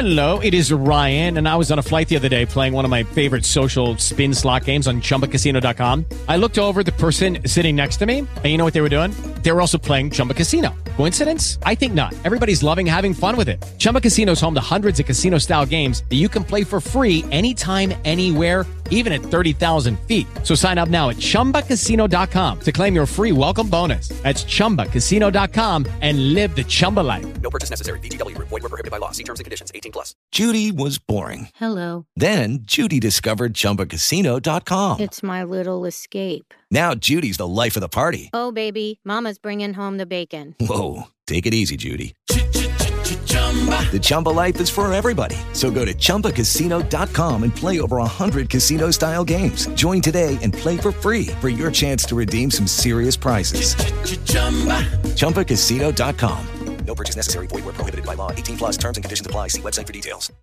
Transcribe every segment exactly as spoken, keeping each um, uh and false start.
Hello, it is Ryan, and I was on a flight the other day playing one of my favorite social spin slot games on Chumba Casino dot com. I looked over at the person sitting next to me, and you know what they were doing? They were also playing Chumba Casino. Coincidence? I think not. Everybody's loving having fun with it. Chumba Casino is home to hundreds of casino-style games that you can play for free anytime, anywhere, even at thirty thousand feet. So sign up now at Chumba Casino dot com to claim your free welcome bonus. That's Chumba Casino dot com and live the Chumba life. No purchase necessary. V G W. Void where prohibited by law. See terms and conditions. eighteen plus. Judy was boring. Hello. Then Judy discovered Chumba Casino dot com. It's my little escape. Now Judy's the life of the party. Oh, baby, mama's bringing home the bacon. Whoa, take it easy, Judy. The Chumba life is for everybody. So go to Chumba Casino dot com and play over one hundred casino-style games. Join today and play for free for your chance to redeem some serious prizes. Chumba Casino dot com. No purchase necessary. Void where prohibited by law. eighteen plus terms and conditions apply. See website for details.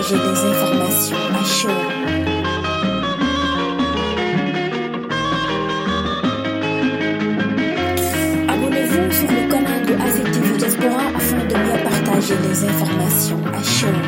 partager les informations à chaud. Abonnez-vous sur le canal de A C T V Diaspora afin de mieux partager les informations à chaud.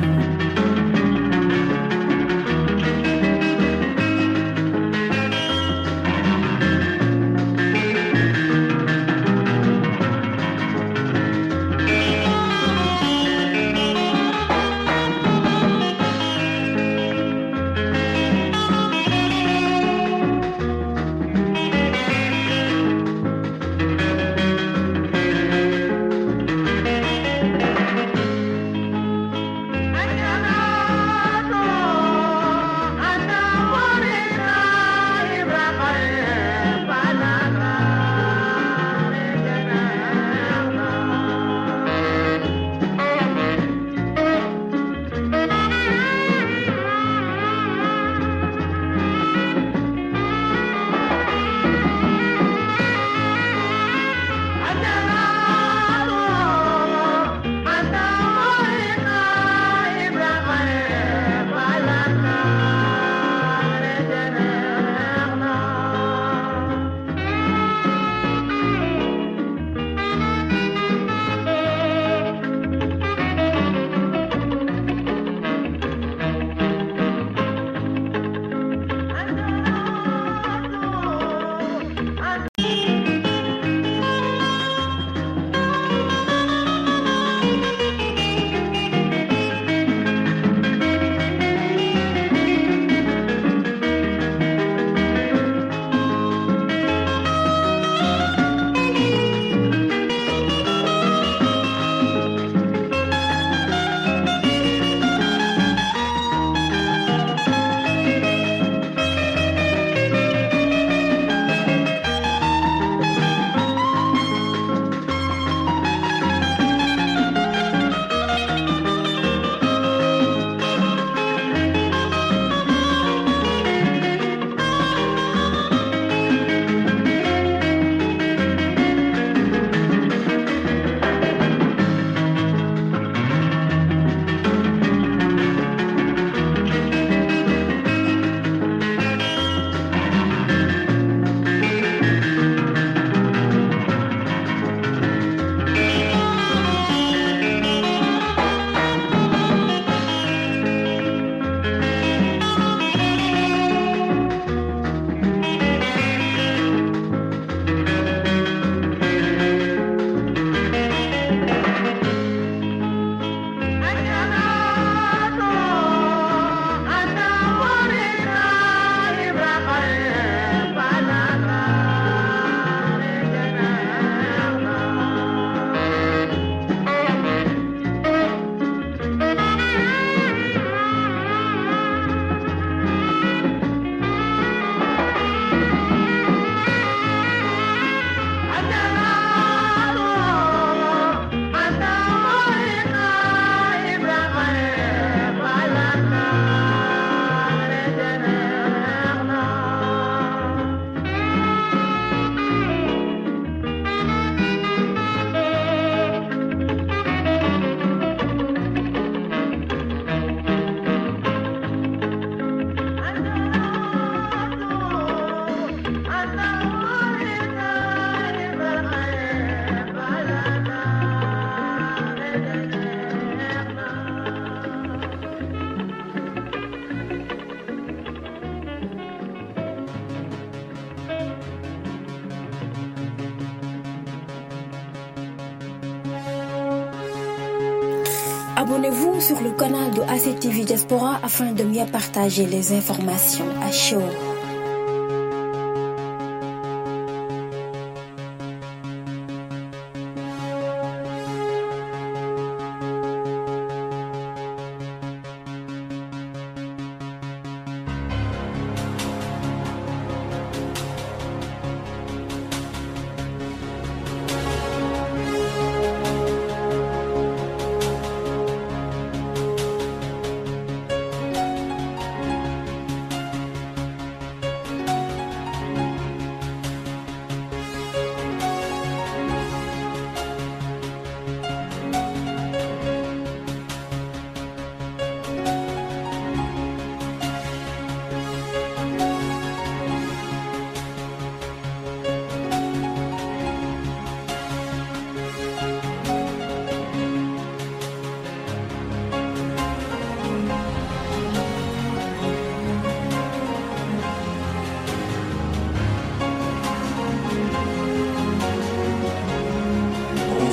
Abonnez-vous sur le canal de A C T V Diaspora afin de mieux partager les informations à chaud.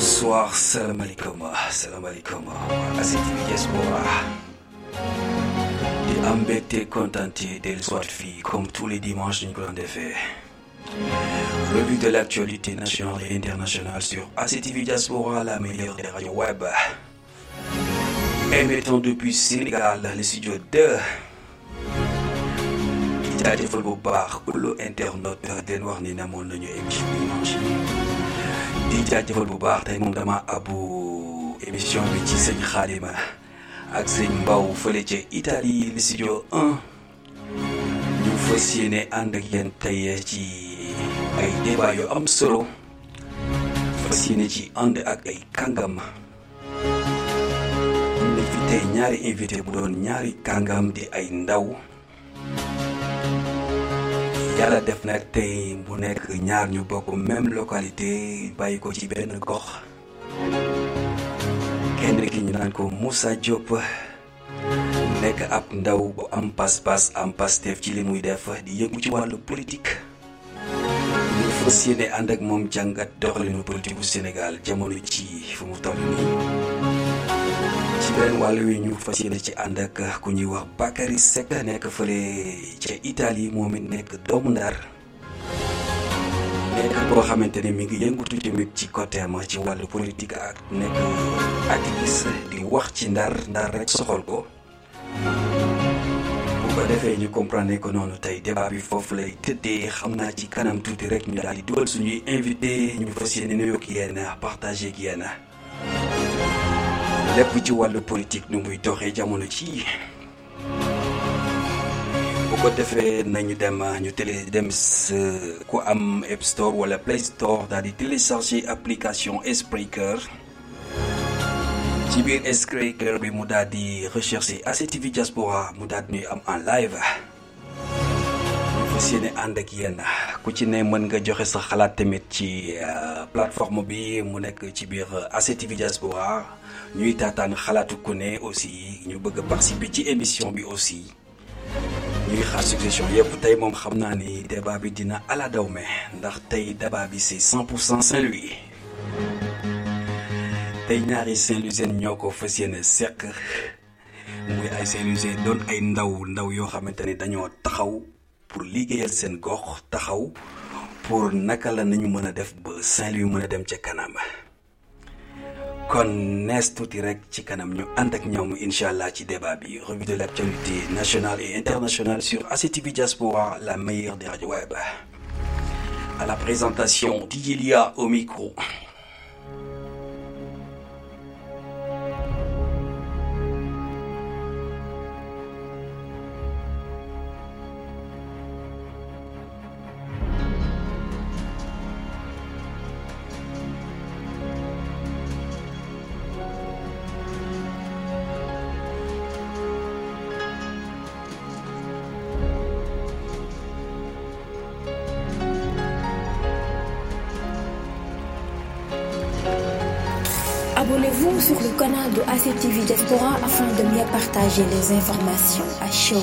Bonsoir, salam alaikum, salam alaikum, A C T V Diaspora. Di am mbégte contenté del soit fii comme tous les dimanches ñu ko doon defee. Revue de l'actualité nationale et internationale sur A C T V Diaspora, la meilleure des radios web. Émettant depuis Sénégal, le studio deux. di jaajëfal bu baax kullu internaute den wax ni namoon nañu émission dimanche di jaajëfal bu baax tey moom dama abu émission bi ci sëñ Xaalima ak sëñ Mbaw fële ca Italie le studio un ñu fas yéene ànd ak yéen tey ci ay débat yu am solo fas yéene ci ànd ak ay kàngam am na fi tey ñaari invité bu doon ñaari kàngam di ay ndaw yàlla def nag tey bu nekk ñaar ñu bokk même localité bàyyi ko ci benn gox kenn ki ñu naan ko Moussa Diop nekk ab ndaw bu am pas-pas am Pastef ci li muy def di yëngu ci wàllu politique ñu fas yéene ànd ak moom jàngat doxalinu politique bu Sénégal jamono ci fu mu toll nii ci beneen wàll wi ñu fas yéene ci ànd ak ku ñuy wax Bakary Seck nekk fële ca Italie moom it nekk doomu Ndar nekk koo xamante ne mi ngi yëngutu tamit ci côté am ci wàllu politique ak nekk activiste di wax ci Ndar Ndar rek soxal ko bu ko defee ñu comprendre ko noonu tey débat bi foofu lay tëddee xam naa ci kanam tuuti rek ñu daal di dugal suñuy invité ñu fas yéene nuyoo ak yéen partagé ak yéen lépp ci wàllu politique nu muy doxee jamono ci bu ko defee nañu dem ñu télé dem ku am App Store wala Play Store daal di télécharger application Spreaker ci biir Spreaker bi mu daal di rechercher A C T V Diaspora mu daal di ñuy am en live ñu fas yéene ànd ak yéen ku ci ne mën nga joxe sa xalaat tamit ci plateforme bi mu nekk ci biir A C T V Diaspora ñuy taataan xalaatu ku ne aussi ñu bëgg a participer ci émission bi aussi ñuy xaar suggestion yëpp tey moom xam naa ni débat bi dina ala daw me ndax tey débat bi c'est cent pour cent Saint-Louis tey ñaari Saint-Louisien ñoo ko fas yéene seq muy ay Saint-Louisien doon ay ndaw ndaw yoo xamante ne dañoo taxaw pour liggéeyal seen gox taxaw pour naka la nañu mën a def ba Saint-Louis mën a dem ca kanam kon nees tuuti rek ci kanam ñu ànd ak ñoom incha allah ci débat bi revue de l'actualité nationale et internationale sur A C T V Diaspora, la meilleure des radios web. À la présentation, Didilia au micro. Abonnez-vous sur le canal de A C T V Diaspora afin de mieux partager les informations à chaud.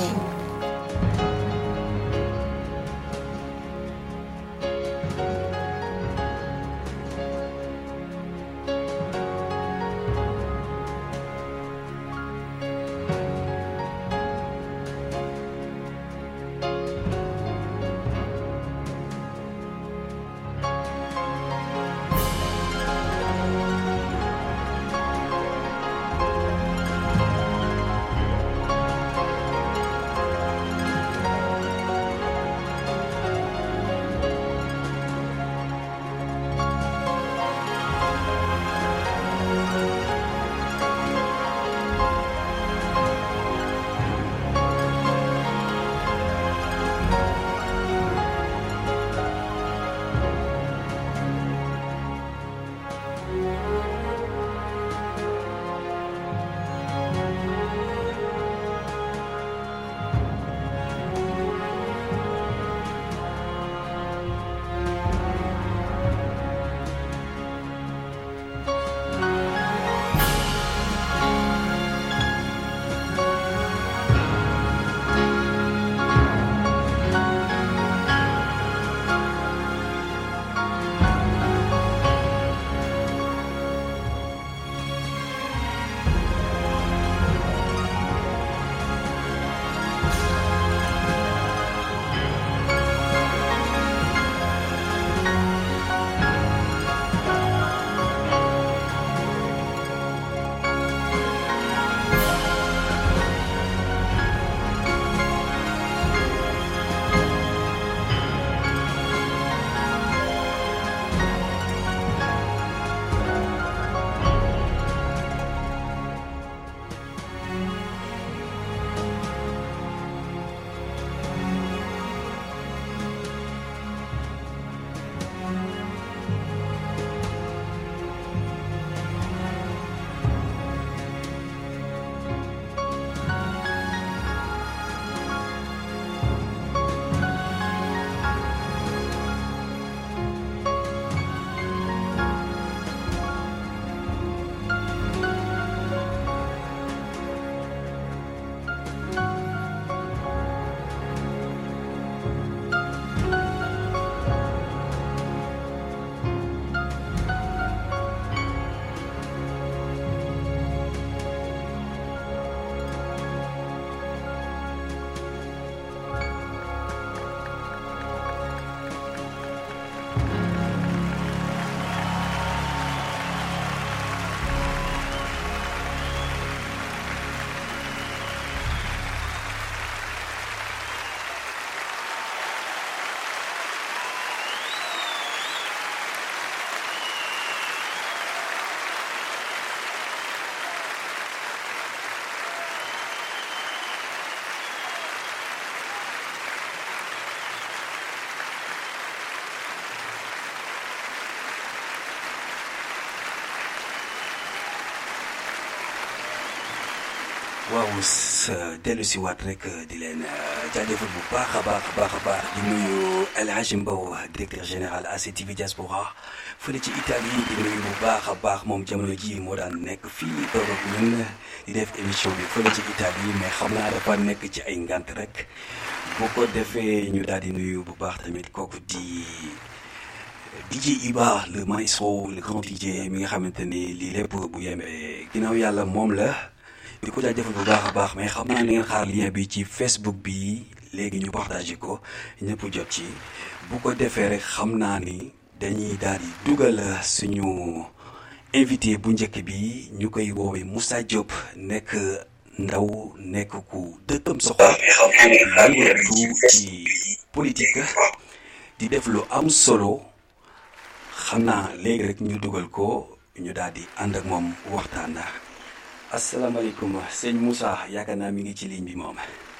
waaw dellu si waat rek di leen jaajëfal bu baax a baax a baax a baax di nuyu El Hadji Mbow directeur général A C T V Diaspora fële ci Italie di nuyu bu baax a baax moom jamono ji moo daan nekk fii toog ak ñun di def émission bi fële ci Italie mais xam naa dafa nekk ci ay ngant rek boo ko defee ñu daal di nuyu bu baax tamit kooku di D J Iba le maestro le grand D J mi nga xamante ni lii lépp bu yemee ginnaaw yàlla moom la di ko jaajëfal bu baax a baax mais xam naa ne ngeen xaar lien bi ci Facebook bi léegi ñu partagé ko ñëpp jot ci bu ko defee rek xam naa ni dañuy daal di dugal suñu invité bu njëkk bi ñu koy woowee Moussa Diop nekk ndaw nekk ku dëkkam soxla yëngatu ci politique di def lu am solo xam naa léegi rek ñu dugal ko ñu daal di ànd ak moom waxtaan. asalaamaaleykum sëñ Moussa yaakaar naa mi ngi ci ligne bi moom.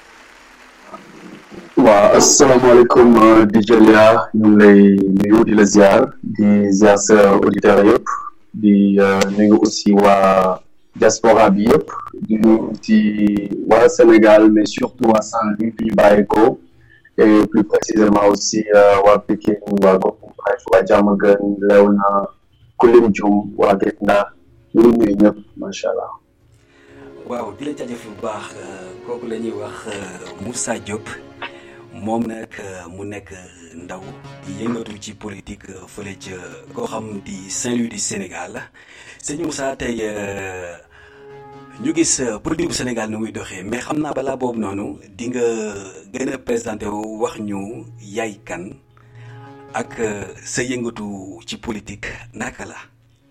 waaw asalaamaaleykum di Lia ñu ngi lay nuyu di la ziar di ziar sa auditeurs yëpp di nuyu aussi waa diaspora bi yëpp di nuyu ci waa Sénégal mais surtout waa Saint-Louis fi ñu bàyyeekoo et plus précisément aussi waa Pikine waa Gox waa Diamaguène Léona Koulim Dioum waa Guet Ndar ñu ngi nuyu ñëpp macha allah. waaw di la jaajëf bu baax kooku la ñuy wax Moussa Diop moom nag mu nekk ndaw di yëngatu ci politique fële ca koo xam di Saint-Louis du Sénégal sëñ Moussa tey ñu gis politique bu Sénégal nu muy doxee mais xam naa balaa boobu noonu di nga gën a présenté wu wax ñu yaay kan ak sa yëngatu ci politique naka la.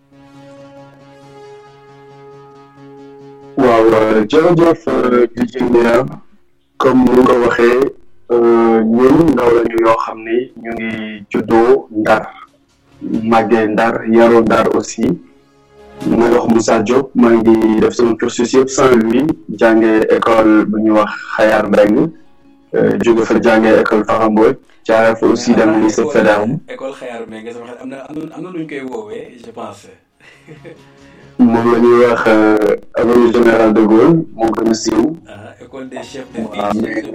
waaw jërëjëf di Lia comme ni nga ko waxee ñun ndaw lañu yoo xam ne ñu ngi juddoo Ndar màggee Ndar yaroo Ndar aussi ma wax Moussa Diop maa ngi def sama cursus yëpp Saint-Louis jàngee école bu ñuy wax Xayar Mbeng jóge fa jàngee école Farambooj jaaree fa aussi dem lycée Faidherbe. école Xayar Mbeng sama xel am na am na lu ñu koy woowee je pense. moom la ñuy wax avenue Général de Gaulle moo gën a siiw. école des chefs de fils.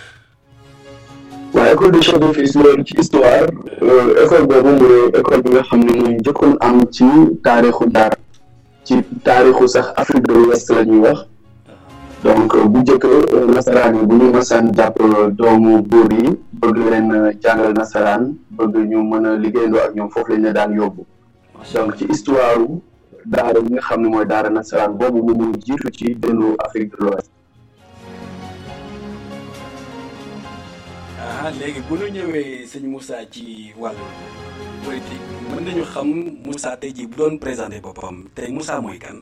waaw école des chefs de fils loolu ci histoire école boobu mooy école bi nga xam ne mooy njëkkoon am ci taarixu Ndar ci taarixu sax Afrique de l'Ouest la ñuy wax donc bu njëkk nasaraan yi bu ñu masaan jàpp doomu buur yi bëgg leen jàngal nasaraan bëgg ñu mën a liggéeyandoo ak ñoom foofu lañ la daan yóbbu donc ci histoire daara bi nga xam ne mooy daara nasaraan boobu moom moo jiitu ci dëndu Afrique de l'Ouest. ah léegi bu ñu ñëwee sëñ Moussa ci wàllu politique mën nañu xam Moussa tey jii bu doon présenté boppam tey Moussa mooy kan.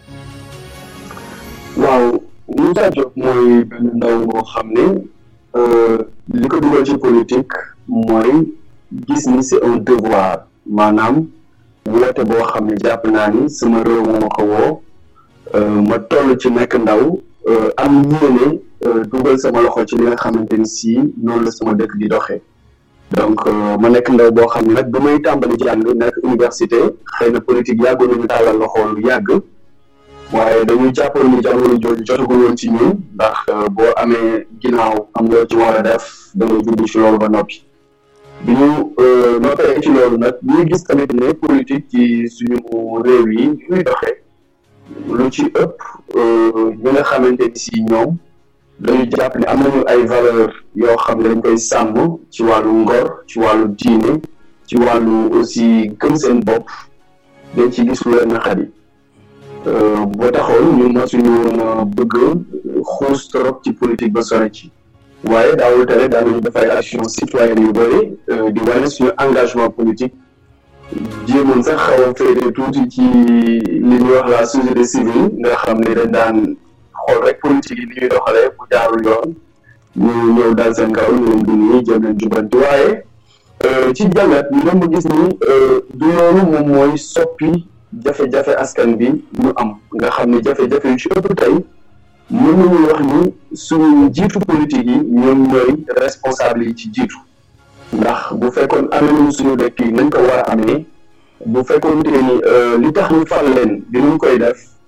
waaw Moussa Diop mooy benn ndaw moo xam ne li ko dugal ci politique mooy gis ni c'est un devoir maanaam. woote boo xam ne jàpp naa ni sama réew moo ko woo ma toll ci nekk ndaw am yéene dugal sama loxo ci li nga xamante ni si noonu la sama dëkk di doxee donc ma nekk ndaw boo xam ne nag ba may tàmbali jàng nekk université xëy na politique yàggoon nañu tàllal loxo lu yàgg waaye dañuy jàppoon ni jamono jooju jotagul woon ci ñun ndax boo amee ginnaaw am loo ci war a def da ngay jublu ci loolu ba noppi. bi ñu noppee ci loolu nag ñuy gis tamit ne politique ci suñu réew yi ñuy doxee lu ci ëpp ñi nga xamante ni si ñoom dañu jàpp ne am nañu ay valeur yoo xam ne dañ koy sàmm ci wàllu ngor ci wàllu diine ci wàllu aussi gëm seen bopp dañ ci gis lu leen naqari boo taxoon ñu masuñu woon bëgg xuus trop ci politique ba sore ci waaye daawul tere daanañu def ay action citoyenne yu bëri di wane suñu engagement politique jéemoon sax xaw a féete tuuti ci li ñuy wax la société civile nga xam ne dañ daan xool rek politique yi li ñuy doxalee bu jaarul yoon ñu ñëw daal seen kaw ñu leen di nii jëm leen jubanti waaye ci jàngat ñu dem gis ni du loolu moom mooy soppi jafe-jafe askan bi ñu am nga xam ne jafe-jafe yu ci ëpp tey mën nañu wax ni suñu jiitu politique yi ñoom ñooy responsable yi ci jiitu ndax bu fekkoon amee nañu suñu dëkk yi nañ ko war a amee bu fekkoon te ni li tax ñu fal leen dinañ koy def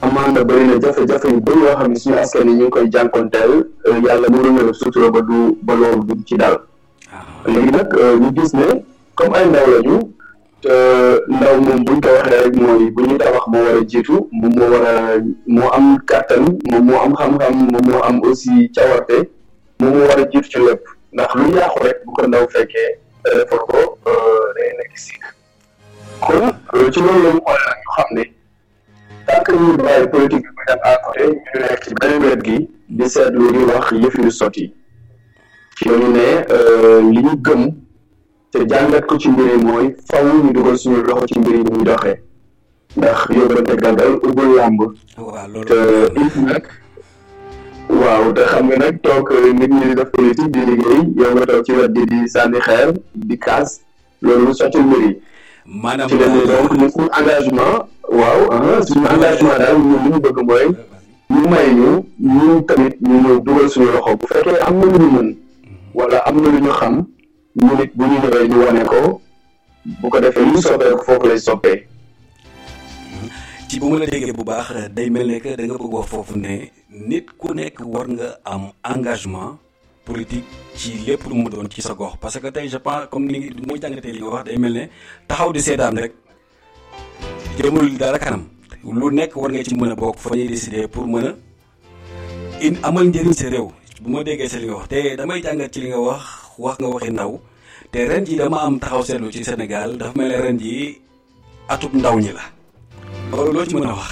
amaana bëri na jafe-jafe yu bëri yoo xam ne suñu askan yi ñu ngi koy jànkonteel yàlla mënu na sutura ba du ba loolu du ci dal léegi nag ñu gis ne comme ay ndaw lañu te ndaw moom buñ ko waxee rek mooy bu ñuy tabax moo war a jiitu moom moo war a moo am kàttan moom moo am xam-xam moom moo am aussi cawarte moom moo war a jiitu ci lépp ndax lu yàqu rek bu ko ndaw fekkee defar ko day nekk si kon ci loolu la ñu xool nag ñu xam ne tant que ñu bàyyi politique bi muy dem à côté ñu nekk ci beneen wet gi di seetlu di wax yëf yu sotti ci la ñu ne li ñu gëm te jàngat ko ci mbir yi mooy faw ñu dugal suñu loxo ci mbir yi muy doxee ndax yóbbante gàngal ubbul làmb te it nag waaw te xam nga nag toog nit ñi di def politique di liggéey yow nga toog ci wet di di sànni xeer di kaas loolu sotti mbir yi maanaam ci la ne donc ñu suñu engagement waaw suñu engagement daal ñun li ñu bëgg mooy ñu may ñu ñun tamit ñu ñëw dugal suñu loxo bu fekkee am na lu ñu mën wala am na lu ñu xam ñu nit bu ñu ñëwee ñu wane ko bu ko defee lu soppee ko foofu lay soppee. ci bu ma la déggee bu baax day mel ne que da nga bëgg wax foofu ne nit ku nekk war nga am engagement politique ci lépp lu mu doon ci sa gox parce que tey je pense comme ni muy jàngatee li nga wax day mel ne taxaw di seetaan rek jëmul dara kanam lu nekk war nga ci mën a bokk fa ñuy décider pour mën a in amal njëriñ sa réew bu ma déggee sa li nga wax te damay jàngat ci li nga wax wax nga waxi ndaw te ren ji dama am taxaw seetlu ci Sénégal dafa mel ne ren ji atub ndaw ñi la loolu loo ci mën a wax.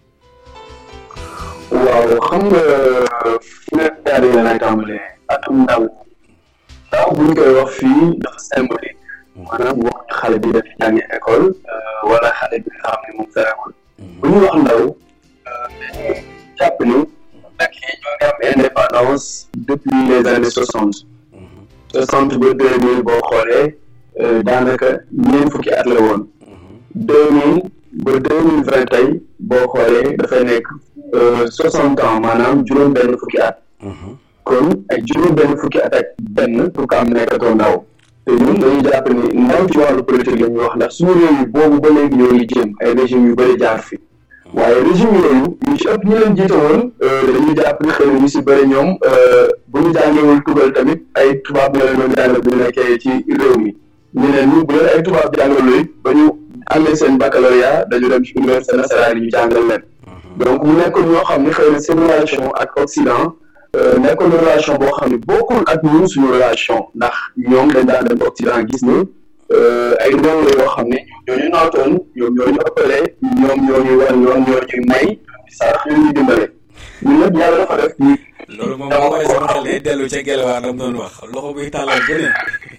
waaw xam nga fi nga daal di lay tàmbalee atub ndaw ndaw bu ñu koy wax fii dafa symbolique maanaam wax xale bi daf jàngi école wala xale bi nga xam ne moom ferewul bu ñu wax ndaw dañuy jàpp ni nag yi ñoo ngi am indépendance depuis les années soixante soixante ba deux mille boo xoolee daanaka ñeent fukki at la woon deux mille ba deux mille vingt tey boo xoolee dafay nekk soixante ans maanaam juróom benn fukki at kon ay juróom benn fukki at ak benn pour que am nekkatoo ndaw te ñun dañuy jàpp ni ndaw ci wàllu politique la ñuy wax ndax suñu réew yi boobu ba léegi ñoo ngi jéem ay régime yu bëri jaar fi waaye régime yooyu ñu ci ëpp ñu leen jiite woon dañuy jàpp ni xëy na ñu si bëri ñoom bu ñu jàngewul tugal tamit ay tubaab ñoo leen doon jàngal bu ñu nekkee ci réew mi ñeneen ñi bu leen ay tubaab jàngaluy ba ñu amee seen baccalauréat dañu dem ci université nationale yi ñu jàngal leen donc mu nekkoon ñoo xam ne xëy na seen relation ak Occident nekkoon relation boo xam ne bokkul ak ñun suñu relation ndax ñoom dañ daan dem Occident gis ni ay réew la yoo xam ne ñoo ñu nootoon ñoom ñoo ñu ëppale ñoom ñoo ñu wan ñoom ñoo ñuy may sarax ñu ñuy dimbale ñun nag yàlla dafa def ñu loolu moom moo koy sama xel day dellu ca Gelewaar la mu doon wax loxo buy tàllal beneen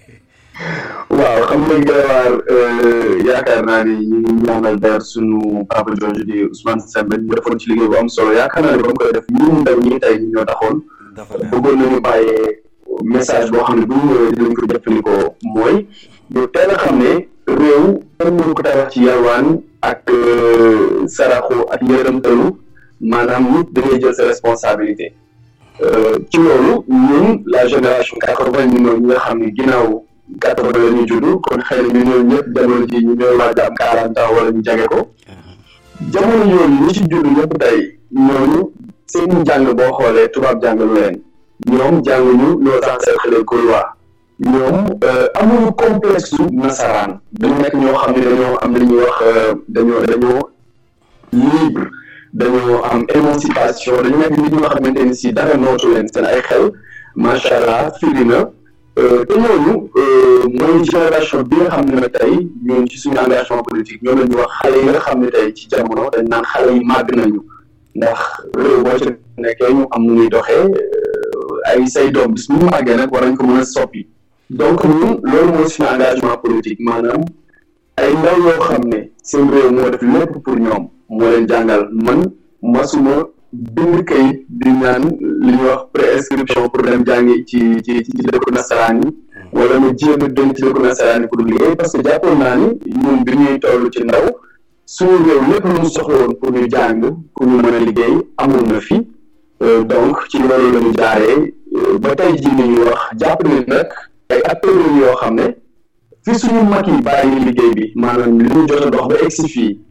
waaw xam nga Gelewaar yaakaar naa ni ñu ngi ñaanal der suñu papa jooju di Ousmane Sembène ñu defoon ci liggéey bu am solo yaakaar naa ne ba mu koy def ñun ndaw ñi tey ñoo taxoon bëggoon nañu bàyyee message boo xam ne bu ñu ñëwee dinañ ko jëfandikoo mooy ñu teel a xam ne réew kenn mënu ko tabax ci yalwaan ak saraxu ak yërëmtalu maanaam nit da ngay jël sa responsabilité ci loolu ñun la génération quatre-vingt ñu ñi nga xam ne ginnaaw quatre-vingt la ñu judd kon xëy na ñu ñëw ñëpp jamono ji ñu ñooy waaj am quarante ans wala ñu jege ko jamono yooyu ñi ci judd ñëpp tey ñooñu seen njàng boo xoolee tubaab jàngalu leen ñoom jànguñu nos ancêtres les Gaulois ñoom amuñu complexe su nasaraan dañu nekk ñoo xam ne dañoo am li ñuy wax dañoo dañoo libre dañoo am émancipation dañu nekk nit ñoo xamante ni si dara nootu leen seen ay xel macha allah firi na te ñooñu mooy génération bi nga xam ne nag tey ñun ci suñu engagement politique ñoom la ñu wax xale yi nga xam ne tey ci jamono dañ naan xale yi màgg nañu ndax réew boo ci nekkee ñu am nu muy doxee ay say doom bis bu ñu màggee nag war nañ ko mën a soppi donc ñun loolu mooy suñu engagement politique maanaam ay ndaw yoo xam ne seen réew moo def lépp pour ñoom moo leen jàngal man masuma bind kayit di naan li ñuy wax préinscription pour dem jàngi ci ci ci dëkku nasaraan yi wala ma jéem a dem ci dëkku nasaraan yi pour liggéey parce que jàppoon naa ni ñun bi ñuy toll ci ndaw suñu réew lépp lu mu soxla woon pour ñu jàng pour ñu mën a liggéey amul na fi donc ci loolu la ñu jaaree ba tey jii ni ñuy wax jàpp ne nag ay acteurs yoo xam ne fi suñu mag yi bàyyi liggéey bi maanaam li ñu jot a dox ba egsi fii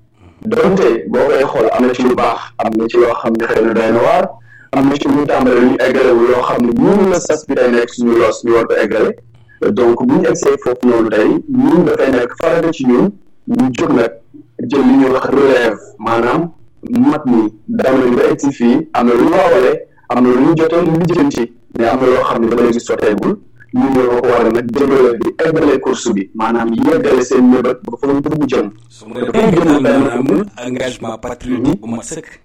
donte boo koy xool am na ci lu baax am na ci loo xam ne xëy na doy na waar am na ci lu tàmbale lu ñu eggalewu loo xam ne ñun la sas bi day nekk suñu loos ñu war ko eggale donc bu ñu egsee foofu noonu tey ñun dafay nekk farata ci ñun ñu jóg nag jël li ñuy wax relève maanaam mat ni dama nañ ba egsi fii am na lu ñu waawale am na lu ñu jotee lu ñu jënti mais am na loo xam ne dama léegi sotteegul ñu ñoo ko war a nag jëmale bi eggale course bi maanaam yeggale seen mébét ba fa nga mu jëm. su ma defee maanaam engagement patriotique bu mat sëkk.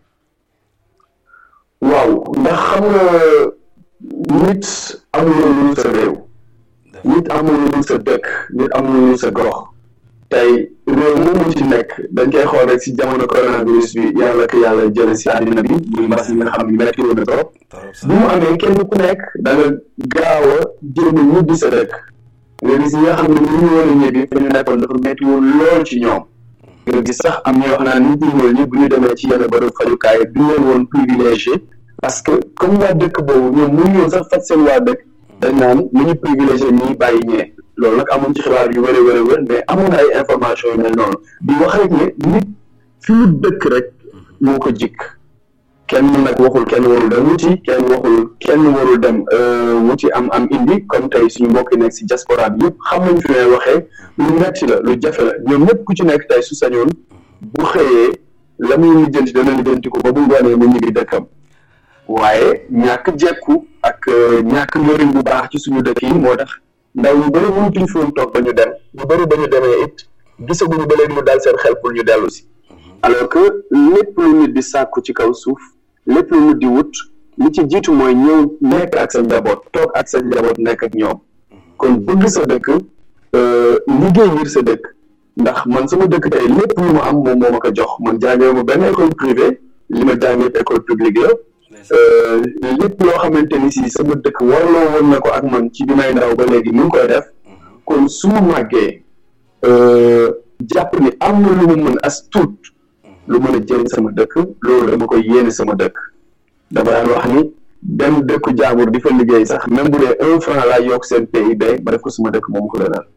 waaw ndax xam nga nit amul lu sa réew. nit amul lu sa dëkk nit amul lu sa gox. tey réew moomu ci nekk dañ koy xool rek si jamono coronavirus bi yàlla ko yàlla jële si àddina bi muy mbas mi nga xam ne metti woon na trop bu mu amee kenn ku nekk da nga gaaw a jéem a ñibbi sa dëkk nga gis ñi nga xam ne ñu ñu woon a ñibbi fa ñu nekkoon dafa metti woon lool ci ñoom nga gis sax am ñoo xam naa nit ñi ñool ñi bu ñu demee ci yenn bërëb fajukaay du leen woon privilégié parce que comme waa dëkk boobu ñoom mënu ñoon sax faj seen waa dëkk dañ naan lu ñu privilégié ñii bàyyi ñee loolu nag amuñ ci xibaar yu wërë wërë wër mais amoon ay information yu mel noonu di wax rek ne nit fi mu dëkk rek moo ko jikk kenn nag waxul kenn warul dem wuti kenn waxul kenn warul dem wuti am am indi comme tey suñu mbokk yi nekk si diaspora bi yëpp xam nañ fi may waxee lu metti la lu jafe la ñoom ñëpp ku ci nekk tey su sañoon bu xëyee la muy lijjanti dana lijjanti ko ba bu ngoonee mu ñibbi dëkkam waaye ñàkk jekku ak ñàkk njëriñ bu baax ci suñu dëkk yi moo tax ndaw ñu bëri mënutuñ fi woon toog ba ñu dem ñu bëri ba ñu demee it gisaguñu ba léegi lu dal seen xel pour ñu dellu si alors que lépp lu nit di sàkku ci kaw suuf lépp lu nit di wut li ci jiitu mooy ñëw nekk ak sa njaboot toog ak sa njaboot nekk ak ñoom kon bëgg sa dëkk liggéey ngir sa dëkk ndax man sama dëkk tey lépp lu ma am moom moo ma ko jox man jàngee ma benn école privée li ma jàngee école publique la lépp loo xamante ni si sama dëkk warloo woon na ko ak man ci bi may ndaw ba léegi mu ngi koy def kon su ma màggee jàpp ni am na lu mu mën as tuut lu mën a jëriñ sama dëkk loolu dama koy yéene sama dëkk dama daan wax ni dem dëkku jaambur di fa liggéey sax même bu dee un franc laa yokk seen P I B ba def ko sama dëkk moom ko gënal.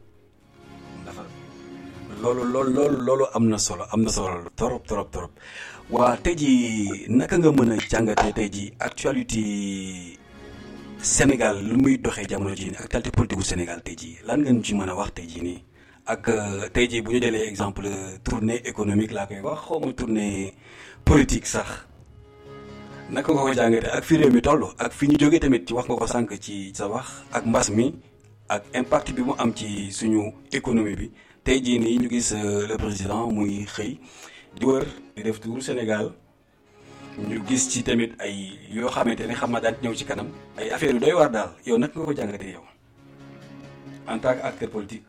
loolu loolu loolu loolu am na solo am na solo trop trop trop. waa tey jii naka nga mën a jàngatee tey jii actualité Sénégal lu muy doxee jamono jii nii actualité politique gu Sénégal tey jii lan ngeen ci mën a wax tey jii nii ak tey jii bu ñu jëlee exemple tournée économique laa koy wax xaw ma tournée politique sax naka nga ko jàngatee ak fi réew mi toll ak fi ñu jógee tamit ci wax nga ko sànq ci sa wax ak mbas mi ak impact bi mu am ci suñu économie bi tey jii nii ñu gis le président muy xëy. di wër di def tour Sénégal ñu gis ci tamit ay yoo xamante ne xam naa daan ñëw ci kanam ay affaire yu doy war daal yow nag nga ko jàngatee yow en tant que acteur politique.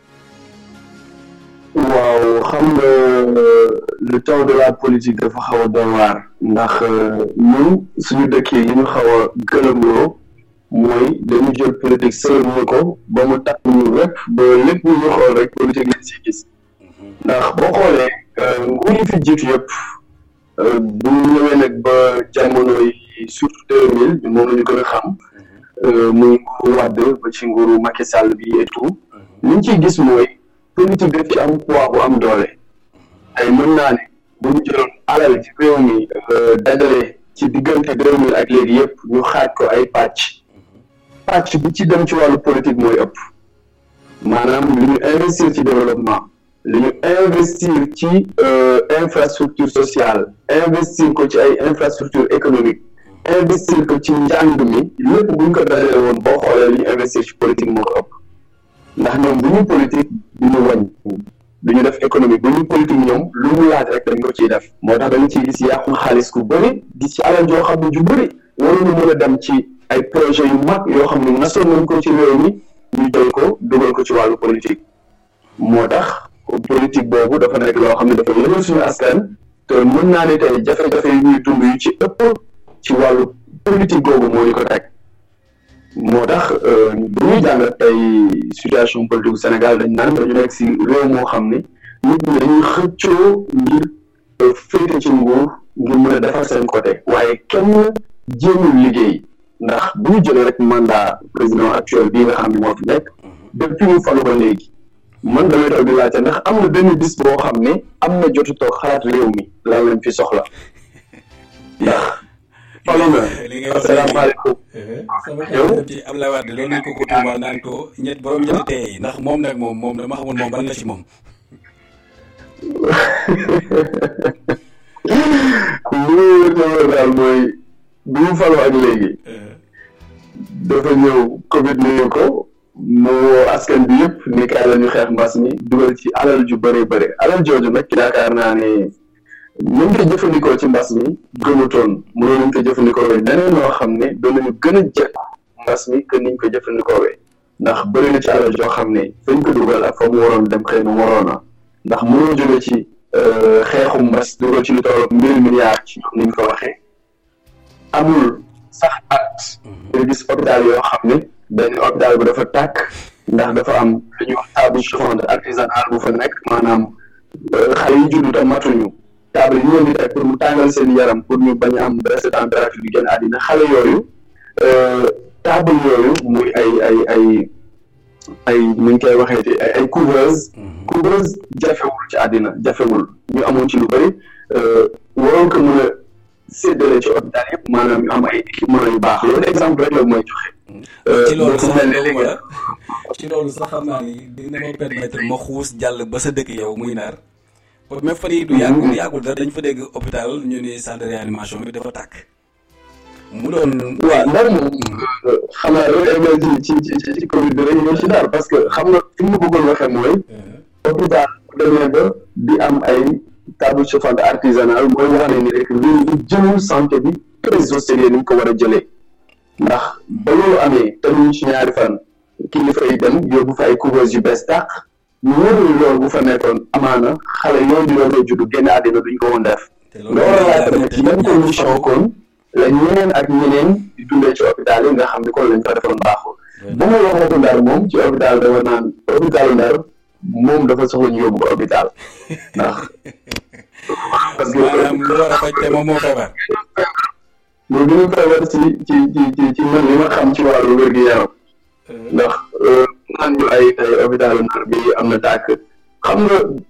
waaw xam nga le temps de la politique dafa xaw a doy waar ndax ñun suñu dëkk yi ñu xaw a gëlëmloo mooy dañu jël politique sëlmu ko ba mu tax ñu lépp ba lépp lu ñu xool rek politique lañ si gis ndax boo xoolee. nguur yi fi jiitu yëpp bu ñu ñëwee nag ba jamono yi surtout deux mille moom la ñu gën a xam muy nguuru Wade ba ci nguuru Macky Sall bi et tout li ñu ciy gis mooy politique daf ci am poids bu am doole ay mën naa ne bu ñu jëloon alal ci réew mi dajale ci diggante deux mille ak léegi yëpp ñu xaaj ko ay pàcc pàcc bi ci dem ci wàllu politique mooy ëpp maanaam li ñu investir ci développement li ñu investir ci infrastructure sociale investir ko ci ay infrastructure économique investir ko ci njàng mi lépp bu ñu ko dajale woon boo xoolee li ñu investir ci politique moo ko ëpp ndax ñoom bu ñu politique du ñu wàññi du ñu def économique bu ñu politique ñoom lu mu laaj rek dañ ko ciy def moo tax dañu ciy gis yàqu xaalis ku bëri gis ci alal joo xam ne ju bëri waruñu mën a dem ci ay projet yu mag yoo xam ne nasoon nañ ko ci réew mi ñu jël ko dugal ko ci wàllu politique moo tax politique boobu dafa nekk loo xam ne dafa yëngal suñu askan te mën naa ne tey jafe-jafe yi ñuy dund yu ci ëpp ci wàllu politique googu moo ñu ko teg moo tax bu ñuy jàngat tey situation politique bu Sénégal dañ naan dañu nekk si réew moo xam ne nit ñi dañuy xëccoo ngir féete ci nguur ngir mën a defar seen côté waaye kenn jéemul liggéey ndax bu ñu jëlee rek mandat président actuel bii nga xam ne moo fi nekk depuis ñu falu ba léegi man damay toog di laajte ndax am na benn bis boo xam ne am na jotu toog xalaat réew mi lan lañ fi soxla ndax falu nga asalaamaaleykum yow ci Abdoulaye Wade loolu nañ ko ko tuumal naan ko ñett borom ñetti tey ndax moom nag moom moom dama xamul moom ban la ci moom lu wóor daal mooy bi mu faloo ak léegi dafa ñëw Covid nuyu ko mu woo askan bi yëpp ni kaay la ñu xeex mbas mi dugal ci alal ju bëri bëri alal jooju nag yaakaar naa ne ñu ko jëfandikoo ci mbas mi gënutoon mënoon nañ ko jëfandikoo neneen noo xam ne doon nañu gën a jekku mbas mi que niñ ko jëfandikoo ndax bëri na ci alal joo xam ne fañ ko dugal ak fa mu waroon dem xëy na waroon na ndax mënoo jóge ci xeexu mbas dugal ci lu toll mille milliards ci ñoom niñ ko waxee amul sax at nga gis hôpital yoo xam ne benn hôpital bu dafa tàkk ndax dafa am lu ñuy wax table chauffante artisanale bu fa nekk maanaam xale yi juddu te matuñu table yi ñu leen di teg pour mu tàngal seen yaram pour ñu bañ a am baisse température bi gën àddina xale yooyu table yooyu muy ay ay ay ay nu ñu koy waxee ay ay couveuse couveuse jafewul ci àddina jafewul ñu amoon ci lu bëri waroon ko mën a séddale ci hôpital yëpp maanaam ñu am ay équipement yu baax loolu exemple rek la mooy joxe. ci loolu sax ci loolu sax xam naa ni dina ma permettre ma xuus jàll ba sa dëkk yow muy Ndar même fan yii du yàgg yàggul dara dañ fa dégg hôpital ñu ni centre de réanimation bi dafa tàkk. mu doon waaw Ndar moom xam naa loolu egg ci ci ci ci Covid bi rek ñëw ci Ndar parce que xam nga fi mu bëggoon waxee mooy. hôpital bu demee ba di am ay table chauffante artisanale mooy wax ne ni rek lii di jëlul santé bi très au sérieux ni mu ko war a jëlee ndax ba loolu amee te ñu ci ñaari fan kilifa yi dem yóbbu fa ay couveuse yu bees tàq ñu wóorul loolu bu fa nekkoon amaana xale yooyu di doon juddu génn àddina duñ ko woon def. loolu laa tamit ci yan condition kon la ñeneen ak ñeneen di dundee ci hôpital yi nga xam ni kon lañ fa defoon baaxul. ba ma waxatu Ndar moom ci hôpital dama naan hôpitalu Ndar moom dafa soxla ñu yóbbu ko hôpital ndax. parce que maanaam lu war a faj te moom moo feebar. lu gën a feebar ci ci ci ci man li ma xam ci wàllu wér-gu-yaram ndax naan ñu ay ay hôpitalu Ndar bi am na tàkk xam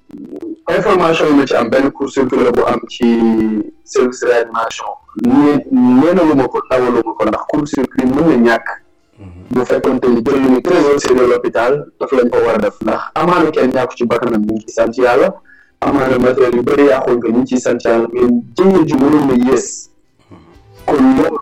nga information yi ma ci am benn court circuit bu am ci service réanimation nee nee na lu ma ko tawalu ma ko ndax court circuit mën na ñàkk bu fekkoon te jël lu ñu très au sérieux l'hôpital daf lañ ko war a def ndax amaana kenn ñàkku ci bakkanam ñu ngi ciy sant yàlla amaana matériel yu bëri yàquñ ko ñu ngi ciy sant yàlla mais jëye ju mënoon na yées kon loolu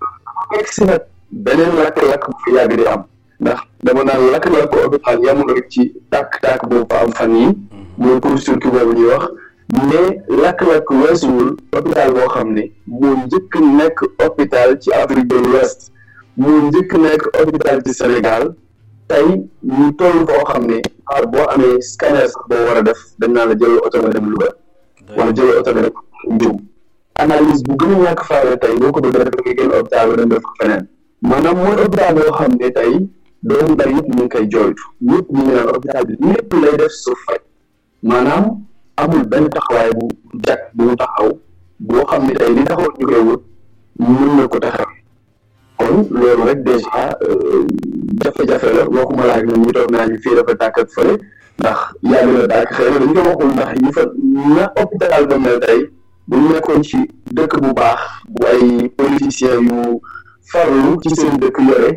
egg si nag beneen lakk-lakk bu fi yàgg di am ndax dama naan lakk-lakk ko hôpital yamul rek ci tàkk-tàkk boobu fa am fan yi mooy court circuit boobu ñuy wax mais lakk-lakk weesuwul hôpital boo xam ne moo njëkk nekk hôpital ci Afrique de l'Ouest moo njëkk nekk hôpital ci Sénégal tey ñu toll foo xam ne xaar boo amee scanner sax boo war a def dañ naa la jël oto nga dem Louga wala jël oto nga dem Ndioum analyse bu gën a ñàkk faale tey boo ko bëgg a def nga génn hôpital ba dem def ko feneen maanaam mooy hôpital boo xam ne tey doomu Ndar yëpp ñu ngi koy jooytu ñëpp ñu ngi naan hôpital bi lépp lay def suuf faj maanaam amul benn taxawaay bu jag bu mu taxaw boo xam ne tey li taxaw ñu koy wut mën na ko taxaw kon loolu rek déjà jafe-jafe la waxuma laa ak ñoom ñu toog naa ñu fii dafa tàkk ak fële ndax yàgg na tàkk xëy na dañu ko waxul ndax ñu fa na hôpital ba mel tey bu ñu nekkoon ci dëkk bu baax bu ay politiciens yu farlu ci seen dëkk yore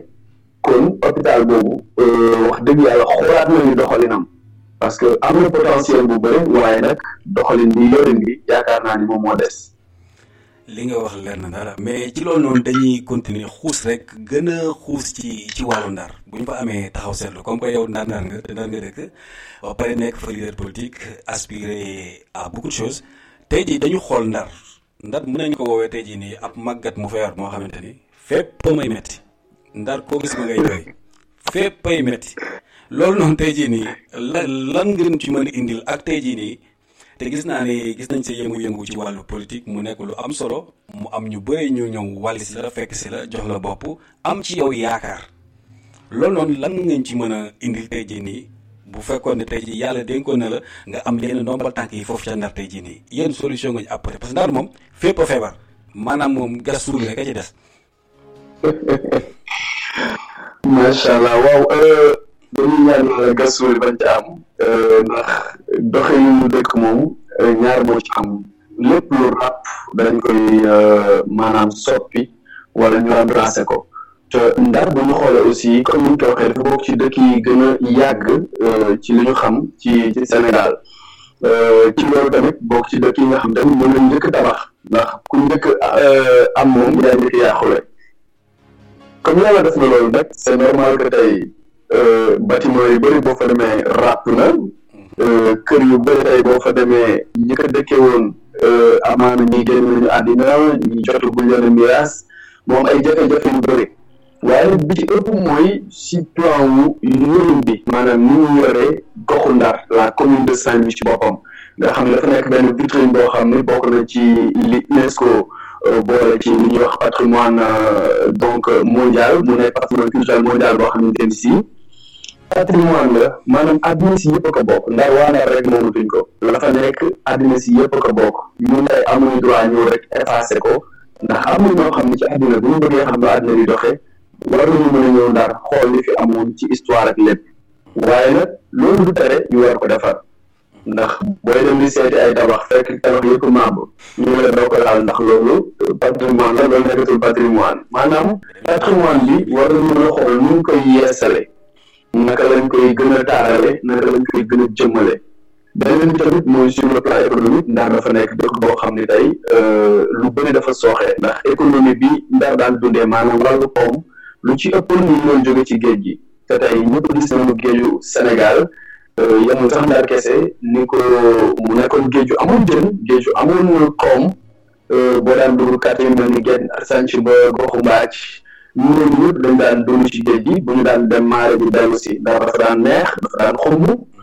kon hôpital boobu wax dëgg yàlla xoolaat nañu doxalinam parce que am na potentiel bu bëri waaye nag doxalin bi yorin bi yaakaar naa ni moom moo des. li nga wax leer na dara mais ci loolu noonu dañuy continuer xuus rek gën a xuus ci ci wàllu Ndar bu ñu fa amee taxaw seetlu comme que yow Ndar Ndar nga te Ndar nga dëkk ba pare nekk fa leader politique aspiré à beaucoup de choses tey jii dañu xool Ndar Ndar mën nañu ko woowee tey jii nii ab màggat mu feebar moo xamante ni fépp may metti Ndar koo gis ma ngay doy fépp ay metti loolu noonu tey jii nii la lan ngeen ci mën a indil ak tey jii nii te gis naa ne gis nañ sa yëngu-yëngu ci wàllu politique mu nekk lu am solo mu am ñu bëri ñu ñëw wàll si la fekk si la jox la bopp am ci yow yaakaar loolu noonu lan ngeen ci mën a indil tey jii nii bu fekkoon ne tey jii yàlla dénkoon na la nga am yenn ndombal tànk yi foofu ca Ndar tey jii nii yéen solution nga ñu apporté parce que Ndar moom fépp a feebar maanaam moom gas suul rek a ci des. macha allah waaw dañuy ñaan yàlla gas suul bañ ci am ndax doxalinu dëkk moom ñaar moo ci am lépp lu ràpp dañ koy maanaam soppi wala ñu remplacer ko te Ndar bu ñu xoolee aussi comme ni ñu ko waxee dafa bokk ci dëkk yi gën a yàgg ci li ñu xam ci ci Sénégal ci loolu tamit bokk ci dëkk yi nga xam tamit mën nañ njëkk tabax ndax ku njëkk am moom yaa njëkk yàqule comme yàlla def na loolu nag c'est normal que tey bâtiment yu bëri boo fa demee ràpp na kër yu bëri tey boo fa demee ñi ko dëkkee woon amaana ñi génn nañu àddina ñi jotul bu leen miraas moom ay jafe-jafe yu bëri waaye bi ci ëpp mooy si plan wu yorin bi maanaam ni ñu yoree goxu Ndar la commune de Saint-Louis ci boppam nga xam ne dafa nekk benn vitrine boo xam ne bokk na ci li UNESCO boole ci li ñuy wax patrimoine donc mondial mu nekk patrimoine culturel mondial boo xamante ni si patrimoine la maanaam àddina si yëpp a ko bokk Ndar waa Ndar rek moomatuñ ko la fa nekk àddina si yëpp a ko bokk ñun tey amuñu droit ñëw rek effacé ko ndax am na ñoo xam ne ci àddina bu ñu bëggee xam ne àddina di doxee war nañu mën a ñëw Ndar xool li fi amoon ci histoire ak lépp waaye nag loolu du tere ñu war ko defar ndax booy dem di seeti ay tabax fekk tabax yëpp maab ñu la doo ko laal ndax loolu patrimoine la loolu nekkatul patrimoine maanaam patrimoine bi war nañu mën a xool nu ñu koy yeesale naka lañ koy gën a taarale naka lañ koy gën a jëmmale beneen bi tamit mooy sur le plan économique Ndar dafa nekk dëkk boo xam ne tey lu bëri dafa sooxe ndax économie bi Ndar daan dundee maanaam wàllu koom lu ci ëppoon ñu doon jóge ci géej gi te tey ñëpp gis nañu géeju Sénégal yemul sax Ndar kese ni ko mu nekkoon géeju amul jën géeju amul koom boo daan dugg quartier mel ni Guet Sanc ba goxu Mbaaj ñu ne ñëpp dañ daan dund ci géej gi bu ñu daan dem maare bi dellu si ndax dafa daan neex dafa daan xumb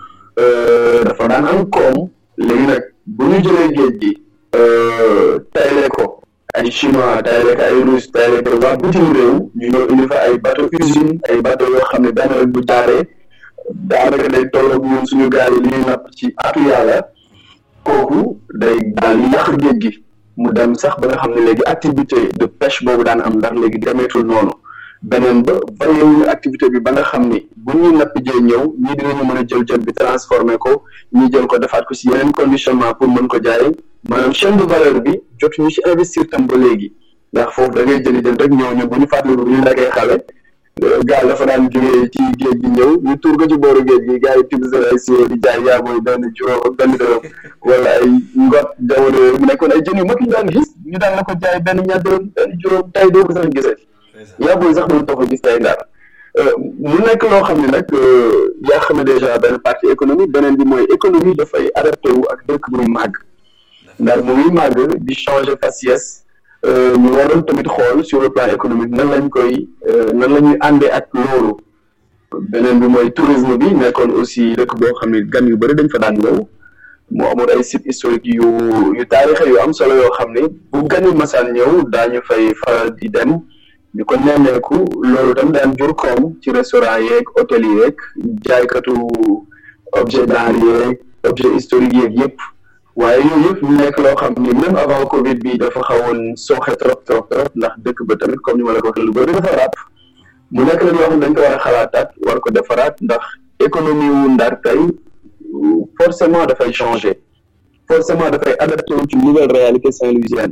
dafa daan am koom léegi nag bu ñu jëlee géej gi tayle ko ay chinois tayle ko ay russe tayle ko waa bitim réew ñu ñëw indi fa ay bateau usine ay bateau yoo xam ne benn rek bu jaaree daanaka day tolloog ñun suñu gaal yi li ñuy napp ci atu yàlla kooku day daal yàq géej gi mu dem sax ba nga xam ne léegi activité de pêche boobu daan am ndax léegi demeetul noonu beneen ba variéwuñu activité bi ba nga xam ni bu ñuy napp jee ñëw ñii dinañu mën a jël jën bi transformé ko ñii jël ko defaat ko si yeneen conditionnement pour mën ko jaay maanaam chaîne de valeur bi jotuñu ci investir tam ba léegi ndax foofu da ngay jëli jën rek ñëw ñu bu ñu fàttaliku bu ñu nekkee xale gaal dafa daan jógee ci géej gi ñëw ñu tuur ko ci booru géej gi gars yi tibb seen ay siwo di jaay yaa mooy benn juróom ak benn dërëm wala ay ngot jamono yooyu mu nekkoon ay jën yu mag ñu daan gis ñu daan la ko jaay benn ñaar dërëm benn juróom tay doo ko sax gisati yaa booy sax doon toog gis tay Ndar mu nekk loo xam ne nag yaa xam ne déjà benn partie économique beneen bi mooy économie dafay adapté wu ak dëkk muy màgg Ndar mu ngi màgg di changer faciès ñu waroon tamit xool sur le plan économique nan lañ koy nan la ñuy àndee ak loolu beneen bi mooy tourisme bi nekkoon aussi dëkk boo xam ne gan yu bëri dañ fa daan ñëw moo amoon ay sites historiques yu yu taarixe yu am solo yoo xam ne bu gan yu masaan ñëw daañu fay faral di dem ñu ko nemmeeku loolu tam daan jur koom ci restaurant yeeg hôtel yi yeeg jaaykatu objet d'art yeeg objet historique yeeg yëpp waaye yooyu yëpp ñu nekk loo xam ni même avant Covid bi dafa xawoon sooxe trop trop trop ndax dëkk ba tamit comme ni ma la ko waxee lu bëri dafa ràpp mu nekk la yoo xam ne dañ ko war a xalaataat war ko defaraat ndax économie wu Ndar tey forcément dafay changer forcément dafay adapté wu ci nouvelle réalité saint-louisienne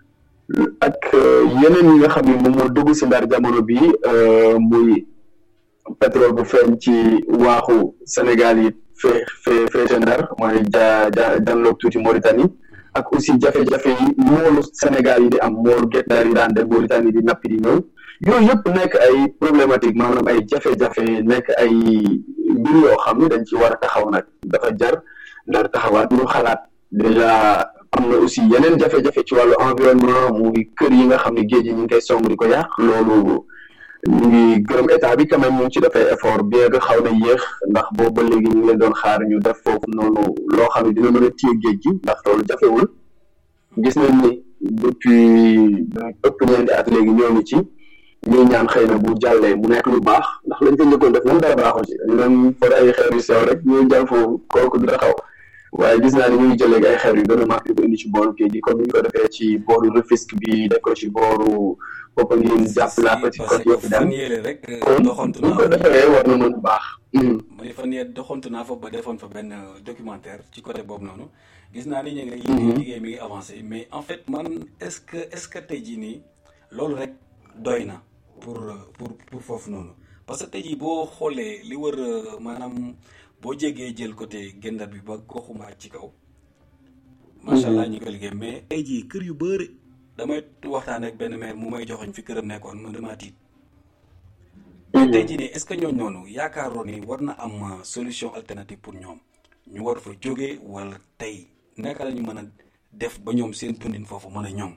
ak yeneen yi nga xam ne moom moo dugg si Ndar jamono bi muy pétrole bu feeñ ci waaxu Sénégal yi fee fee fee Ndar mooy ja ja janloog tuuti Mauritanie ak aussi jafe-jafe yi moolu Sénégal yi di am moolu Guet Ndar yi daan dem Mauritanie di nappi di ñëw yooyu yëpp nekk ay problématique maanaam ay jafe-jafe nekk ay mbir yoo xam ne dañ ci war a taxaw nag dafa jar Ndar taxawaat ñu xalaat déjà am na aussi yeneen jafe-jafe ci wàllu environnement muy kër yi nga xam ne géej yi ñu ngi koy song di ko yàq loolu ñu ngi gërëm état bi quand même ñu ngi ci dafay effort bien que xaw na yéex ndax boobu ba léegi ñu ngi leen doon xaar ñu def foofu noonu loo xam ne dina mën a téye géej gi ndax loolu jafewul gis nañ ni depuis ëpp ñeenti at léegi ñoo ngi ci ñuy ñaan xëy na bu jàllee mu nekk lu baax ndax lañ ko njëkkoon def moom dara baaxul ci dañu doon for ay xeer yu sew rek ñuy jàll foofu kooku dina xaw waaye gis naa ni ñu ngi jëlee ay xeer yu gën a mag yu ko indi ci booru géej gi comme ni ñu ko defee ci booru Rufisque bi def ko ci booru Popenguine jàpp la Petite Côte yëpp dem kon bu ñu ko defee war na mën a baax. mooy fan yee doxantu naa fa ba defoon fa benn documentaire ci côté boobu noonu gis naa ni ñu ngi liggéey liggéey mi ngi avancé mais en fait man est-ce que est-ce que tey jii nii loolu rek doy na pour pour pour foofu noonu parce que tey jii boo xoolee li wër maanaam boo jégee jël côté Guet-Ndar bi ba goxuma ci kaw macha allah ñu ko liggéey mais tey jii kër yu bëri damay waxtaan ak benn maire mu may joxoñ fi këram nekkoon man damaa tiit tey jii nii est-ce que ñooñu noonu yaakaaroon ni war na am solution alternative pour ñoom ñu war fa jógee wala tey naka la ñu mën a def ba ñoom seen dundin foofu mën a ñoom.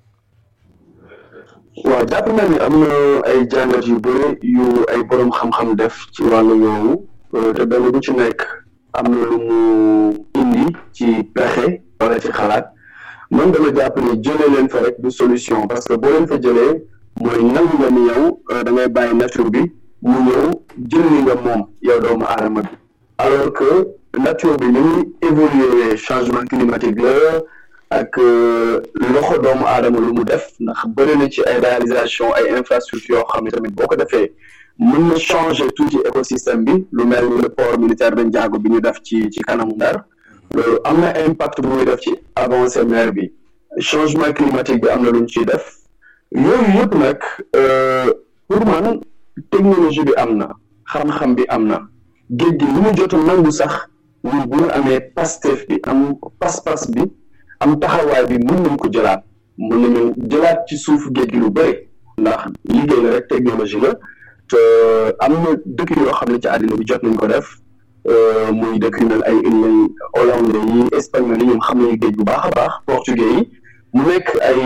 waaw jàpp naa ni am na ay jàngat yu bëri yu ay borom xam-xam def ci wàllu yoowu te benn bu ci nekk am na lu mu indi ci pexe wala ci xalaat man dama jàpp ni jëlee leen fa rek du solution parce que boo leen fa jëlee mooy nangu nga ni yow da ngay bàyyi nature bi mu ñëw jël li nga moom yow doomu aadama bi alors que nature bi ni muy évoluer changement climatique la ak loxo doomu aadama lu mu def ndax bëri na ci ay réalisation ay infrastructure yoo xam ne tamit boo ko defee mën na changer tuuti écosystème bi lu mel ni le port militaire de Ndiago bi ñu def ci ci kanamu Ndar loolu am na impact bu muy def ci avancée mer bi changement climatique bi am na lu ñu ciy def yooyu yëpp nag pour man technologie bi am na xam-xam bi am na géej gi lu mu jot a nangu sax ñun bu ñu amee pastef bi am pas-pas bi am taxawaay bi mën nañ ko jëlaat mën nañu jëlaat ci suufu géej gi lu bëri ndax liggéey la rek technologie la te am na dëkk yoo xam ne ci àddina bi jot nañ ko def muy dëkk yu mel ay îles hollandais yi espagnol yi ñoom xam nañu géej bu baax a baax portugais yi mu nekk ay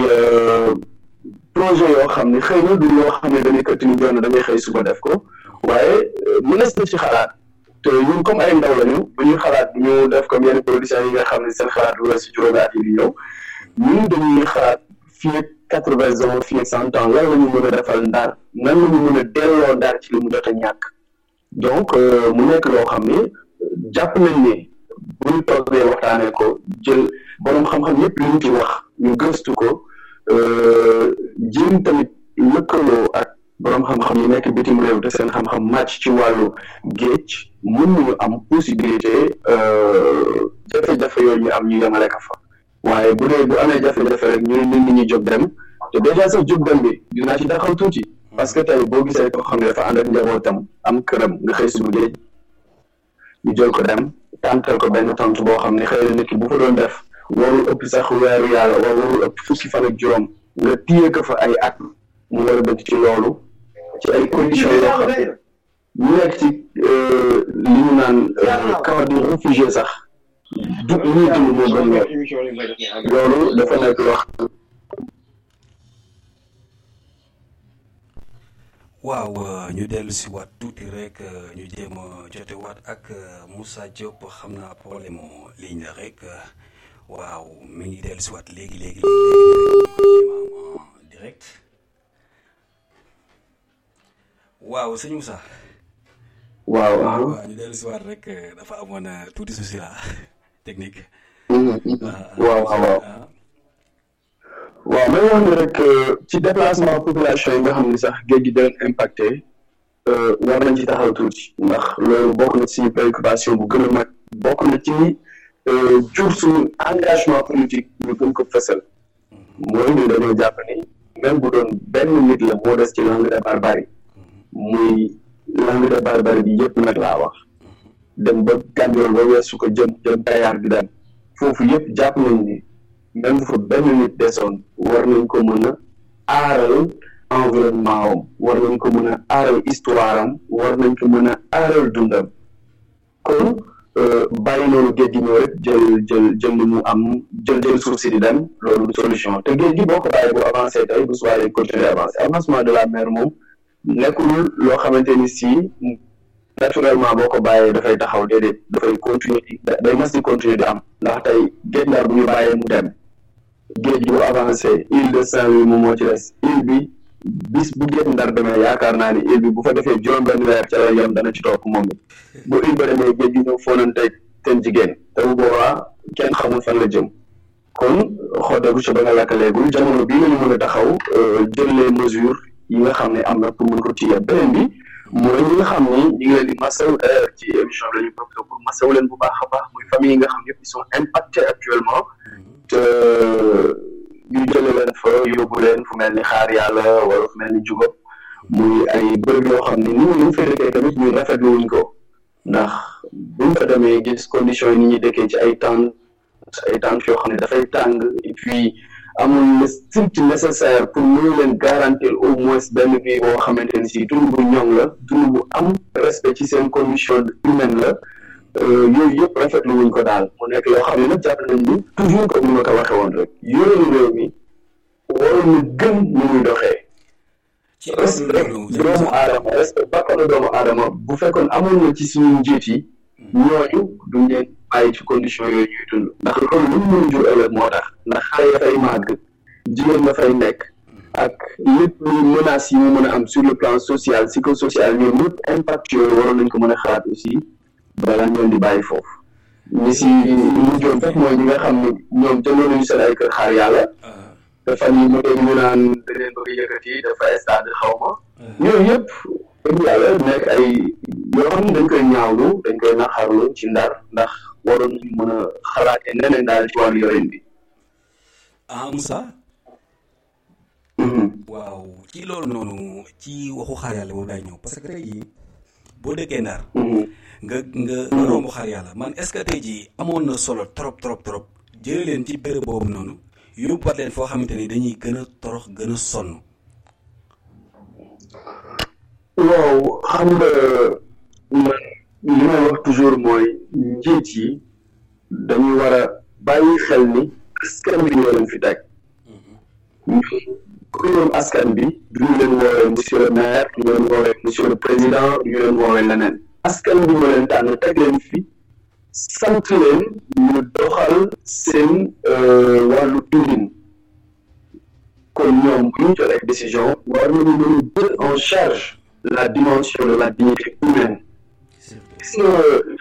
projet yoo xam ne xëy na du loo xam ne dañuy këtt ni doon na damay xëy suba def ko waaye mënees na ci xalaat te ñun comme ay ndaw lañu bu ñuy xalaat ñu def comme yenn productions yi nga xam ne seen xalaat lu la si juróomi at yi di ñëw ñun dañuy xalaat fii ak quatre-vingts ans fii ak cent ans lan la ñu mën a defal Ndar nan la ñu mën a delloo Ndar ci li mu jot a ñàkk donc mu nekk loo xam ne jàpp nañ ne bu ñu toogee waxtaanee ko jël borom xam-xam yépp li ñu ci wax ñu gëstu ko jéem tamit lëkkaloo ak borom xam-xam yi nekk bitim réew te seen xam-xam màcc ci wàllu géej mën nañu am possibilité jafe-jafe yooyu ñu am ñu yemale ko fa waaye bu dee bu amee jafe-jafe rek ñu ne nit ñi jóg dem te déjà sax jóg dem bi dinaa ci taxaw tuuti parce que tey boo gisee koo xam ne dafa ànd ak njabootam am këram nga xëy suba géej ñu jël ko dem tàntal ko benn tante boo xam ne xëy na nit ki bu fa doon def warul ëpp sax weeru yàlla wala warul ëpp fukki fan ak juróom nga téye ko fa ay at mu war a bëgg ci loolu ci ay conditions yoo xam ne ñu nekk ci li ñu naan camp de réfugié sax du ñuy dund moo gën loolu loolu dafa nekk loo xam waaw ñu dellu si waat tuuti rek ñu jéem a jote waat ak Moussa Diop xam naa problème mu ligne la rek waaw mi ngi dellu si waat léegi léegi léegi en direct waaw sëñ Moussa. waaw waaw ñu dellu si waat rek dafa amoon tuuti souci la technique. waaw waaw. waaw may wax ni rek ci déplacement population yi nga xam ne sax géej gi doon impacté war nañ ci taxaw tuuti ndax loolu bokk na ci préoccupation bu gën a mag bokk na ci jur suñu engagement politique ñu gën ko fësal mooy ni dañoo jàpp ni même bu doon benn nit la moo des ci langue de barbarie muy langue de barbarie bi yëpp nag laa wax dem ba Gandiol ba weesu ko jëm jëm Kayar di dem foofu yëpp jàpp nañ ni même bu fa benn nit desoon war nañ ko mën a aaral environnement am war nañ ko mën a aaral histoire am war nañ ko mën a aaral dundam kon bàyyi noonu géej gi ñëw rek jël jël jël li mu am jël jël suuf si di dem loolu du solution te géej gi boo ko bàyyi bu avancé tey bu soobee day continuer avancé avancement de la mer moom nekkul loo xamante ni si naturellement boo ko bàyyee dafay taxaw déedéet dafay continuer di day mas di continuer di am ndax tey géej Ndar bu ñu bàyyee mu dem géej gi bu avancé île de Saint-Louis moom moo ci des île bi bis bu géej Ndar demee yaakaar naa ni île bi bu fa defee juróom benn weer ca la yem dana ci topp moom bi bu île ba demee géej gi ñëw foonanteeg seen jigéen te bu boobaa kenn xamul fan la jëm kon xoddeeku ci ba nga lakkaleegul jamono bii lañu mën a taxaw jël les mesures yi nga xam ne am na pour mën ko téye beneen bi mooy ñi nga xam ni ñu ngi leen di masawu ci émission bi la ñu profité pour masawu leen bu baax a baax muy famille yi nga xam yëpp ils sont impactés actuellement te ñu jëlee leen fa yóbbu leen fu mel ni xaar yàlla wala fu mel ni jugóob muy ay bërëb yoo xam ni nit ñi ñu fay dëkkee tamit ñu rafetlu wuñ ko ndax buñ fa demee gis conditions yi ni ñuy dëkkee ci ay tentes ay tentes yoo xam ne dafay tàng et puis amul le strict nécessaire pour mënu leen garantir au moins benn vie boo xamante ni si dund bu ñoŋ la dund bu am respect ci seen condition humaine la yooyu yëpp rafetlu wuñ ko daal mu nekk yoo xam ne nag jàpp nañ ni toujours comme ni ma ko waxee woon rek yoonu réew mi waroon na gën ni muy doxee respect doomu aadama respect bakkanu doomu aadama bu fekkoon amoon na ci suñu njiit yi ñooñu duñ leen bàyyi ci condition yooyu ñuy dund ndax loolu lu mu mën jur ëllëg moo tax ndax xale ya fay màgg jigéen na fay nekk ak lépp lu menaces yi mu mën a am sur le plan social psychosocial ñoom ñëpp impact yooyu waroon nañ ko mën a xalaat aussi balaa ñoom di bàyyi foofu ñi si ñu joon fekk mooy ñi nga xam ne ñoom jëloon nañu seen ay kër xaar yàlla te fan yi mu dégg ñu naan da leen bëgg yëkkati dafa stade xaw ma ñooyu yëpp dëgg yàlla nekk ay yoo xam ne dañ koy ñaawlu dañ koy naqarlu ci Ndar ndax waroon nañu mën a xalaatee neneen daal ci wàllu yorin bi. ah Moussa. waaw ci loolu noonu ci waxu xaar yàlla boobu laay ñëw parce que tey jii boo dëkkee Ndar. nga nga nga romb xaar yàlla man est-ce que tey jii amoon na solo trop trop trop jëlee leen ci béréb boobu noonu yóbbuwaat leen foo xamante ni dañuy gën a torox gën a sonn. waaw xam nga man li may wax toujours mooy njiit yi dañuy war a bàyyi xel ni askan bi ñoo leen fi teg ñun ku ñoom askan bi duñu leen woowee monsieur le maire duñu leen woowee monsieur le président duñu leen woowee leneen askan bi ñoo leen tànn teg leen fi sant leen ñu doxal seen wàllu dundin kon ñoom bu ñu jëlee décision war nañu mën a jël en charge la dimension de la dignité humaine gis nga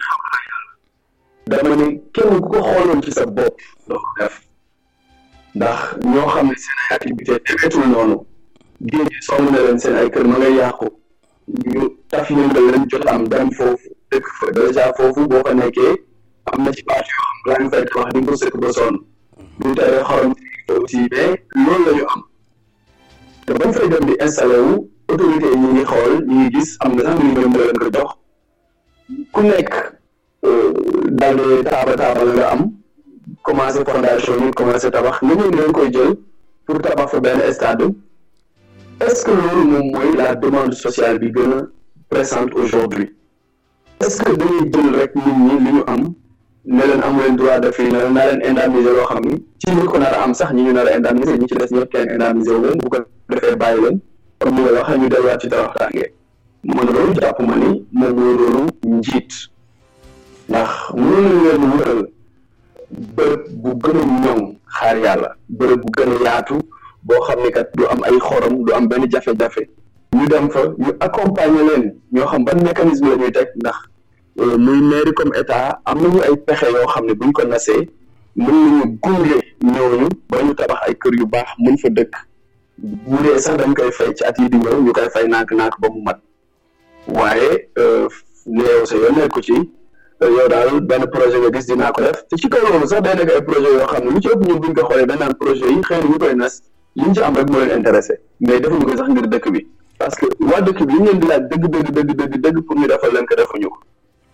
dama ne kenn ku ko xooloon ci sa bopp doo ko def ndax ñoo xam ne seen ay activité demeetul noonu géej gi sonn na leen seen ay kër ma ngay yàqu ñu taf yëngal leen jot am dem foofu dëkk fa dèjà foofu boo ko nekkee am na ci parti yoo xam laa ngi fay wax di nga ko sëkk ba sonn bu teree xorom aussi mais loolu la ñu am te bañ fay dem di installé wu autorité yi ñu ngi xool ñu ngi gis am na sax ñu ñoom leen ko jox ku nekk daal di taaba taaba la nga am commencé fondation yi commencé tabax nga ñëw leen koy jël pour tabax fa benn stade est-ce que loolu moom mooy la demande sociale bi gën a présente aujourd'hui est-ce que dañuy jël rek nit ñi li ñu am ne leen amu leen droit de fii ne leen naa leen indemniser loo xam ni ci ñi ko nar a am sax ñi ñu nar a indemniser ñi ci des ñëpp kenn indemniser wu leen bu ko defee bàyyi leen comme ni nga wax ñu delluwaat ci tawaxtaange man loolu jàpp ma ni moom mooy loolu njiit ndax mënuñu leen wutal bërëb bu gën a ñoŋ xaar yàlla bërëb bu gën a yaatu boo xam ne kat du am ay xorom du am benn jafe-jafe ñu dem fa ñu accompagner leen ñoo xam ban mécanisme la ñuy teg ndax muy mairie comme état am nañu ay pexe yoo xam ne buñ ko nasee mën nañu gunge ñooñu ba ñu tabax ay kër yu baax mën fa dëkk bu dee sax dañ koy fay ci at yi di ñëw ñu koy fay naak-naak ba mu mat waaye neew sa yoon nekku ci yow daal benn projet nga gis dinaa ko def te ci kaw loolu sax day nekk ay projet yoo xam ne lu ci ëpp ñun buñ ko xoolee dañ naan projet yi xëy na ñu koy nas liñ ci am rek moo leen intéressé mais defuñu ko sax ngir dëkk bi parce que waa dëkk bi li ñu leen di laaj dëgg dëgg dëgg dëgg dëgg pour ñu defal leen ko defuñu ko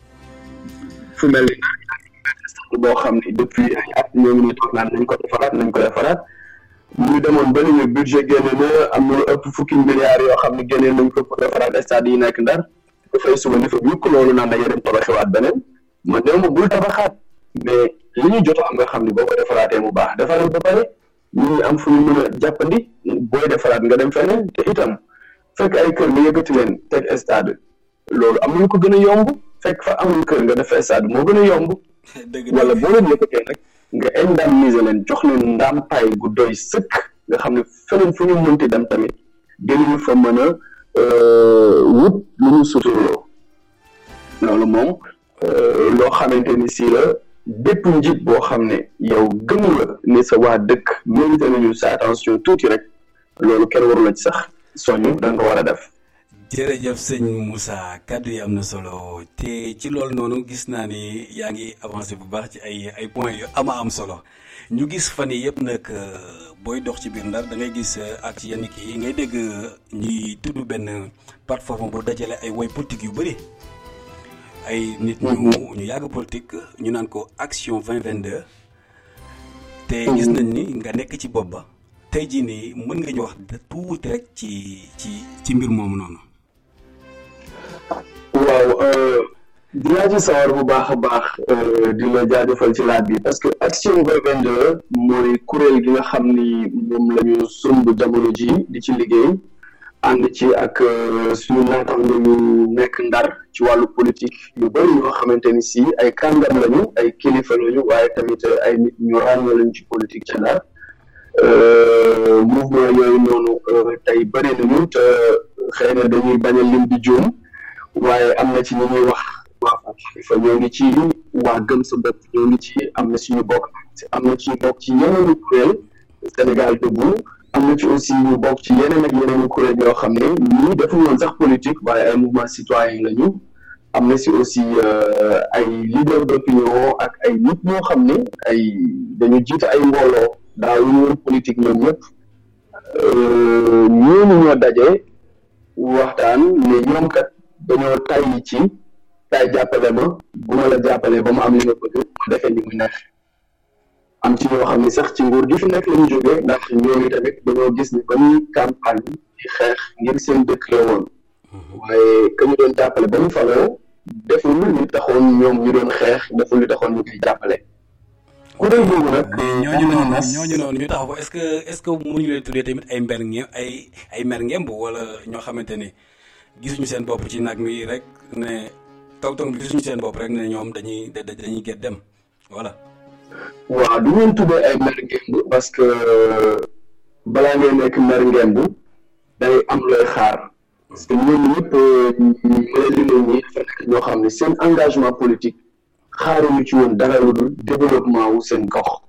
fu mel ni boo xam ne depuis ay at ñoo ngi toog naan nañ ko defaraat nañ ko defaraat ñu demoon ba ñu budget génne na am na lu ëpp fukki milliards yoo xam ne génne nañ ko pour defaraat stade yi nekk Ndar ko fay suba ni fa yukk loolu naan dañuy dem tabaxewaat beneen man néew ma bul tabaxaat mais li ñu jot am nga xam ne boo ko defaraatee mu baax defaraat ba pare ñu ngi am fu ñu mën a jàppandi booy defaraat nga dem feneen te itam fekk ay kër nga yëkkati leen teg stade loolu am nañu ko gën a yomb fekk fa amul kër nga def stade moo gën a yomb wala boo leen yëkkatee nag nga indemniser leen jox leen ndàmpaay gu doy sëkk nga xam ne feneen fu ñu mënti dem tamit dinañu fa mën a wut lu ñu suturloo loolu moom loo xamante ni si la bépp njiit boo xam ne yow gëm nga ne sa waa dëkk mérité nañu sa attention tuuti rek loolu kenn waru la ci sax soñu da nga ko war a def. jërëjëf sëñ Moussa kaddu yi am na solo te ci loolu noonu gis naa ni yaa ngi avancé bu baax ci ay ay points yu ama am solo ñu gis fan yii yëpp nag booy dox ci biir Ndar da ngay gis ak ci yenn kii ngay dégg ñuy tudd benn plateforme bu dajale ay woy politique yu bëri ay nit ñu ñu yàgg politique ñu naan ko action vingt vingt-deux te gis nañ ni nga nekk ci bopp ba tey jii nii mën nga ñu wax tuuti rek ci ci ci mbir moomu noonu. waaw dinaa ci sawar bu baax a baax di la jaajëfal ci laaj bi parce que action vingt vingt-deux mooy kuréel gi nga xam ni moom la ñu sumb jamono ji di ci liggéey ànd ci ak suñu naataango yu nekk Ndar ci wàllu politique yu bëri ñoo xamante ni si ay kàngam lañu ay kilifa lañu waaye tamit ay nit ñu ràññee lañu ci politique ca Ndar mouvement yooyu noonu tey bëri nañu te xëy na dañuy bañ a lim di juum waaye am na ci ñi ñuy wax waa Xalifa ñoo ngi ci waa Gëm sa bopp ñoo ngi ci am na suñu bokk am na ci bokk ci yeneen kuréel Sénégal Debout am na ci aussi ñu bokk ci yeneen ak yeneen kuréel yoo xam ne ñii defuñu woon sax politique waaye ay mouvement citoyen lañu am na si aussi ay leader d'opinion ak ay nit ñoo xam ne ay dañu jiite ay mbooloo daaw ñu woon politique ñoom ñëpp ñooñu ñoo daje waxtaan ne ñoom kat dañoo tàyyi ci tay jàppale ma bu ma la jàppalee ba mu am li nga bëgg ma defee li mu neex am ci ñoo xam ne sax ci nguur gi fi nekk la ñu jógee ndax ñooñu tamit dañoo gis ni ba ñuy campagne di xeex ngir seen dëkk la woon waaye ka ñu doon jàppale ba mu faloo deful li taxoon ñoom ñu doon xeex deful li taxoon ñu koy jàppale. kuréel boobu nag ñooñu noonu ñooñu noonu ñu taxaw est-ce que est-ce que mënuñu leen tuddee tamit ay mber nge ay ay mer ngemb wala ñoo xamante ni gisuñu seen bopp ci nag mi rek ne taw taw bi gisuñu seen bopp rek ne ñoom dañuy dañuy get dem voilà. waaw du ngeen tuddee ay mer ngemb parce que balaa ngay nekk mer ngemb day am looy xaar parce que ñooñu ñëpp ñu leen limal ñi dafa nekk ñoo xam ne seen engagement politique xaaruñu ci woon dara lu dul développement wu seen gox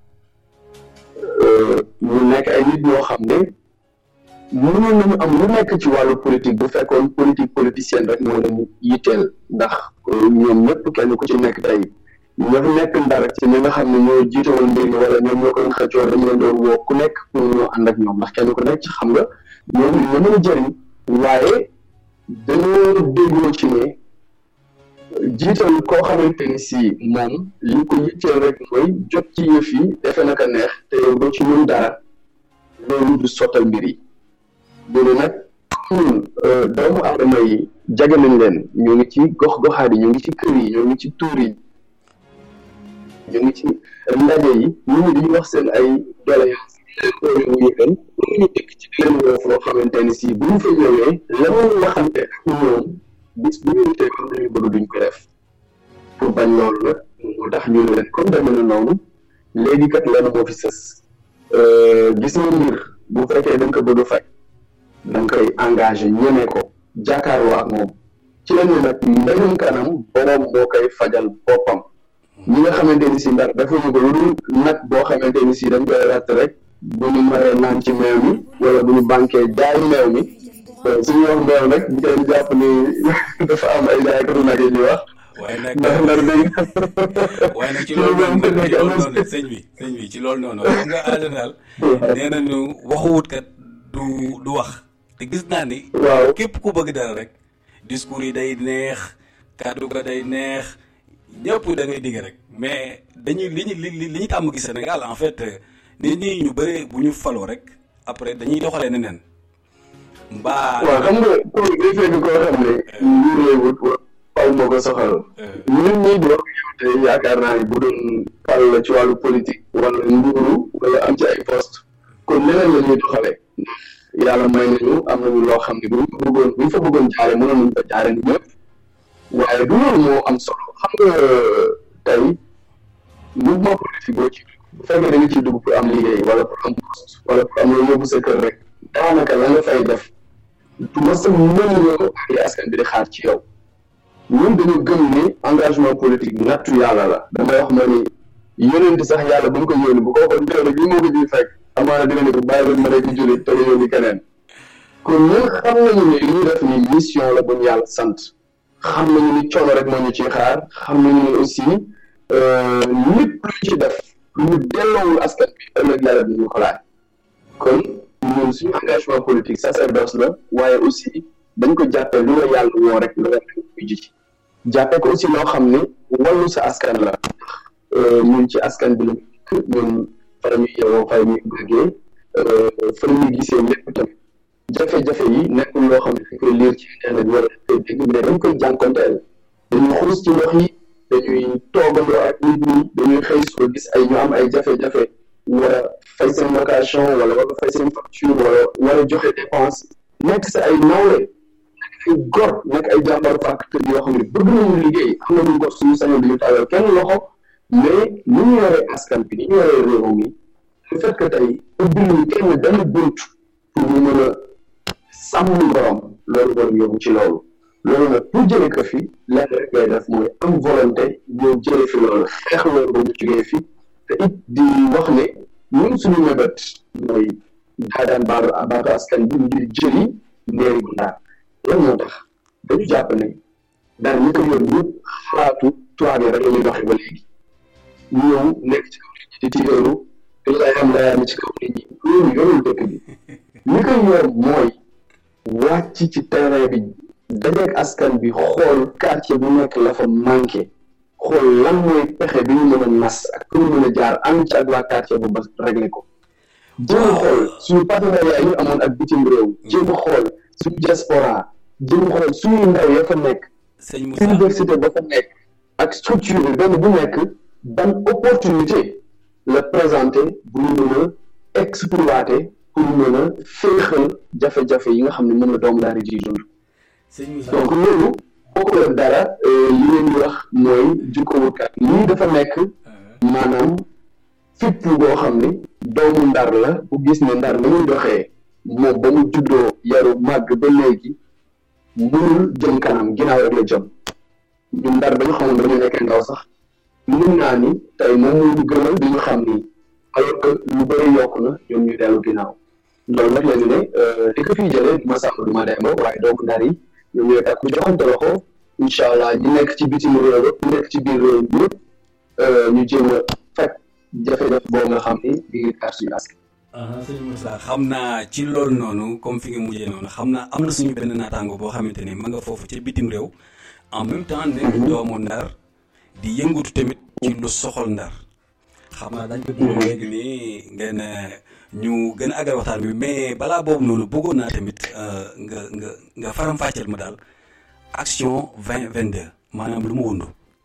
ñu nekk ay nit ñoo xam ne mënoon nañu am lu nekk ci wàllu politique bu fekkoon politique politicienne rek moo leen yitteel ndax ñoom ñëpp kenn ku ci nekk tey ñoo fi nekk Ndar ci ñi nga xam ne ñoo jiite woon mbir mi wala ñoom ñoo ko doon xëccoo dañu leen doon woo ku nekk pour ñoo ànd ak ñoom ndax kenn ku nekk ci xam nga ñoom ñoo mën a jëriñ waaye dañoo déggoo ci ne jiital koo xamante ni si moom li ko yitteel rek mooy jot ci yëf yi defe naka neex te yow doo ci ñun dara loolu du sottal mbir yi loolu nag ñun doomu aadama yi jage nañ leen ñoo ngi ci gox-goxaat yi ñoo ngi ci kër yi ñoo ngi ci tuur yi ñoo ngi ci ndaje yi ñu ngi di wax seen ay doléance leen wuyu leen ñu dëkk ci leen woo foo xamante ni si bu ñu fa ñëwee la ñu waxante ak ñoom bis bu ñu tee xam nañu bëgg duñ ko def pour bañ loolu nag moo tax ñu ne leen comme deme na noonu léegi kat lenn moo fi sës gis nga mbir bu fekkee da nga ko bëgg a faj da nga koy engagé ñeme ko jàkkaarloo ak moom ci la ñu nag mbéyum kanam boroom moo koy fajal boppam ñi nga xamante ni si Ndar dafa ñu ko lu dul nag boo xamante ni si dañ koy ratt rek bu ñu maree naan ci meew mi wala bu ñu banquee jaay meew mi suñu wax meew nag ñu koy jàpp ni dafa am ay jaaykatu nag yi ñuy wax. waaye nag ndax Ndar dañuy. waaye nag ci loolu noonu ci loolu noonu sëñ bi sëñ bi ci loolu noonu xam nga en général nee nañu waxuwut kat du du wax te gis naa ni. waaw képp ku bëgg dara rek discours yi day neex kàddu ga day neex ñëpp da ngay digg rek mais dañuy li ñu li li ñu tàmm gis Sénégal en fait nit ñi ñu bëri bu ñu faloo rek après dañuy doxalee neneen. mbaa waaw xam nga kooku day fekk koo xam ne nguur lay wut fal moo ko soxal ñun ñii di wax te yaakaar naa ni bu doon fal la ci wàllu politique wala nguuru wala am ci ay poste kon leneen la ñuy doxale yàlla may nañu am nañu loo xam ne bu ñu ko bëggoon bu ñu fa bëggoon jaare mënoon nañu ko jaare ni ñëpp waaye du loolu moo am solo xam nga tey mouvement politique boo ci bu fekkee da nga ciy dugg pour am liggéey wala pour am poste wala pour am loolu yóbbu sa kër rek daanaka la nga fay def du ma sa mën yoo li askan bi di xaar ci yow ñun dañu gëm ni engagement politique nattu yàlla la damay wax ma ni yónent sax yàlla ba mu ko yónni bu ko waxoon teel bi moo ko ji fekk amaana dina ne ko bàyyi leen ma nekk jullit te nga yónni keneen kon ñun xam nañu ni li ñu def ni mission la bu ñu yàlla sant xam nañu ni coono rek moo ñu ciy xaar xam nañu ni aussi lépp lu ci def lu ñu delloowul askan bi ëllëg yàlla bi ñu ko laaj kon ñun suñu engagement politique sacerdoce la waaye aussi dañ ko jàppee lu la yàlla woo rek lu la koy ji jàppee ko aussi loo xam ne wàllu sa askan la ñun ci askan bi la ñun fa la ñuy yeewoo fa la ñuy bëggee fa la ñuy gisee lépp tamit jafe-jafe yi nekkul loo xam ne dañ koy lire ci internet wala dañ koy dégg mais dañ koy jànkonteel dañuy xuus ci ndox yi dañuy toogandoo ak nit ñi dañuy xëy suba gis ay ñu am ay jafe-jafe war a fay seen location wala war a fay seen facture wala war a joxe dépense nekk sa ay nawle nekk ay gor nekk ay jàmbaru fàkk yoo xam ne bëgg nañu liggéey am nañu gor suñu sañoon duñu tawal kenn loxo mais ni ñu yoree askan bi ni ñu yoree réew mi le fait que tey ubbiluñu kenn benn bunt pour ñu mën a sàmm borom loolu war yóbbu ci loolu loolu nag pour jëlee ko fi lenn rek ngay def mooy am volonté ñëw jëlee fi loolu xeex loolu ba mu jógee fi te it di wax ne ñun suñu mébét mooy daadaan baatu baatu askan bi ngir jëli mairie bu Ndar lan moo tax dañu jàpp ne daal ñi ko yor ñëpp xalaatu tubaab yi rek la ñuy doxee ba léegi ñëw nekk ci kaw nit ñi di tigaru te lay am layaam ci kaw nit ñi loolu yorul dëkk bi ñi ko yor mooy wàcc ci terrain bi dajeeg askan bi xool quartier bu nekk la fa manqué xool lan mooy pexe bi ñu mën a nas ak pour ñu mën a jaar am ci ak waa quartier bu ba réglé ko jéem a xool suñu partenariat yi ñu amoon ak bitim réew jéem a xool suñu diaspora jéem a xool suñu ndaw ya fa nekk université ba fa nekk ak structure bi benn bu nekk ban opportunité la présenté bu ñu mën a exploité pour mën a féexal jafe-jafe yi nga xam ne moom la doomu daara ji dund donc loolu bokk la dara li leen di wax mooy jikko wutkat lii dafa nekk maanaam fipp boo xam ne doomu Ndar la bu gis ne Ndar la muy doxee moom ba mu juddoo yaru màgg ba léegi mënul jëm kanam ginnaaw rek la jëm ñu Ndar dañu xamoon dañu nekk ndaw sax mën naa ni tey moom moo ñu gënal di ñu xam ni alors que lu bëri yokk na ñoom ñu dellu ginnaaw loolu nag la ñu ne li ko fiy jëlee du ma sàmm du ma demba waaye doomu Ndar yi ñoom ñooy takku joxante loxo incha allah ñi nekk ci bitim réew ñi nekk ci biir réew mi yëpp ñu jéem a fekk jafe-jafe boobu nga xam ni di ngi kaar suñu askan. sëñ Moussa xam naa ci loolu noonu comme fi nga mujjee noonu xam naa am na suñu benn naataango boo xamante ne ma nga foofu ci bitim réew en même temps nekk doomu Ndar di yëngatu tamit ci lu soxal Ndar xam naa dañ ko bëgg léegi nii ngeen ñu gën a àggal waxtaan bi mais balaa boobu noonu bëggoon naa tamit nga nga nga faram-fàcceel ma daal action vingt vingt deux maanaam lu mu wundu.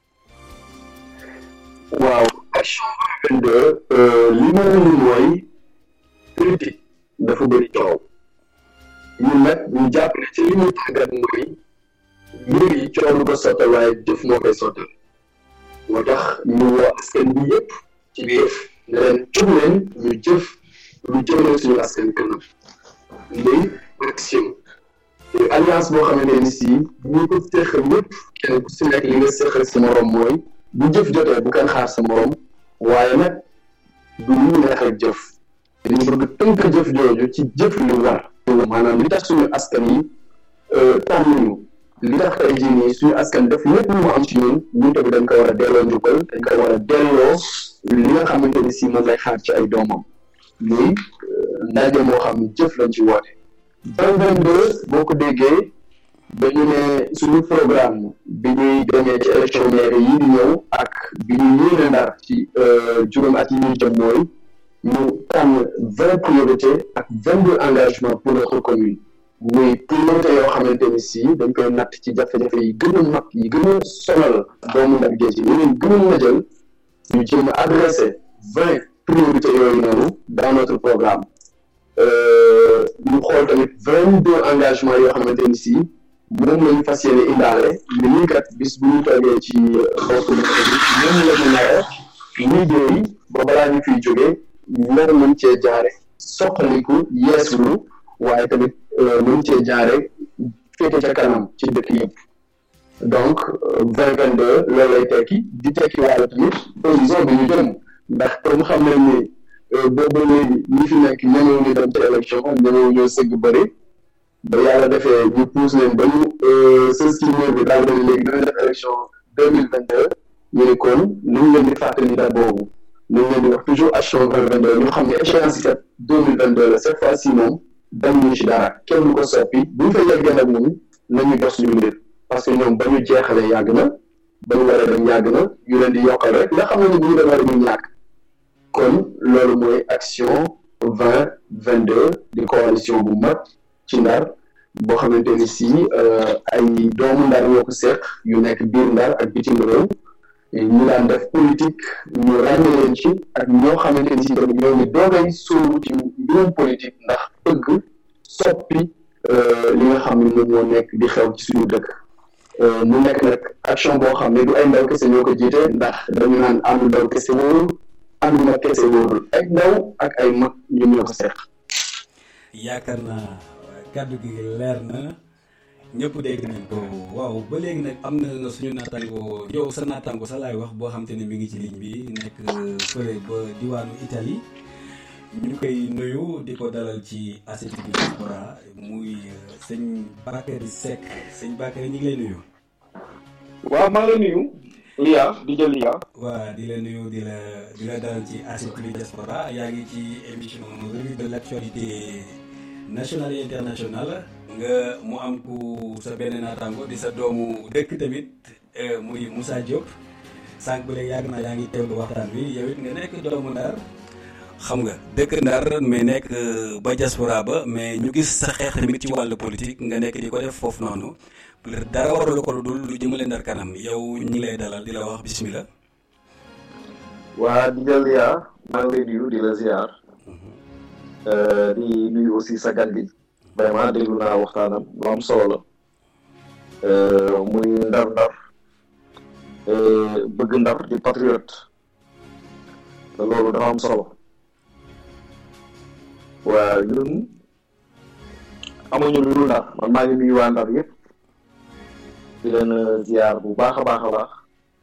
waaw action vingt vingt deux li ma wundu mooy politique dafa bëri coow ñun nag ñu jàpp ne ci li ñu tàggat mooy mbir yi coow lu ko sottal waaye jëf moo koy sottal moo tax ñu woo askan bi yëpp ci biir ne leen jóg leen ñu jëf lu jëmale suñu askan kanam muy action muy alliance boo xamante ni si ñu ko séqal ñëpp kenn ku si nekk li nga séqal sa morom mooy bu jëf jotee bu kenn xaar sa morom waaye nag du ñu neex ak jëf dañu bëgg tënk jëf jooju ci jëf li war maanaam li tax suñu askan yi tànn ñu li tax tey jii nii suñu askan def lépp lu mu am ci ñun ñun tamit dañ ko war a delloo njukkal dañ ko war a delloo li nga xamante ni si moom lay xaar ci ay doomam muy ndaje moo xam ne jëf lañ ci woote vingt vingt deux boo ko déggee dañu ne suñu programme bi ñuy demee ci élection maire yi di ñëw ak bi ñu yéene Ndar ci juróom at yi ñuy jëm mooy ñu tànn vingt priorités ak vingt deux engagements pour notre commune muy priorité yoo xamante ni si dañ koy natt ci jafe-jafe yi gën a mag yi gën a sonal doomu Ndar géej yi yeneen gën a jël ñu jéem a adressé vingt priorités yooyu noonu dans notre programme ñu xool tamit vingt deux engagements yoo xamante ni si moom lañu fas yéene indaale ni ñuy kat bis bu ñu toogee ci bopp bi ñoom la ñu nare liggéey ba balaa ñu fiy jógee nar mën cee jaare soqaliku yeesulu waaye tamit mën cee jaare féete ca kanam ci dëkk yëpp donc vingt vingt deux loolu lay tekki di tekki wàllu tamit horizon bi ñu jëm ndax comme xam nañ ni boobu léegi ñi fi nekk ñemewu ñu dem ci élection ñemewu ñoo sëgg bëri ba yàlla defee ñu pousse leen ba ñu sës ci mur bi daal di léegi dina def élection deux mille vingt deux ñu ne kon nañ leen di fàttali date boobu nañ leen di wax toujours action vingt vingt deux ñu xam ne échéance yi kat deux mille vingt deux la cette fois ci moom dañ ñu ci dara kenn du ko soppi bu ñu fa yeggee nag moom nañu dox suñu mbir parce que ñoom ba ñu jeexalee yàgg na ba ñu war a dem yàgg na ñu leen di yokkal rek nga xam ne ni bu ñu demee rek ñu ñàkk kon loolu mooy action vingt vingt deux di coalition bu mag ci Ndar boo xamante ni si ay doomu Ndar ñoo ko seq yu nekk biir Ndar ak bitim réew ñu daan def politique ñu ràññee leen ci ak ñoo xamante ni si tamit ñoo ngi doogay sóobu ci mbirum politique ndax bëgg soppi li nga xam ne moom moo nekk di xew ci suñu dëkk mu nekk nag action boo xam ne du ay ndaw kese ñoo ko jiite ndax dañu naan àndu ndaw kese wóorul àndu mag kese wóorul ay ndaw ak ay mag ñoom ñoo ko seq. yaakaar naa kàddu gi leer na ñëpp dégg nañ ko waaw ba léegi nag am na suñu naataango yow sa naataango sa laay wax boo xam te ne mi ngi ci ligne bi nekk fële ba diwaanu Italie ñu koy nuyu di ko dalal ci A C T V Diaspora muy sëñ Bakary Seck sëñ Bakary ñu ngi lay nuyu. waaw maa ngi lay nuyu Lia di jël Lia. waaw di la nuyu di la di la dalal ci A C T V Diaspora yaa ngi ci émission revue de l'actualité nationale et internationale nga mu am ku sa benn naataango di sa doomu dëkk tamit muy Moussa Diop sànq ba léegi yàgg naa yaa ngi teewlu waxtaan bi yow it nga nekk doomu Ndar xam nga dëkk Ndar mais nekk ba diaspora ba mais ñu gis sa xeex tamit ci wàllu politique nga nekk di ko def foofu noonu dara waralu ko lu dul lu jëmale Ndar kanam yow ñu ngi lay dalal di la wax bismillah. waa di jël yaa maa ngi lay nuyu di la ziar. di nuyu aussi sa gan bi vraiment déglu naa waxtaanam lu am solo la muy ndar ndar bëgg Ndar di patriote te loolu dafa am solo waa ñun amuñu lu dul Ndar man maa ngi nuyu waa Ndar yëpp di leen ziar bu baax a baax a baax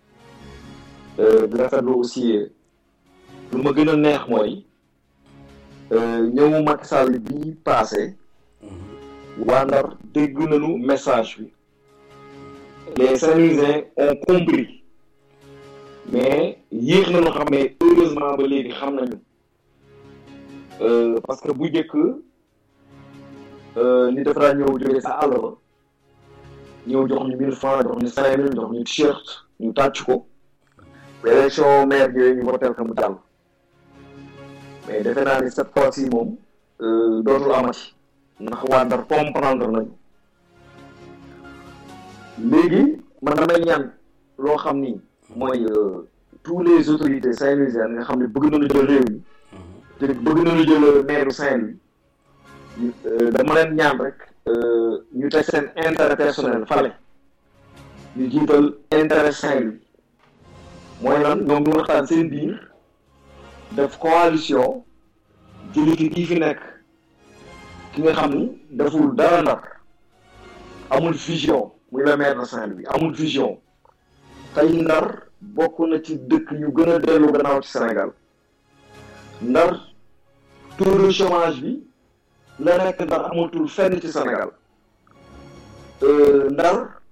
di rafetlu aussi lu ma gën a neex mooy ñëw Macky Sall bi passé waa Ndar dégg nañu message bi les Saint-Louisiens ont compris mais yéex nañu xam ne heureusement ba léegi xam nañu parce que bu njëkk ni dafa daan ñëw jógee sa àll ba ñëw jox ñu mille francs jox ñu cinq mille jox ñu t-shirt ñu tàcc ko élection maire yooyu ñu votel ko mu jàll mais defe naa ni cette fois-ci moom dootul amati ndax waa Ndar comprendre nañu léegi man damay ñaan loo xam ni mooy tous les autorités saint-louisiennes nga xam ne bëgg nañu jël réew mi te bëgg nañu jël maire Saint-Louis dama leen ñaan rek ñu teg seen intérêt personnel fale ñu jiital intérêt Saint-Louis mooy lan ñoom ñu waxtaan seen biir def coalition jëli ki kii fi nekk ki nga xam ni deful dara Ndar amul vision muy le maire de Saint-Louis amul vision tey Ndar bokk na ci dëkk yu gën a dellu gannaaw ci Sénégal Ndar taux de chômage bi la nekk Ndar amatul fenn ci Sénégal Ndar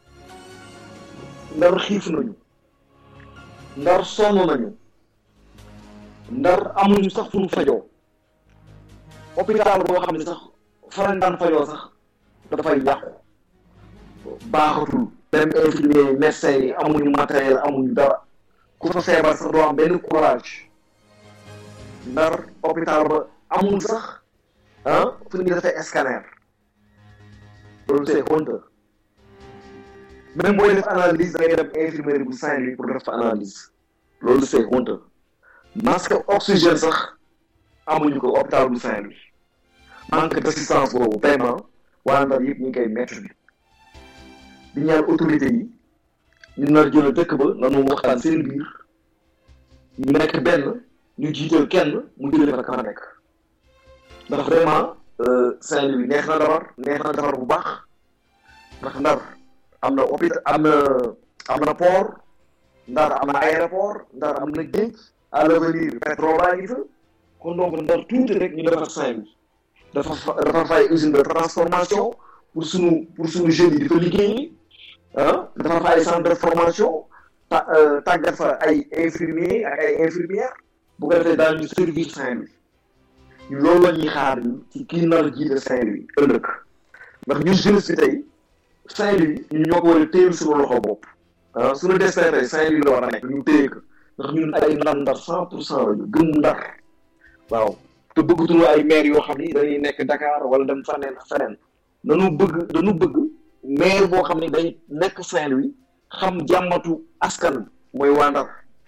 Ndar xiif nañu Ndar sonn nañu Ndar amuñu sax fu ñu fajoo hôpital boo xam ne sax faran daan fajoo sax dafay yàqu baaxatul même infirmier médecin yi amuñu matériel amuñu dara ku fa feebar sax doo am benn courage Ndar hôpital ba amul sax ah fu ñu defee scanner loolu c'est honteux même booy def analyse da ngay dem infirmerie bu Saint-Louis pour def analyse loolu c'est honteux masque oxygène sax amuñu ko hôpital bu Saint-Louis manque d'assistance boobu vraiment waa Ndar yëpp ñu ngi koy mettre bi di ñaan autorité yi ñu nar jël dëkk ba nanu waxtaan seen biir ñu nekk benn ñu jiital kenn mu jëlee fa ka nekk ndax vraiment Saint-Louis neex na defar neex na defar bu baax ndax Ndar am na hôpital am na am na port Ndar am na aéroport Ndar am na géej à l'avenir pétrole baa ngi fa kon donc Ndar tuuti rek ñu defar Saint-Louis dafa dafa fay usine de transformation pour sunu pour sunu jeunes yi di fa liggéeyi ah dafa fay centre de formation ta tàggat fa ay infirmiers ak ay infirmières bu ko defee daal ñu servir Saint-Louis ñu loolu la ñuy xaar ci kii nar a jiite Saint-Louis ëllëg ndax ñun jeunesse bi tey Saint-Louis ñu ñoo ko war a téyel suñu loxo bopp ah suñu destin tey Saint-Louis la war a nekk ñu téye ko ndax ñun ay ndar ndar cent pour cent la ñu gëm ndar waaw te bëggatuñu ay maire yoo xam ni dañuy nekk Dakar wala dem faneen feneen dañu bëgg dañu bëgg maire boo xam ne day nekk Saint-Louis xam jàmmatu askan mooy waa Ndar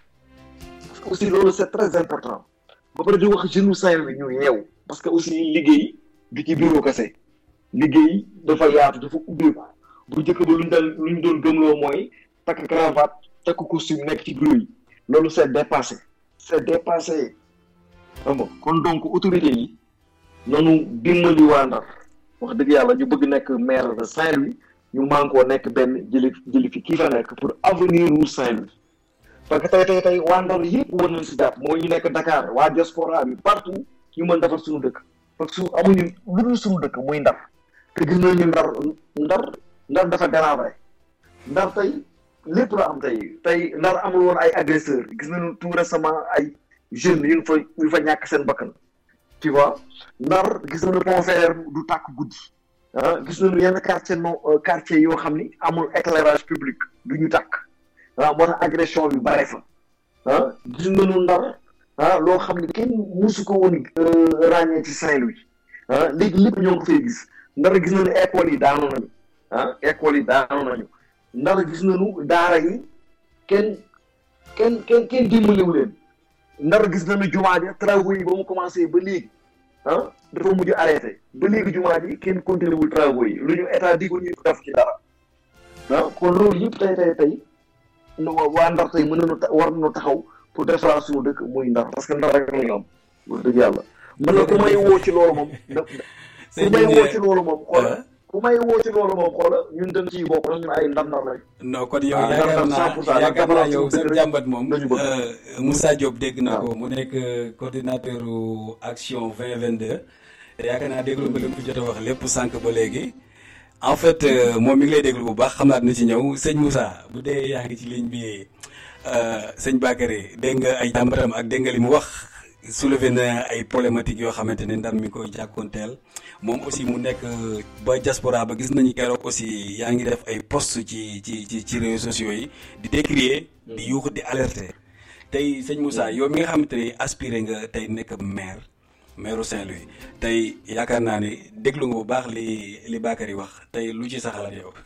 parce que aussi loolu c'est très important ba pare di wax jeune Saint-Louis ñu yeew parce que aussi liggéey du ci bureau kese liggéey dafa yaatu dafa ubbeeku bu njëkk ba luñ dal luñ doon gëmloo mooy takk cravate takk costume nekk ci bureau yi loolu c'est dépassé c'est dépassé xam nga kon donc autorité yi noonu dimbali waa Ndar wax dëgg yàlla ñu bëgg nekk maire de Saint-Louis ñu mànkoo nekk benn jëli jëli fi kii fa nekk pour avenir wu Saint-Louis parce que tey tey tey waa Ndar yëpp war nañ si jàpp mooy ñu nekk Dakar waa diaspora bi partout ñu mën defar suñu dëkk parce que su amuñu lu dul suñu dëkk muy Ndar te gis nañu Ndar Ndar Ndar dafa délabré Ndar tey lépp la am tey tey Ndar amul woon ay agresseurs gis nañu tout récemment ay jeunes yu fa yu fa ñàkk seen bakkan tu vois Ndar gis nañu pont Faidherbe du tàkk guddi ah gis nañu yenn quartier non quartier yoo xam ni amul éclairage public du ñu tàkk ah moo tax agression bi bare fa ah gis nañu Ndar ah loo xam ne kenn musu ko woon ràññee ci Saint-Louis ah léegi lépp ñoo ngi fay gis Ndar gis nañu école yi daanu nañu ah école yi daanu nañu Ndar gis nañu daara yi kenn kenn kenn kenn dimbaliwu leen Ndar gis nañu jumaa ji travaux yi ba mu commencé ba léegi ah dafa mujj arrêté ba léegi jumaa ji kenn continué wul travaux yi lu ñu état digul ñu def ci dara ah kon loolu yëpp tey tey tey waa Ndar tey mën nañu war nañu taxaw pour defaraat suñu dëkk muy Ndar parce que Ndar rek la ñu am wax dëgg yàlla man na ku may woo ci loolu moom ku may woo ci loolu moom xoola ku may woo ci loolu moom xoola ñun dañ ciy bokk ñun ay ndar ndar lañ. non kon yow yaakaar naa yaakaar naa yow sa jàmbat moom Moussa Diop dégg na ko mu nekk coordinateur action vingt vingt-deux yaakaar naa déglu nga li mu jot a wax lépp sànq ba léegi en fait moom mi ngi lay déglu bu baax xam naa dina ci ñëw sëñ Moussa bu dee yaa ngi ci ligne bi sëñ Bakary dégg nga ay jàmbatam ak dégg nga li mu wax soulevé na ay problématiques yoo xamante ne Ndar mi ngi koy jàkkoonteel moom aussi mu nekk ba diaspora ba gis nañu keroog aussi yaa ngi def ay posts ci ci ci ci réseaux sociaux yi di décrier di yuuxu di alerter tey sëñ Moussa yow mi nga xamante ne aspiré nga tey nekk maire maire Saint-Louis tey yaakaar naa ne déglu nga bu baax li li Bakary wax tey lu ci sa xalaat yow.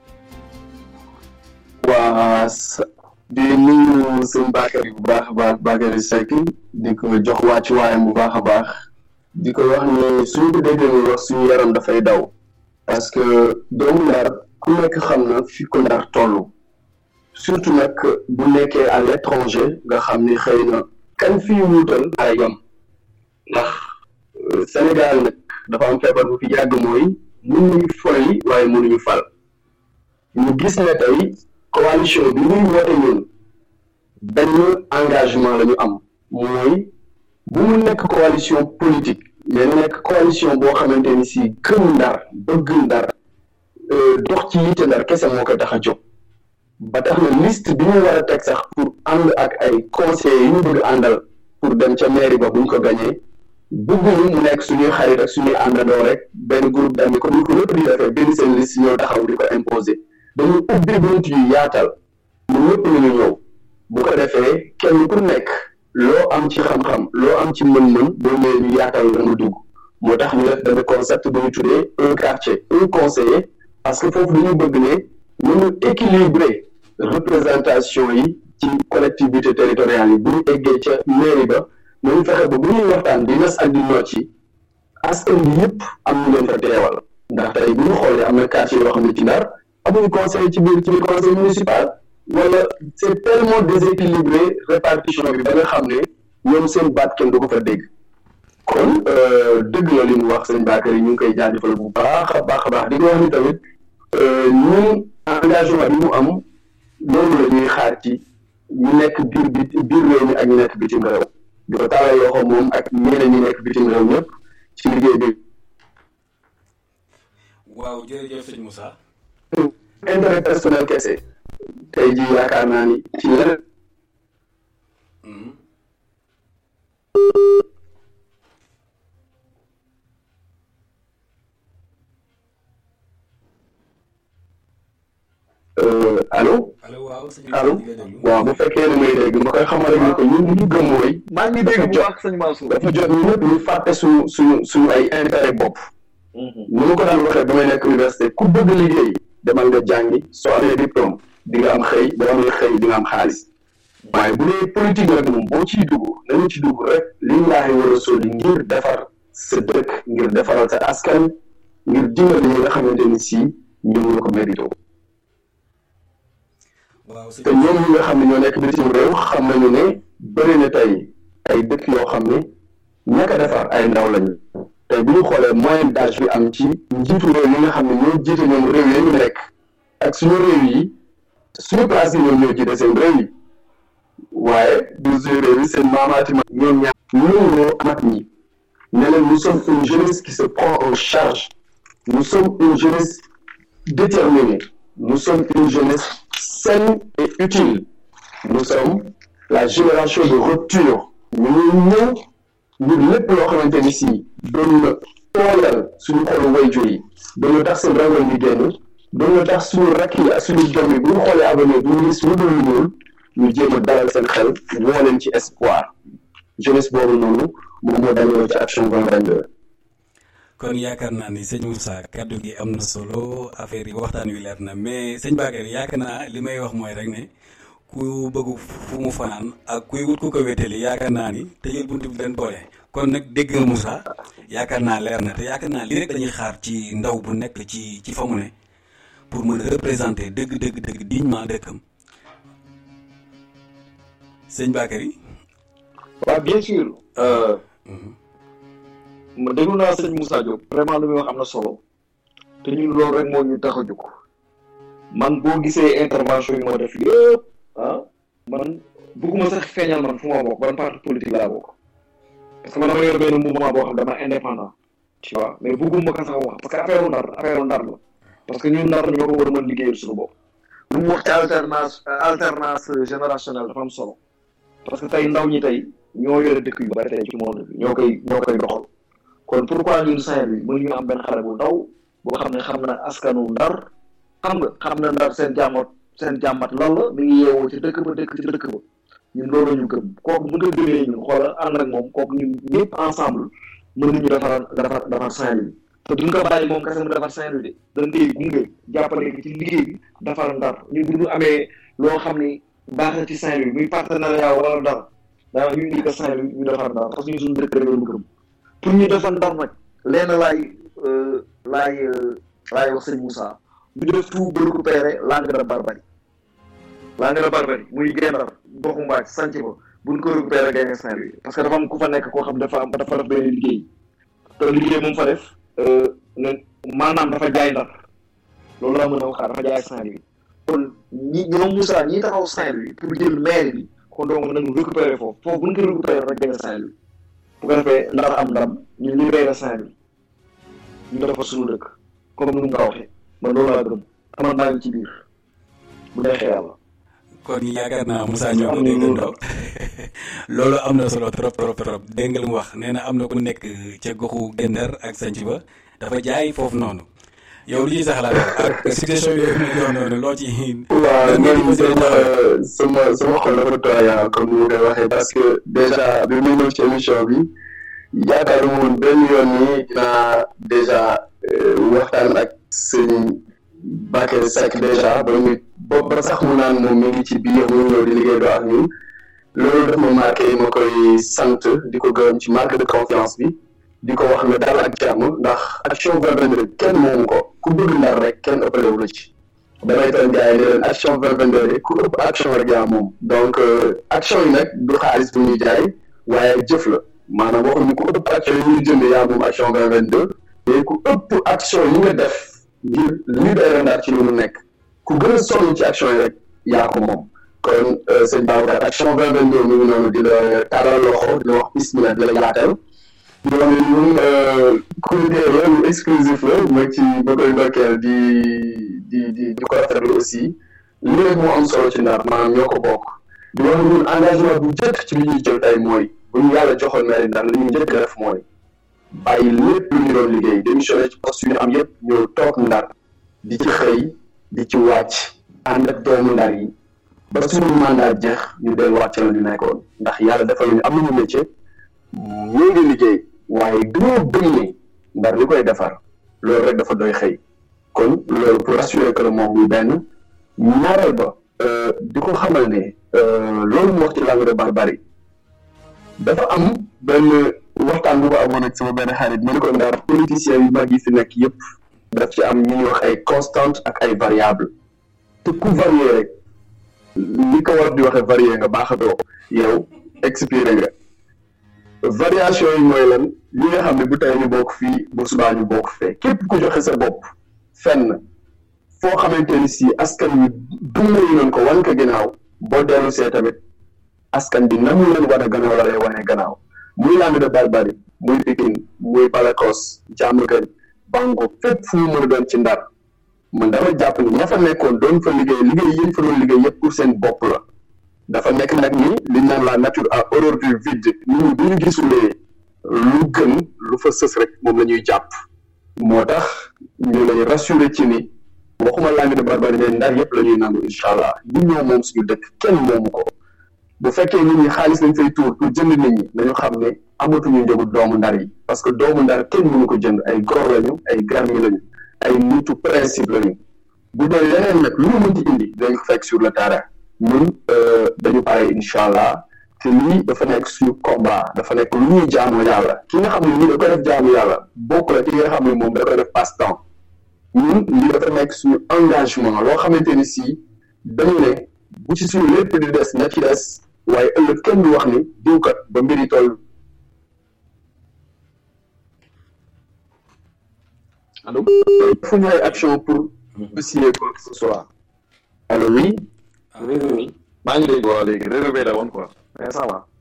waa di nuyu sëñ Bakary bu baax a baax Bakary Seck di ko jox wàccu waayam bu baax a baax di ko wax ni suñu ko déggee muy wax suñu yaram dafay daw parce que doomu Ndar ku nekk xam na fi ko Ndar toll surtout nag bu nekkee à l'étranger nga xam ni xëy na kan fii wuutal ay yam ndax Sénégal nag dafa am feebar bu fi yàgg mooy mënuñu folli waaye mënuñu fal ñu gis ne tey coalition bi muy woote ñun benn engagement la ñu am mooy bu mu nekk coalition politique mais nekk coalition boo xamante ni si gëm Ndar bëgg Ndar dox ci yitte Ndar kese moo ko tax a jóg ba tax na liste bi ñu war a teg sax pour ànd ak ay conseillers yi ñu bëgg àndal pour dem ca mairie ba bu ñu ko gañee bëgguñu mu nekk suñuy xarit ak suñuy àndandoo rek benn groupe d'amis comme ni ko lépp di defee benn seen liste ñoo taxaw di ko imposer dañu ubbi bunt yu yaatal mu ñëpp ñu ñu ñëw bu ko defee kenn ku nekk loo am ci xam-xam loo am ci mën-mën boo ñëwee ñu yaatal la nga dugg moo tax ñu def benn concept bu ñu tuddee un quartier un conseiller parce que foofu dañu bëgg ne ñu équilibrer représentation yi ci collectivité territoriale yi bu ñu eggee ca mairie ba nañu fexe ba bu ñuy waxtaan di nas ak di noot yi askan bi yëpp am ñu leen fa teewal ndax tey bu ñu xoolee am na quartier yoo xam ne ci Ndar amuñu conseil ci biir ci biir conseil municipal wala c'est tellement déséquilibré répartition bi ba nga xam ne ñoom seen baat kenn du ko fa dégg kon dëgg la li mu wax sëñ Bakary ñu ngi koy jaajëfal bu baax a baax a baax di ko wax ni tamit ñun engagement bi mu am loolu la ñuy xaar ci ñu nekk biir bi biir réew mi ak ñu nekk bitim réew di ko taalal loxo moom ak ñeneen ñi nekk bitim réew ñëpp ci liggéey bi. waaw jërëjëf sëñ Moussa. intérêt personnel kese tey jii yaakaar naa ni ci leneen. allo allo waaw bu fekkee ne may dégg ma koy xamal rek ni ko ñun ñu gëm mooy. maa ngi dégg bu baax sëñ Mansour. dafa jot ñu ñëpp ñu fàtte suñu suñu suñu ay intérêt bopp. ni ma ko daan waxee ba may nekk université ku bëgg liggéey demal nga jàngi soo amee diplôme di nga am xëy boo amee xëy di nga am xaalis waaye bu dee politique nag moom boo ciy dugg nañu ci dugg rek li laaay war a soli ngir defar sa dëkk ngir defaral sa askan ngir dimbali ñi nga xamante ni si ñoom ñoo ko mérito. te ñoom ñi nga xam ne ñoo nekk bitim réew xam nañu ne bëri na tey ay dëkk yoo xam ne ñaka defar ay ndaw lañu tey bu ñu xoolee moyenne d'âge bi am ci njiitu réew yi nga xam ne ñoo jiite ñoom réew yi ñu nekk ak suñu réew yi suñu place yi ñoom ñoo jiite seen réew yi waaye du suñu réew yi seen maamaati ma ñoom ñaar ñoo mag ñi ne leen nous sommes une jeunesse qui se prend en charge nous sommes une jeunesse déterminée nous sommes une jeunesse saine et utile nous sommes la génération de rupture ñu ngi ñëw ñu lépp loo xamante ni si doon na tooyal suñu xolu wayjur yi doon na tax seen rangoon di génn doon na tax suñu rakk yi ak suñu doom yi bu ñu xoolee avenir bu ñu gis lu dul ñuul ñu jéem a dalal seen xel woo leen ci espoir jeunesse boobu noonu moom moo dañoo ci action vingt vingt-deux. kon yaakaar naa ni sëñ Moussa kaddu gi am na solo affaire yi waxtaan wi leer na mais sëñ Bakary yaakaar naa li may wax mooy rek ne ku bëgg fu mu fanaan ak kuy wut ku ko wéetali yaakaar naa ni tëjal buntu bi leen boole kon nag dégg nga Moussa yaakaar naa leer na te yaakaar naa lii rek dañuy xaar ci ndaw bu nekk ci ci fa mu ne pour mën a représenter dëgg dëgg dëgg dignement dëkkam sëñ Bakary. waaw bien sûr. ma déglu naa sëñ Moussa Diop vraiment lu muy wax am na solo te ñun loolu rek moo ñu tax a jóg man boo gisee intervention yi moo def yëpp ah man bëgguma sax feeñal man fu ma bokk ban parti politique laa bokk parce que man dama yor benn mouvement boo xam dama indépendant tu vois mais bëgguma ko sax wax parce que affaire ndar affaire ndar la parce que ñun ndar ñoo ko war a mën liggéeyal suñu bopp lu mu wax ci alternance alternance générationnelle dafa am solo parce que tey ndaw ñi tey ñoo yore dëkk yu bari tey ci monde bi ñoo koy ñoo koy doxal kon pourquoi ñun Saint-Louis mën ñu am benn xale bu ndaw boo xam ne xam na askanu ndar xam nga xam na ndar seen jàmmat seen jàmmat lan la mi ngi yeewoo ci dëkk ba dëkk ci dëkk ba ñun loolu ñu gëm kooku bu nga gëmee ñun xoolal ànd ak moom kooku ñun ñëpp ensemble mën nañu defar defar defar Saint-Louis te duñ ko bàyyi moom kese mu defar Saint-Louis de dañ koy gunge jàppale ko ci liggéey bi defar ndar ñun bu ñu amee loo xam ni baax na ci Saint-Louis muy partenariat wala dara daa ñu indi ko Saint-Louis ñu defar ndar parce que ñu suñu dëkk rek lañu gëm pour ñu defar ndar nag lenn laay laay laay wax sëñ Moussa ñu def tout ba récupérer langue de barbarie langue de barbarie muy Gendar goxu Mbaaj sanc ba buñ ko récupérer gagné Saint-Louis parce que dafa am ku fa nekk koo xam dafa am dafa def benn liggéey te liggéey moom fa def ne maanaam dafa jaay ndar loolu laa mën a waxaat dafa jaay Saint-Louis kon ñi ñoom Moussa ñi taxaw Saint-Louis pour jël maire bi kon donc nañu récupérer foofu foofu buñ ko récupérer rek gagné Saint-Louis bu ko defee ndar am ndam ñu libéré Saint-Louis ñu defar suñu dëkk comme ni mu nga waxee man loolu laa gëm amal naa ngi ci biir bu neexee yàlla. kon yaakaar naa Moussa ñoo ko déggandoo loolu am na solo trop trop trop dégg nga lu mu wax nee na am na ku nekk ca goxu Gendar ak sanc ba dafa jaay foofu noonu yow li ñuy sax la ak situation yooyu ma jox noonu loo ci. waaw man sama sama sama xol dafa tooy comme ni nga koy waxee parce que déjà bi muy ñëw ci émission bi yaakaaruma woon benn yoon nii dinaa déjà waxtaan ak sëñ Bakary Seck déjà ba ñu ba ba sax mu naan moom mi ngi ci biir mu ñëw di liggéey doo ak ñun loolu daf ma marqué ma koy sant di ko gërëm ci marque de confiance bi di ko wax ne daal ak jàmm ndax action vingt vingt-deux kenn moomu ko ku bëgg ndar rek kenn ëppale wu la ci damay tan gars yi ne leen action vingt vingt-deux ku ëpp action rek yaa moom donc action yi nag du xaalis bu ñuy jaay waaye jëf la maanaam waxuñu ku ëpp action yi ñuy jënd yaa moom action vingt vingt-deux mais ku ëpp action yi nga def ngir libérer Ndar ci lu mu nekk ku gën a sonn ci action yi rek yaa ko moom kon sëñ Babacar action vingt vingt-deux mi ngi noonu di la tàllal loxo di la wax bismillah di la yaatal di wax ne ñun comité la lu exclusif la ma ci ba koy ndokkeel di di di di ko rafetlu aussi li rek moo am solo ci Ndar maanaam ñoo ko bokk di wax ne ñun engagement bu njëkk ci li ñuy jël tey mooy bu ñu yàlla joxoon mairie Ndar li ñuy njëkk def mooy bàyyi lépp lu ñu doon liggéey démissionné ci poste yu ñu am yëpp ñëw toog Ndar di ci xëy di ci wàcc ànd ak doomu Ndar yi ba suñu mandat jeex ñu delluwaat ci la ñu nekkoon ndax yàlla dafa ñu am nañu métier ñu ngi liggéey waaye dañoo gëm ne Ndar li koy defar loolu rek dafa doy xëy kon loolu pour rassurer que le moom muy benn ñaareel ba di ko xamal ne loolu mu wax ci langue de barbarie dafa am benn waxtaan bu ko amoon ak sama benn xarit ma ne ko Ndar politiciens yu mag yi fi nekk yëpp daf ci am ñu ñuy wax ay constante ak ay variable te ku varié rek li ko war di waxee varié nga baaxatoo yow expiré nga variation yi mooy lan li nga xam ne bu tey ñu bokk fii bu subaa ñu bokk fee képp ku joxe sa bopp fenn foo xamante ni si askan wi dumbayi nañ ko wan ko ginnaaw boo dellu see tamit askan bi nan leen war a gannaaw la lay wane gannaaw muy langue de barbarie muy Pikine muy Balakos Diamaguène Bango fépp fu mu mën a doon ci Ndar man dama jàpp ni ña fa nekkoon doon fa liggéey liggéey yéen fa doon liggéey yëpp pour seen bopp la dafa nekk nag ni li naan la nature a horreur du vide nit ñi bu ñu gisulee lu gën lu fa sës rek moom la ñuy jàpp moo tax ñu lay rassurer ci ni waxuma langue de barbarie mais Ndar yëpp la ñuy nangu incha allah ñu ñoo moom suñu dëkk kenn moomu ko bu fekkee nit ñi xaalis lañ fay tuur pour jënd nit ñi nañu xam ne amatuñu njëgu doomu Ndar yi parce que doomu Ndar kenn mënu ko jënd ay góor lañu ay garmi lañu ay nitu principe lañu bu dee leneen nag lu mu mënti indi dañ ko fekk sur le terrain ñun dañu pare incha allah te lii dafa nekk suñu combat dafa nekk lu ñuy jaamu yàlla ki nga xam ne lii da koy def jaamu yàlla bokk la ki nga xam ne moom da koy def passe temps ñun lii dafa nekk suñu engagement loo xamante ni si dañu ne bu ci suñu lépp di des na ci des waaye ëllëg kenn du wax ni diwkat ba mbiri toll allo fu ñu ay action pour essayer quoi que ce soit allo oui oui oui maa ngi dégg waaw léegi réveillé la woon quoi mais ça va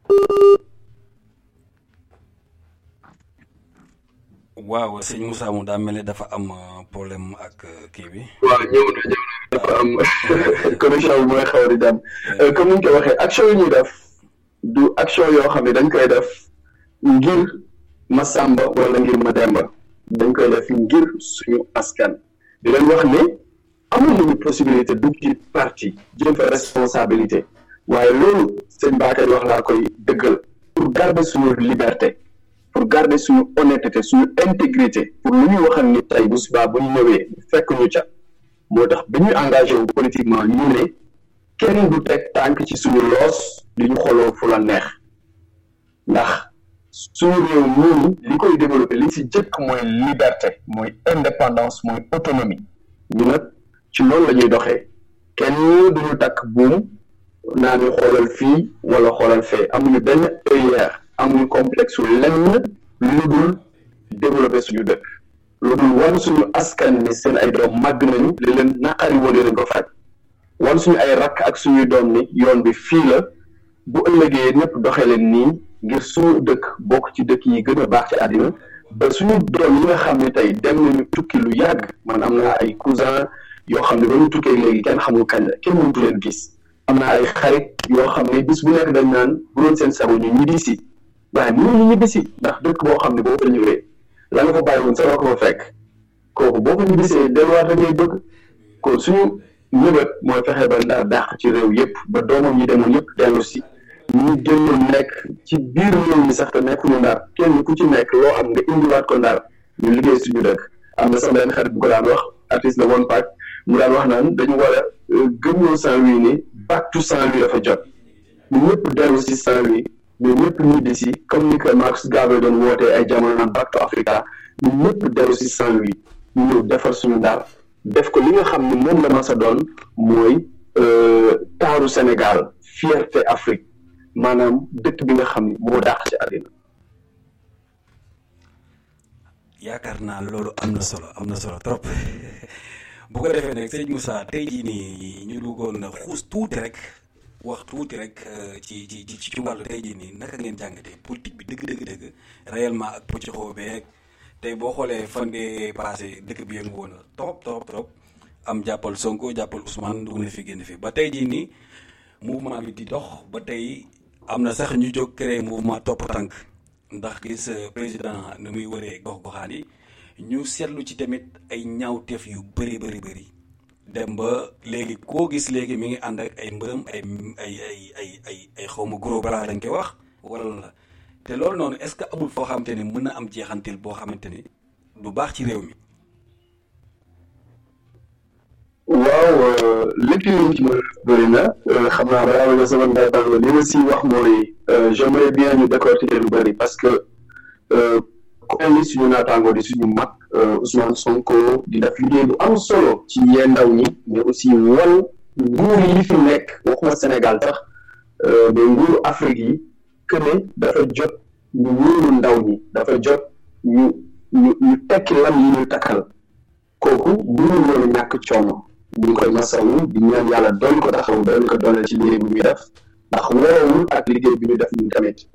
waaw sëñ Moussa mu daa mel ni dafa am problème ak kii bi waaw ñëw na ñëw na dafa am connexion bi mooy xaw di dem comme ni ñu ko waxee action yi ñuy def du action yoo xam ne dañ koy def ngir ma Samba wala ngir ma Demba dañ koy def ngir suñu askan di leen wax ne amul nañu possibilité dugg ci parti jël fa responsabilité waaye loolu sëñ Bakary wax laa koy dëggal pour garder suñu liberté pour garder suñu honnêteté suñu intégrité pour lu ñuy waxal ni tey bu subaa bu ñu ñëwee fekk ñu ca moo tax bi ñuy engagé wu politiquement ñu ne kenn du teg tànk ci suñu loos di ñu xooloo fu la neex ndax suñu réew ñii li koy développé li ci jëkk mooy liberté mooy indépendance mooy autonomie ñu nag ci loolu la ñuy doxee kenn duñu takk buum naa ñu xoolal fii wala xoolal fee amuñu benn œillère amuñu complexe su lenn lu dul développé suñu dëkk lu dul wan suñu askan ni seen ay doom màgg nañu li leen naqari woon nañ ko faj wan suñu ay rakk ak suñuy doom ni yoon bi fii la bu ëllëgee ñëpp doxee leen nii ngir suñu dëkk bokk ci dëkk yi gën a baax ci àddina ba suñu doom yi nga xam ne tey dem nañu tukki lu yàgg man am naa ay cousin yoo xam ne ba ñu tukkee léegi kenn xamul kañ la kenn mëntu leen gis am naa ay xarit yoo xam ne bis bu nekk dañ naan bu doon seen sago ñu ñibbi si waaye mënu ñu ñibbi si ndax dëkk boo xam ne boo fa ñëwee la nga fa bàyyi woon sa ko fa fekk kooku boo ko ñibbisee delluwaat da ngay bëgg kon suñu ñëbët mooy fexe ba Ndar dàq ci réew yëpp ba doomam ñi demoon yëpp dellu si ñu génnoon nekk ci biir réew mi sax te nekkuñu Ndar kenn ku ci nekk loo am nga indiwaat ko Ndar ñu liggéey suñu dëkk am na sama benn xarit bu ko daan wax artiste la woon Pac mu daan wax naan dañu war a gëmloo Saint-Louis ni back to Saint-Louis dafa jot ñu ñëpp dellu si Saint-Louis ñu ñëpp ñibbi si comme ni que Marcus Garvey doon wootee ay jamono naan back to Africa ñu ñëpp dellu si Saint-Louis ñu ñëw defar suñu Ndar def ko li nga xam ne moom la ma sa doon mooy taaru Sénégal fierté Afrique maanaam dëkk bi nga xam ne moo dàq ci àddina. yaakaar naa loolu am na solo am na solo trop bu ko defee nag sëñ Moussa tey jii nii ñu bëggoon na xuus tuuti rek wax tuuti rek ci ci ci ci wàllu tey jii nii naka ngeen jàngatee politique bi dëgg dëgg dëgg réellement ak pëccëxoo beeg tey boo xoolee fan ngee passé dëkk bi yëngu woon na trop trop trop am jàppal Sonko jàppal Ousmane dugg na fi génn fi ba tey jii nii mouvement bi di dox ba tey am na sax ñu jóg créer mouvement topp tànk ndax gis président nu muy wëree gox-goxaan yi ñu seetlu ci tamit ay ñaawteef yu bëri bëri bëri dem ba léegi koo gis léegi mi ngi ànd ak ay mbërëm ay ay ay ay ay ay xawma gros bras dañ koy wax wala la te loolu noonu est-ce que amul foo xamante ni mën na am jeexantil boo xamante ni du baax ci réew mi. waaw lépp lu ci mën a bëri na xam naa balaa nga sama ndeytaal li ma si wax mooy j'aimerais bien ñu décortiquer lu bëri parce que ku mel ni suñu naataango di suñu mag Ousmane Sonko di def liggéey bu am solo ci yee ndaw ñi mais aussi wan nguur yi fi nekk waxuma Sénégal sax mais nguuru Afrique yi que ne dafa jot ñu wóolu ndaw ñi dafa jot ñu ñu ñu tekki lam yi ñu takkal kooku mënul woon a ñàkk coono ñu ngi koy masawu di ñaan yàlla doon ko taxaw doon ko dooleel ci liggéey bi muy def ndax waroowul ak liggéey bi ñu def ñun tamit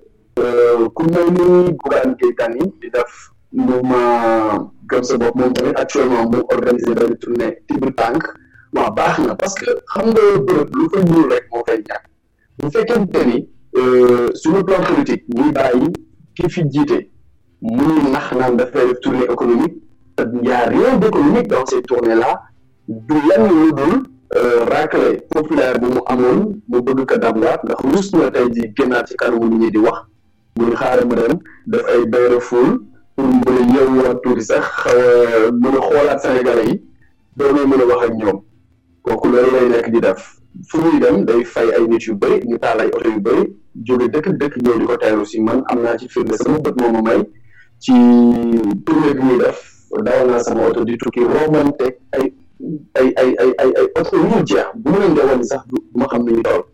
ku mel ni Bougane Gueye Dany di def mouvement gëm sa bopp moom tamit actuellement mu organisé benn tournée tibb tànk waaw baax na parce que xam nga bërëb lu fa ñuul rek moo fay ñàkk bu fekkente ni sur le plan politique ñuy bàyyi ki fi jiite muy nax naan dafay def tournée économique te y a rien d'économique dans ces tournées là du lenn lu dul raclé populaire bu mu amoon mu bëgg ko dablaat ndax rus na tey ji génnaat ci kanamu nit ñi di wax muy xaaral ma dem def ay bain de foule pour mu mën a yeewuwaat tuuti sax xaw a mën a xoolaat Sénégalais yi doonoo mën a wax ak ñoom kooku loolu lay nekk di def fu muy dem day fay ay nit yu bëri ñu taal ay oto yu bëri jóge dëkk dëkk ñëw di ko teeru si man am naa ci firnde sama bët moo ma may ci tournée bi muy def daaw naa sama oto di tukki romanteeg ay ay ay ay ay ay oto yu ñu jeex bu mu leen dee wàññi sax du ma xam ne ñu toll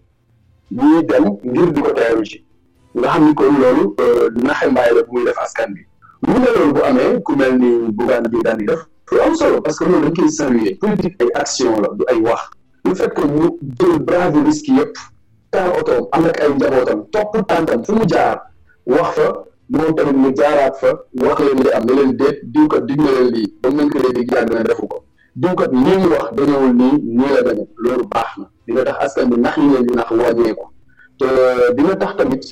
ñuy dem ngir di ko teeru ci nga xam ni kon loolu naxe mbaay la bu muy def askan bi lu ne loolu bu amee ku mel ni Bougane Gueye Dany def lu am solo parce que loolu dañ koy saluer politique ay action la du ay wax le fait que mu jël brave risque yëpp taal otoom am ak ay njabootam topp tànkam fu mu jaar wax fa moom tamit mu jaaraat fa wax leen li am ne leen déet diw kat dig na leen lii ba mu ko léegi yàgg na defu ko diw kat lii mu wax dañewul nii nii la dañe loolu baax na dina tax askan bi nax yi leen di nax wàññeeku te dina tax tamit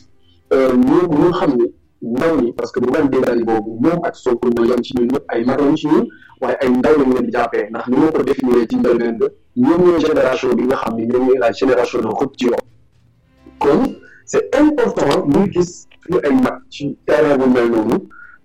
ñu ñu xam ni ndaw ñi parce que bu gan déedéet boobu moom ak Sonko ñu yem ci ñun ñëpp ay mag lañ ci ñun waaye ay ndaw lañ leen di jàppee ndax ni ma ko définir ci ndaw leen ba ñoom ñooy génération bi nga xam ni ñoom ñooy la génération de rupture kon c'est important ñu gis suñu ay mag ci terrain bu mel noonu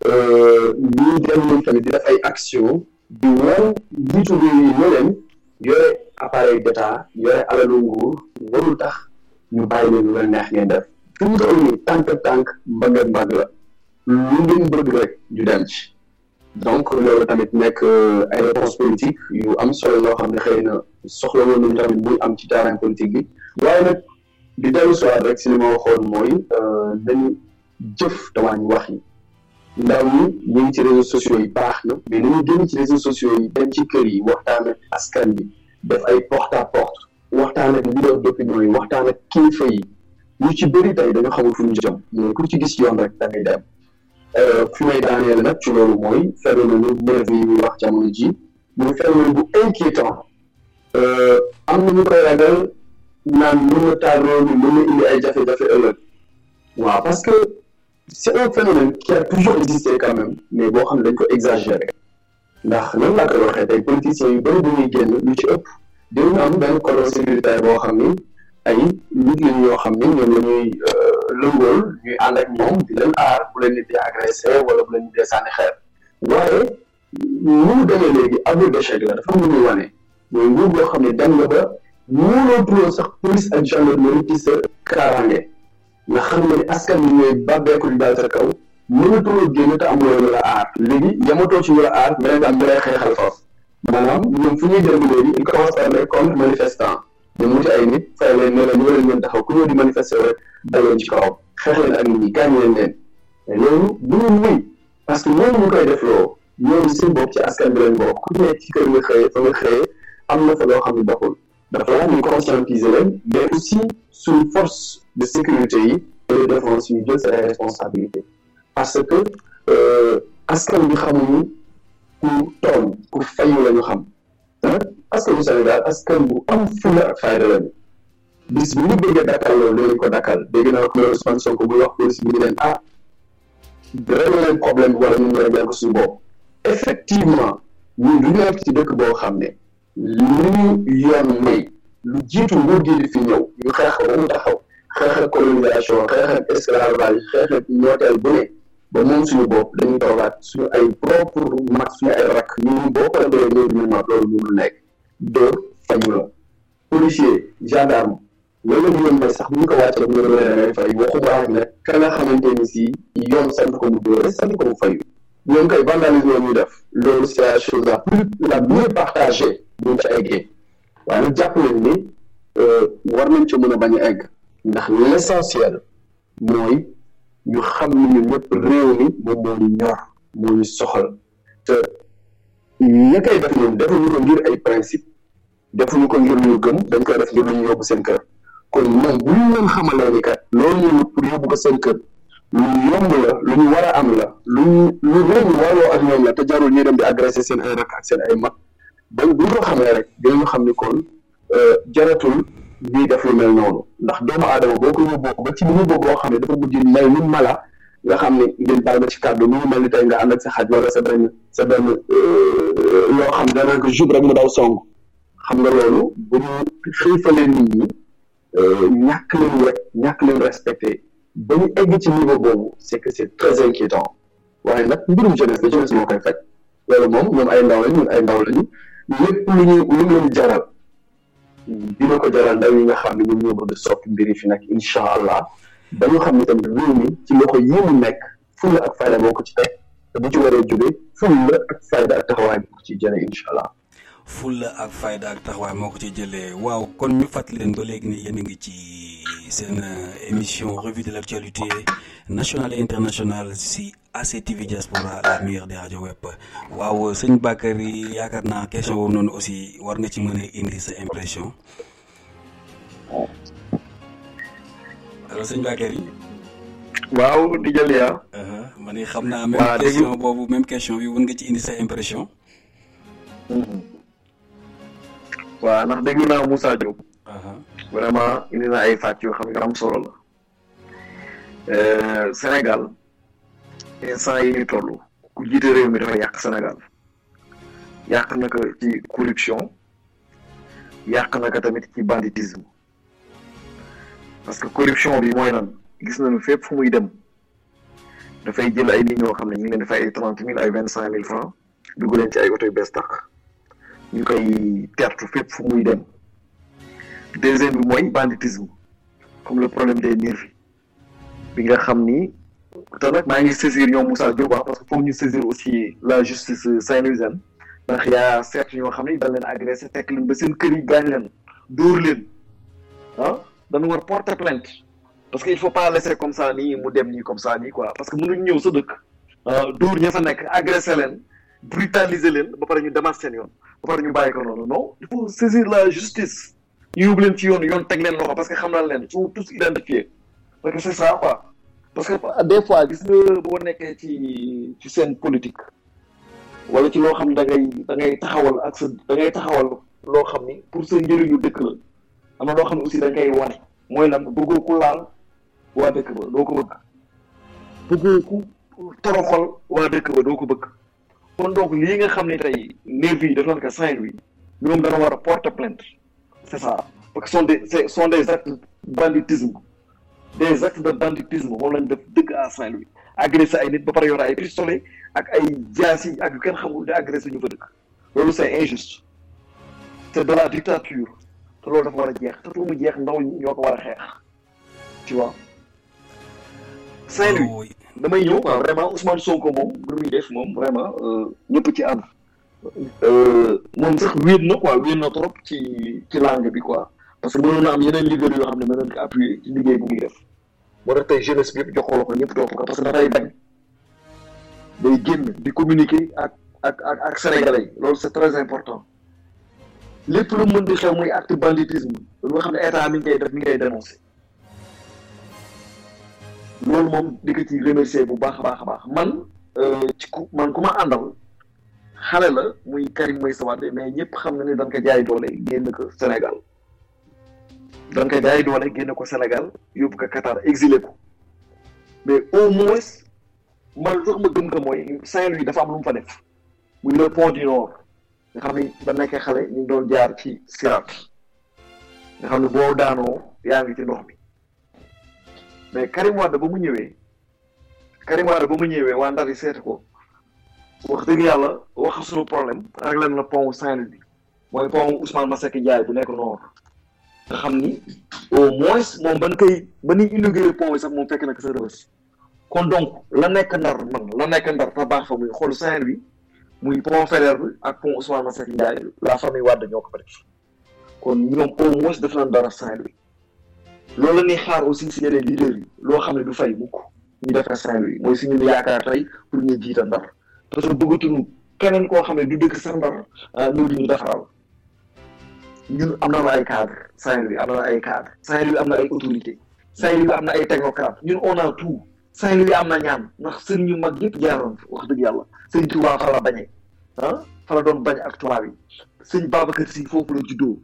ñuy dem ñoom tamit di def ay action di wan njiitu réew yi ne leen yore appareil d'état yore alalu nguur warul tax ñu bàyyi leen lu leen neex ngeen def fi mu toll nii tànk tànk mbagg ak mbagg la lu ngeen bëgg rek ñu dem ci donc loolu tamit nekk ay réponse politique yu am solo yoo xam ne xëy na soxla woon nañu tamit muy am ci terrain politique bi waaye nag di dellu soit rek si li ma waxoon mooy nañu jëf te wàññi wax yi ndaw ñi ñu ngi ci réseaux sociaux yi baax na mais nañu génn ci réseaux sociaux yi dem ci kër yi waxtaan ak askan bi def ay porte à porte waxtaan ak leader d'opinion yi waxtaan ak kilifa yi ñu ci bëri tey dañoo xamul fu ñu jëm mais ku ci gis yoon rek da ngay dem fi may daaneel nag ci loolu mooy phénomène bu nervi yi muy wax jamono ji muy phénomène bu inquiétant am na ñu koy ragal naan mën na taal réew mi mën na indi ay jafe-jafe ëllëg waaw parce que c'est un phénomène qui a toujours existé quand même mais boo xam ne dañ ko exagéré ndax nan laa koy waxee tey politiciens yu bëri bu ñuy génn lu ci ëpp dinañu am benn cordon sécuritaire boo xam ni ay nit lañ ñoo xam ni ñoom la ñuy lëngool ñuy ànd ak ñoom di leen aar bu leen nit di agressé wala bu leen nit di sànni xeer waaye ni mu demee léegi aveu d'échec la dafa mu ñuy wane mooy nguur boo xam ne dem nga ba mënoo tuloon sax police ak gendarmerie ci sa kaaraange nga xam ne askan bi ñooy bàbbeeku di daal sa kaw mënatuloo génn te amuloo ñu la aar léegi yamatoo ci ñu la aar mais nga am ñu lay xeexal foofu maanaam ñoom fu ñuy dem léegi ils commencent par les contre manifestants ñu muti ay nit fay leen ne la ñu leen ngeen taxaw ku ñëw di manifester rek daleen ci kawam xeex leen ak nit ñi gaañ leen leen mais loolu bu ñu muy parce que ñooñu ñu koy def loo ñoom seen bopp ci askan bi lañ bokk ku nekk ci kër nga xëyee fa nga xëyee am na fa loo xam ne doxul dafa laaj ñu conscientiser leen mais aussi suñu force de sécurité yi et de défense ñu jël seen responsabilité parce que askan bi xamuñu ku tooñ ku fayu la ñu xam ah askan bu Sénégal askan bu am fulla ak fayda lañu bis bu ñu bëggee dakkal loolu dinañ ko dakkal dégg naa ko Ousmane Sonko buy wax police bi ñu leen ah réglé leen problème bi wala ñu ngi réglé ko suñu bopp effectivement ñun du nekk ci dëkk boo xam ne lu ñu yoon may lu jiitu nguur gi di fi ñëw ñu xeex ba mu taxaw xeex ak colonisation xeex ak esclavage xeex ak ñooteel bu ne ba moom suñu bopp dañuy toogaat suñu ay propre mag suñu ay rakk ñu boo ko defee ñëw ñu mag loolu mënul nekk dóor fayu la policier gendarme loolu la ñu may sax bu ñu ko wàccee bu ñu la ngay fay waxuma ak nag ka nga xamante ni si yoon sant ko mu dóore sant ko mu fayu ñoom kay vandalisme la ñuy def loolu c'est la chose la plus la mieux partagée buñ ca eggee waaye nag jàpp leen ni war nañ ca mën a bañ a egg ndax l'essentiel mooy ñu xam ni ñun ñëpp réew mi moom moo ñu ñor moo ñu soxal te ña koy def ñoom defuñu ko ngir ay principe defuñu ko ngir ñu gëm dañ koy def ngir lu ñu yóbbu seen kër kon moom bu ñu leen xamalee ni kat loolu ñu wut pour yóbbu ko seen kër lu yomb la lu ñu war a am la lu ñu lu réew mi warloo ak ñoom la te jarul ñuy dem di agressé seen ay rakk ak seen ay mag donc bu ñu ko xamee rek dinañu xam ni kon jaratul ñuy def lu mel noonu ndax doomu aadama boo ko yóbboo ba ci niveau boo xam ne dafa mujj mel ni mala nga xam ne ngeen baal ma ci kàddu mu ngi mel ni tey nga ànd ak sa xaj wala sa benn sa benn loo xam ne danaa ko jub rek mu daw song xam nga loolu bu ñu xiifalee nit ñi ñàkk leen rek ñàkk leen respecté ba ñu egg ci niveau boobu c'est que c'est très inquiétant waaye nag mbirum jeunesse la jeunesse moo koy faj loolu moom ñoom ay ndaw lañ ñun ay ndaw lañu lépp lu ñu lu leen jaral dina ko jaral ndaw yi nga xam ne ñun ñoo bëgg soppi mbir yi fi nag incha allah ba ñu xam ne tamit réew mi ci loxo yi mu nekk fulla ak fayda moo ko ci teg te bu ci waree jóge fulla ak fayda ak taxawaay bi ko ci jëlee incha allah. fulla ak fayda ak taxawaay moo ko ci jëlee waaw kon ñu fàttali leen ba léegi ni yéen a ngi ci seen émission revue de l'actualité nationale et internationale si A C T V Diaspora la meilleure des radios web waaw sëñ Bakary yaakaar naa question boobu noonu aussi war nga ci mën a indi sa impression alors sëñ Bakary. waaw di jël yaa. ma ne xam naa même question boobu même question bi mën nga ci indi sa impression. waaw ndax déglu naa Moussa Diop. vraiment indi na ay fàcc yoo xam ne am solo la Sénégal instant yi ñu toll ku jiite réew mi dafa yàq Sénégal yàq na ko ci corruption yàq na ko tamit ci banditisme parce que corruption bi mooy lan gis nañu fépp fu muy dem dafay jël ay nit ñoo xam ne ñu ngi leen di fay ay trente mille ay vingt cinq mille francs dugg leen ci ay oto yu bees tax ñu koy tertu fépp fu muy dem. deuxième bi mooy banditisme comme le problème des nervis bi nga xam ni te nag maa ngi saisir ñoom Moussa Diop parce que foog ñu saisir aussi la justice saint-louisienne ndax yaa seet ñoo xam ni dañ leen agressé tekk leen ba seen kër yi gaañ leen dóor leen ah dañu war porter plainte parce que il faut pas laisser comme ça nii mu dem nii comme ça nii quoi parce que mënuñ ñëw sa dëkk dóor ña fa nekk agressé leen brutaliser leen ba pare ñu demaat seen yoon ba pare ñu bàyyi ko noonu non il faut saisir la justice ñu yóbbu leen ci yoon yoon teg leen loxo parce que xam naa leen sont tous identifiés parce que c'est ça quoi parce que des fois gis nga boo nekkee ci ci seen politique wala ci loo xam ne da ngay da ngay taxawal ak sa da ngay taxawal loo xam ni pour sa njëriñu dëkk la am na loo xam ne aussi da ngay wane mooy lan bëggoo ku laal waa dëkk ba doo ko bëgg bëggoo ku toroxal waa dëkk ba doo ko bëgg kon donc lii nga xam ne tey nervi yi daf leen ko Saint-Louis ñoom dana war a porter plainte c'est ça parce que sont des ce sont des actes de banditisme des actes de banditisme moom lañ def dëgg à Saint-Louis agressé ay nit ba pare yor ay pistolet ak ay jaasi ak yu kenn xamul di agressé ñu fa dëkk loolu c'est injuste c'est de la dictature te loolu dafa war a jeex te pour mu jeex ndaw ñi ñoo ko war a xeex tu vois Saint-Louis damay ñëw quoi vraiment Ousmane Sonko moom lu muy def moom vraiment ñëpp ci ànd moom sax wéet na quoi wéet na trop ci ci langue bi quoi parce que mënoon na am yeneen leader yoo xam ne mën nañ ko appuyer ci liggéey bu muy def moo tax tey jeunesse bi yëpp joxoo la ko ñëpp topp ko parce que dafay bañ day génn di communiquer ak ak ak ak sénégalais yi loolu c'est très important lépp lu mën di xew muy acte banditisme lu nga xam ne état mi ngi koy def mi ngi koy dénoncer loolu moom di ko ci remercier bu baax a baax a baax man ci ku man ku ma àndal xale la muy Karim Meïssa Wade mais ñëpp xam na ne dañ ko jaay doole génn ko Sénégal dañ ko jaay doole génn ko Sénégal yóbbu ko Qatar exilé ko mais au moins man sax ma gëm ko mooy Saint-Louis dafa am lu mu fa def muy le pont du Nord nga xam ni ba nekkee xale ñu ngi doon jaar ci sirat nga xam ne boo daanoo yaa ngi ci ndox mi mais Karim Wade ba mu ñëwee Karim Wade ba mu ñëwee waa Ndar yi seeti ko wax dëgg yàlla wax suñu problème réglé na pont Saint-Louis bi mooy pont Ousmane Masseck Ndiaye bu nekk Nord nga xam ni au moins moom ban koy ba ñuy inauguré pont bi sax moom fekk na ko sa Rebeuss kon donc la nekk Ndar man la nekk Ndar te baax fa muy xool Saint-Louis muy pont Faidherbe bi ak pont Ousmane Masseck Ndiaye la famille Wade ñoo ko fa def kon ñoom au moins def nañ dara Saint-Louis loolu la ñuy xaar aussi si yeneen leaders yi loo xam ne du fay mukk ñu defee Saint-Louis mooy suñu yaakaar tey pour ñu jiita Ndar parce que bëggatuñu keneen koo xam ne du dëkk sax Ndar ñëw di ñu defaral ñun am na ay cadre Saint-Louis am na ay cadre Saint-Louis am na ay autorité Saint-Louis am na ay technocrate ñun on a tout Saint-Louis am na ñaan ndax sëriñ ñu mag yëpp jaaroon wax dëgg yàlla sëñ Touba fa la bañee ah fa la doon bañ ak tubaab yi sëñ Babacar Sy foofu la juddoo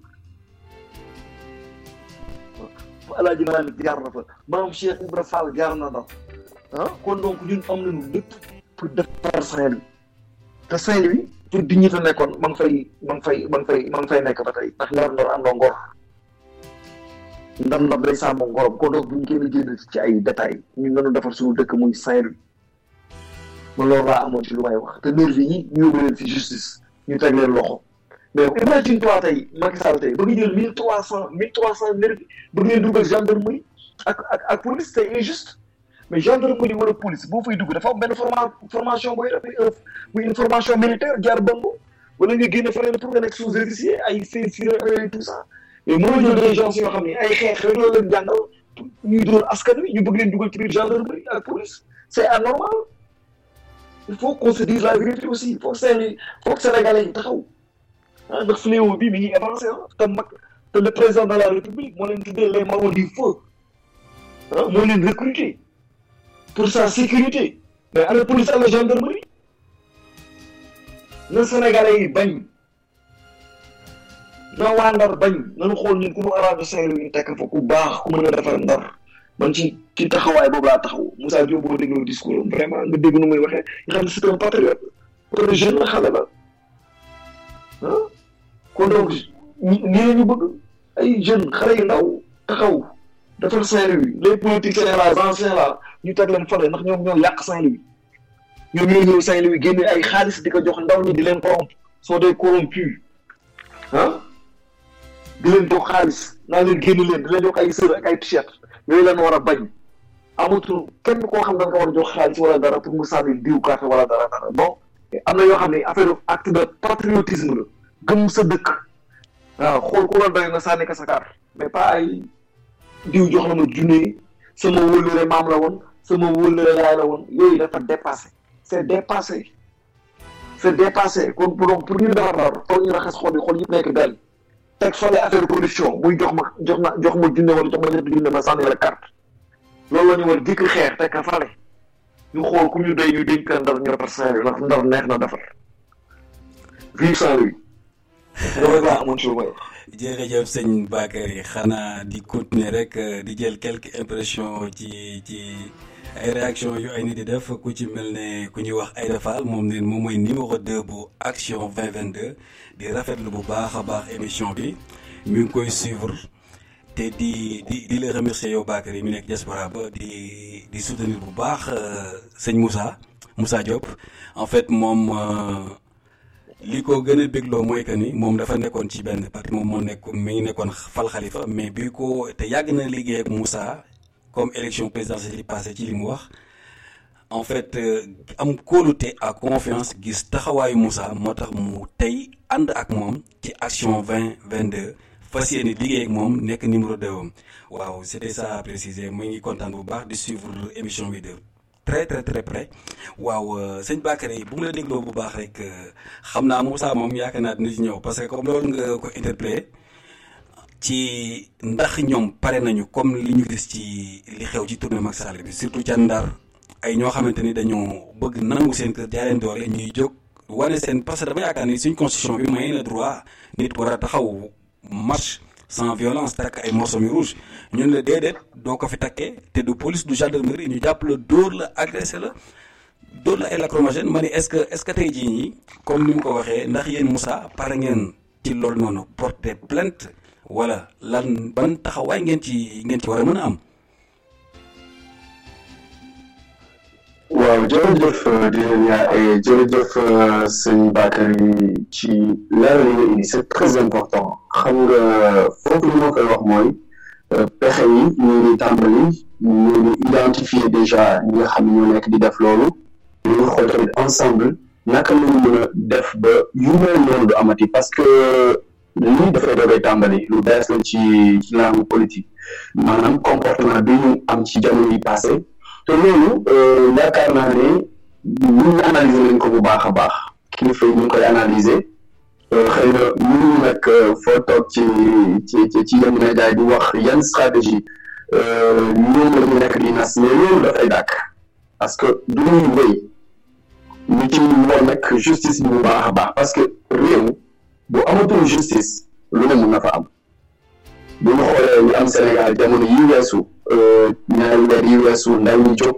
Alaaji Maalik jaar na fa maam Cheikh Ibra Fall jaar na ndax ah kon donc ñun am nañu lépp pour defar Saint-Louis te Saint-Louis pour dignité nekkoon ma ngi fay ma ngi fay ma ngi fay ma ngi fay nekk ba tey ndax ndar ndar am na ngor ndar ndar day sàmm ngorom kon donc bu ñu kenn génn ci ay détails ñun nañu defar suñu dëkk muy Saint-Louis man loolu laa amoon ci lu may wax te nervi yi ñu yóbbu leen ci justice ñu teg leen loxo mais imagine toi tey Macky Sall tey ba nga jël mille trois cent mille trois cent nervi ba ngeen dugal gendarmerie ak ak ak police c'est injuste mais gendarmerie wala police boo fay dugg dafa am benn forma formation booy def muy une formation militaire jaar Bambo wala nga génne feneen pour nga nekk sous-officier ay Saint-Cyr et tout ça mais mënoo jël des gens yoo xam ne ay xeex rek la leen jàngal ñuy dóor askan wi ñu bëgg leen dugal ci biir gendarmerie ak police c'est anormal il faut qu'on se dise la vérité aussi il faut que Sénégalais faut que Sénégalais yi taxaw ah ndax fléau bi mi ngi avancé ah te mag te le président de la République moo leen tuddee les marrons du feu ah moo leen recruter pour sa sécurité mais à la police à la gendarmerie na Sénégalais yi bañ na waa Ndar bañ nañu xool ñun ku mu arrangé Saint-Louis ñu tekk fa ku baax ku mën a defar Ndar man ci ci taxawaay boobu laa taxaw Moussa Diop boo dégloo discours am vraiment nga dégg nu muy waxee nga xam ne c'est un patriote pour le jeune la xale la ah kon donc nii la ñu bëgg ay jeunes xale yu ndaw taxaw defar Saint-Louis les politiciens là anciens là ñu teg leen fale ndax ñoom ñoo yàq Saint-Louis ñoom ñoo ñëw Saint-Louis génne ay xaalis di ko jox ndaw ñi di leen corrompre sont des corrompus ah di leen jox xaalis naa leen génn leen di leen jox ay sër ak ay t-shirt yooyu leen war a bañ amatul kenn koo xam da nga war a jox xaalis wala dara pour mu sànni diw carte wala dara dara bon am na yoo xam ne affaire acte de patriotisme la gëm sa dëkk waaw xool ku la doy nga sànni ka sa carte mais pas ay diw jox la ma junne sama wëllëre maam la woon sama wëllëre yaay la woon yooyu dafa dépassé c'est dépassé c'est dépassé kon pour donc pour ñu defar dara toog ñu raxas xol yi xol yëpp nekk benn teg fale affaire production muy jox ma jox ma jox ma junne wala jox ma ñetti junne ma sànni la carte loolu la ñu war dikk xeer teg ka fale ñu xool ku ñu doy ñu dénk Ndar ñu defar Saint-Louis ndax Ndar neex na defar vive Saint-Louis loolu laa amoon ci lu may wax. jërëjëf sëñ Bakary xanaa di continuer rek di jël quelques impressions ci ci ay réactions yu ay nit di def ku ci mel ne ku ñuy wax Aïda Fall moom ne moom mooy numéro deux bu Action vingt vingt-deux di rafetlu bu baax a baax émission bi mi ngi koy suivre te di di di la remercier yow Bakary mi nekk diaspora ba di di soutenir bu baax sëñ Moussa Moussa Diop en fait moom. li ko gën a bégloo mooy que ni moom dafa nekkoon ci benn parti moom moo nekk mi ngi nekkoon fal Khalifa mais bi ko te yàgg na liggéey ak Moussa comme élection présidentielle yi passé ci li mu wax en fait am kóolute à confiance gis taxawaayu Moussa moo tax mu tey ànd ak moom ci Action vingt vingt-deux fas yéene liggéey ak moom nekk numéro deux am waaw c'était ça à préciser mu ngi kontaan bu baax di suivre émission bi de très très très près waaw sëñ Bakary bu mu la dégloo bu baax rek xam naa Moussa moom yaakaar naa dina ci ñëw parce que comme loolu nga ko interpellé ci ndax ñoom pare nañu comme li ñu gis ci li xew ci tournée Macky Sall bi surtout ca Ndar ay ñoo xamante ni dañoo bëgg nangu seen kër jaay leen doole ñuy jóg wane seen parce que dama yaakaar ni suñ constitution bi may na droit nit war a taxaw marche sans violence takk ay morceaux mi rouge ñun la déedéet doo ko fi takkee te du police du gendarmerie ñu jàpp la dóor la agressé la dóor la ay lacrymogène ma ni est-ce que est-ce que tey jii ñii comme ni mu ko waxee ndax yéen Moussa pare ngeen ci loolu noonu porter plainte wala lan ban taxawaay ngeen ci ngeen ci war a mën a am. waaw jërëjëf di leen yaa jërëjëf sëñ Bakary ci leeral yi nga indi c'est très important xam nga foofu li ma koy wax mooy pexe yi ñu ngi tàmbali ñu ngi identifier déjà ñi nga xam ne ñoo nekk di def loolu ñu ngi xool tamit ensemble naka la ñu mën a def ba yu mel noonu du amati parce que lii dafay doogay tàmbali lu bees la ci ci langue politique maanaam comportement bi ñu am ci jamono yi passé te loolu yaakaar naa ne ñu analyser nañ ko bu baax a baax kilifa yi ñu ngi koy analyser xëy na mënuñu nag foo toog ci ci ci yenn média yi di wax yan stratégie ñoom la ñu nekk di nas mais loolu dafay dàkk parce que du ñuy wéy ñu ci war nag justice bi bu baax a baax parce que réew bu amatul justice lu ne mun na fa am bu ñu xoolee ñu am Sénégal jamono yi weesu ñaari weer yi weesu ndaw ñu jóg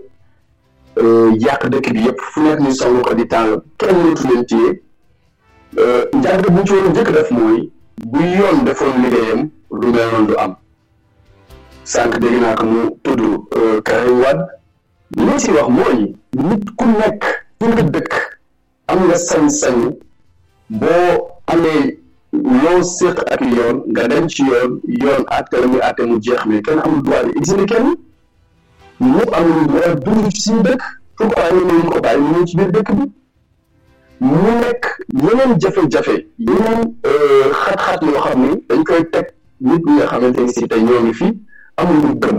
yàq dëkk bi yëpp fu nekk ñu song ko di taal kenn mënatu leen téye njàng bu ñu ci war a njëkk def mooy bu yoon defoon liggéeyam lu mel noonu du am sànq dégg naa ko mu tudd Karim Wade li ma si wax mooy nit ku nekk fu nga dëkk am nga sañ-sañ boo amee loo séq ak yoon nga dem ci yoon yoon àtte la muy àtte mu jeex mais kenn amul droit di exiler kenn ñëpp amul droit dund ci suñu dëkk pourquoi ñu ne ñu ko bàyyi ñu ci biir dëkk bi mu nekk yeneen jafe-jafe yeneen xat-xat yoo xam ni dañ koy teg nit ñi nga xamante ni si tey ñoo ngi fi amul lu gëm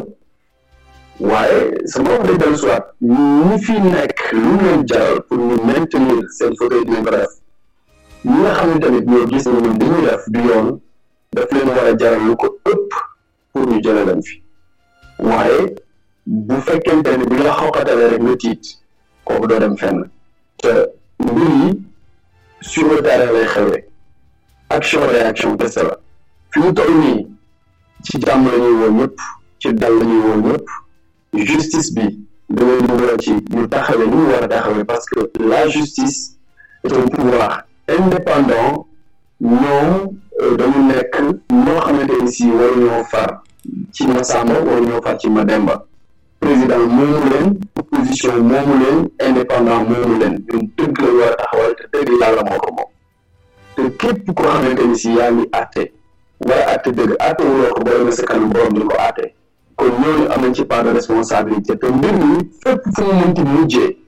waaye sama wax day dellu soit ñi fi nekk lu ñu leen jaral pour ñu maintenir seen fauteuil dinañ ko def ñi nga xam ne tamit ñoo gis ne ñun dañuy def du yoon daf leen war a jaral lu ko ëpp pour ñu jëlee leen fi waaye bu fekkente ne bi nga xawqatalee rek nga tiit kooku doo dem fenn te mbir yi sur le terrain lay xewee action réaction kese la fi mu toll nii ci jàmm la ñuy woo ñëpp ci dal la ñuy woo ñëpp justice bi da ngay dugal ci ñu taxawee ni ñu war a taxawee parce que la justice est un pouvoir indépendant ñoom dañu nekk ñoo xamante ni si waruñoo far ci Masamba waruñoo far ci Mademba président moomu leen opposition moomu leen indépendant moomu leen ñun dëgg la war a taxawal te dëgg yàlla moo ko moom te képp koo xamante ni si yaa ngi àtte wala àtte dëgg àtte wuloo ko boole na sa kanam borom di ko àtte kon ñooñu am nañ ci part de responsabilité te mbir mi fépp fu mu mënti mujjee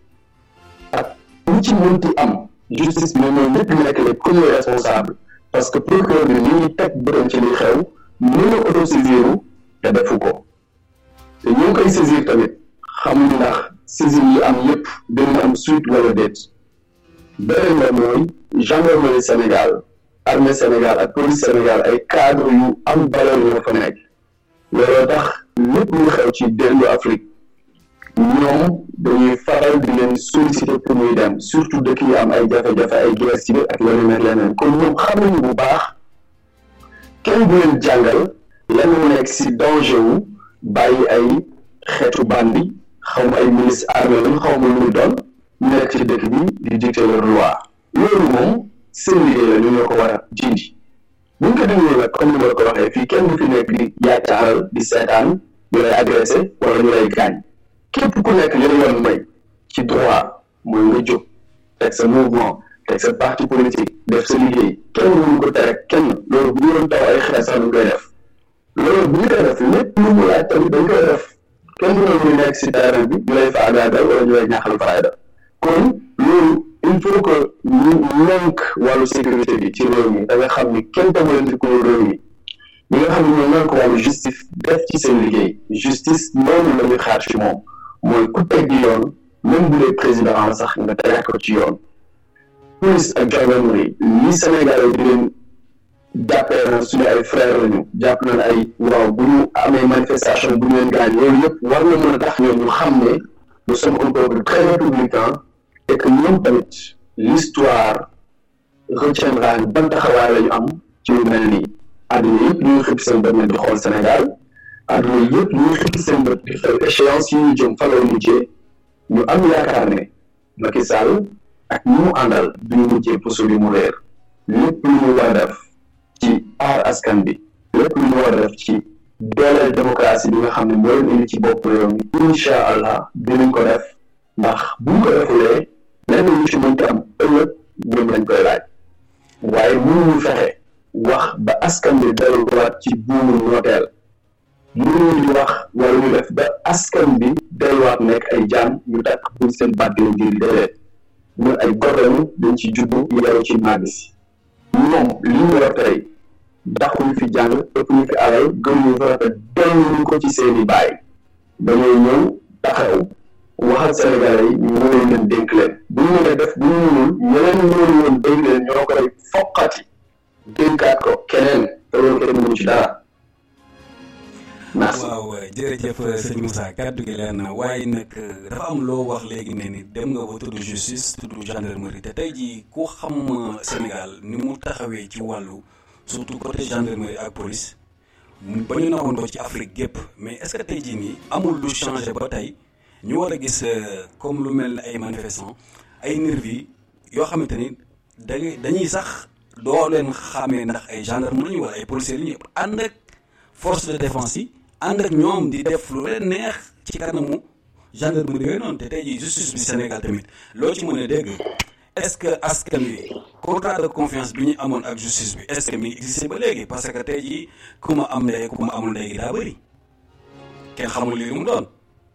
ak lu ci mënti am justice bi moom ñëpp ñu nekk les premiers responsables parce que procureur bi ñu ngi teg bëram ci li xew mën a autosaisir te defu ko te ñu ngi koy saisir tamit xamuñu ndax saisir yi am yëpp dina am suite wala déet beneen la mooy gendarmerie Sénégal armée Sénégal ak police Sénégal ay cadre yu am valeur yoo fa nekk looloo tax lépp lu xew ci dellu Afrique ñoom dañuy faral di leen solliciter pour muy dem surtout dëkk yi am ay jafe-jafe ay guerre civile ak leneen ak leneen kon ñoom xam nañu bu baax kenn du leen jàngal lan mu nekk si danger wu bàyyi ay xeetu bandi xaw ma ay milice armée lañu xaw ma lu mu doon ñu nekk ci dëkk bi di dicter leur loi loolu moom seen liggéey la ñu ñoo ko war a dindi bu ñu ko dindee nag comme ni ma la ko waxee fii kenn du fi nekk di yaacaaral di seetaan ñu lay agressé wala ñu lay gaañ képp ku nekk li la yoon may ci droit mooy nga jóg teg sa mouvement teg sa parti politique def sa liggéey kenn mënu ko tere kenn loolu bu ñu doon taw ay xeex sax ñu koy def loolu bu ñu koy def lépp lu mu laaj tamit dañ koy def kenn du ñu nekk si terrain bi ñu lay faagaagal wala ñu lay ñaaxal fayda kon loolu il faut que ñu nank wàllu sécurité bi ci réew mi da nga xam ni kenn tamalanti ko réew mi ñi nga xam ne ñoo nank wàllu justice def ci seen liggéey justice noonu la ñuy xaar ci moom mooy ku teggi yoon même bu dee président la sax nga tegaat ko ci yoon police ak gendarmerie li Sénégal di leen jàppee na suñu ay frères lañu jàpp nañ ay waaw bu ñu amee manifestation bu ñu leen gaañ loolu yëpp war na mën a tax ñoom ñu xam ne nous sommes un peuple très républicain et que ñoom tamit l'histoire retiendra ban taxawaay la ñu am ci lu mel nii àdduna yëpp ñu ngi xëpp seen bët di xool Sénégal àdduna yëpp ñu ngi xëpp seen bët di xool échéance yi ñu jëm fa la mujjee ñu am yaakaar ne Macky Sall ak ñi mu àndal duñu mujjee puso bi mu réer lépp lu ñu war a def ci aar askan bi lépp lu ñu war a def ci dooleel démocratie bi nga xam ne moo leen indi ci bopp réew mi incha allah dinañ ko def ndax bu ñu ko defulee lenn lu ci mënti am ëllëg ñoom lañ koy laaj waaye mënuñu fexe wax ba askan bi delluwaat ci buumu nooteel mënuñu di wax wala ñu def ba askan bi delluwaat nekk ay jaam ñu takk buñ seen baat di leen di déedéet ñun ay gor lañu dañ ci juddu yaru ci màgg si ñoom li ñu yor tey daxuñu fi jàng ëpp ñu fi alal gëm ñu fa rafet delluñu ko ci seeni baay dañoo ñëw taxaw waxal Sénégalais yi ñu wóolu leen dénk leen bu ñu mënee def bu ñu mënul ñeneen ñu wóolu woon dénk leen ñoo koy foqati dénkaat ko keneen te loolu kenn mënu ci dara. merci waaw jërëjëf sëñ Moussa kàddu gi leer na waaye nag dafa am loo wax léegi ne ni dem nga ba tudd justice tudd gendarmerie te tey jii ku xam Sénégal ni mu taxawee ci wàllu surtout côté gendarmerie ak police ba ñu nawoon ko ci Afrique gépp mais est-ce que tey jii nii amul lu changé ba tey ñu war a gis comme lu mel ne ay manifestants ay nervis yoo xamante ni dañuy dañuy sax doo leen xàmmee ndax ay gendarme lañu wala ay policiers lañu ànd ak force de défense yi ànd ak ñoom di def lu leen neex ci kanamu gendarmerie yooyu noonu te tey jii justice bi Sénégal tamit loo ci mën a dégg est-ce que askan wi contrat de confiance bi ñu amoon ak justice bi est-ce que mi ngi existé ba léegi parce que tey jii ku ma am ndey ku ma amul ndey gi daa bëri kenn xamul lii lu mu doon.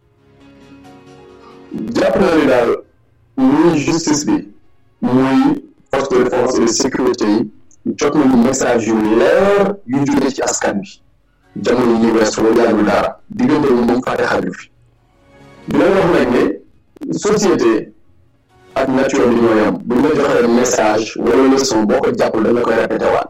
jàpp naa ni daal muy justice bi muy force de défense et de sécurité yi jot nañu message yu leer yu jógee ci askan bi jamono yi weesu la yàggul dara diggante bi moom fàtte xaju fi di leen wax nag ne société ak nature bi ñoo yam bu ñu la joxee message wala leçon boo ko jàppul dañ la koy répété waat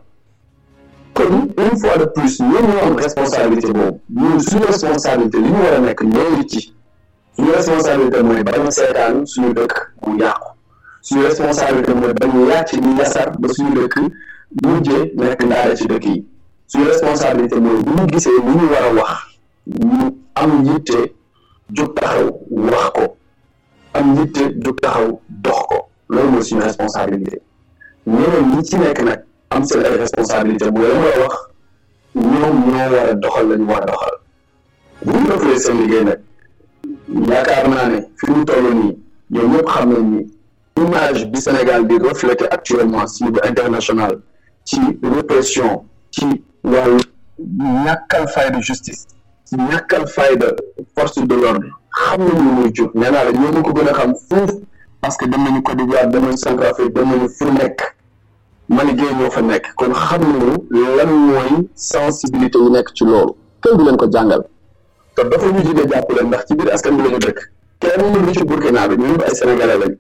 kon une fois de plus ñoom ñoo am responsabilité boobu ñun suñu responsabilité li ñu war a nekk ñoo ngi ci suñu responsabilité mooy bañ a seetaan suñu dëkk mu yàqu suñu responsabilité mooy bañ a yàcc di yasar ba suñu dëkk mujjee nekk ndaare ci dëkk yi suñu responsabilité mooy bu ñu gisee lu ñu war a wax ñu am yitte jóg taxaw wax ko am yitte jóg taxaw dox ko loolu mooy suñu responsabilité ñeneen ñi ci nekk nag am seen ay responsabilité mooy la war a wax ñoom ñoo war a doxal la ñu war a doxal bu ñu defulee seen liggéey nag yaakaar naa ne fi mu toll nii ñoom ñëpp xam nañ ni image bi Sénégal bi reflété actuellement ci niveau international ci répression ci wàllu ñàkkal fayda justice ci ñàkkal fayda force de l'ordre xam nañu lu muy jur nee naa la ñoo ko gën a xam foofu parce que dem nañu Côte d'Ivoire dem nañu Centrafrique dem nañu fu nekk Mali Gueye ñoo fa nekk kon xam nañu lan mooy sensibilité yi nekk ci loolu kenn du leen ko jàngal te dafa ñu jigee jàpp leen ndax ci biir askan bi la ñu dëkk kenn mënu ci Burkina bi ñun ay sénégalais lañ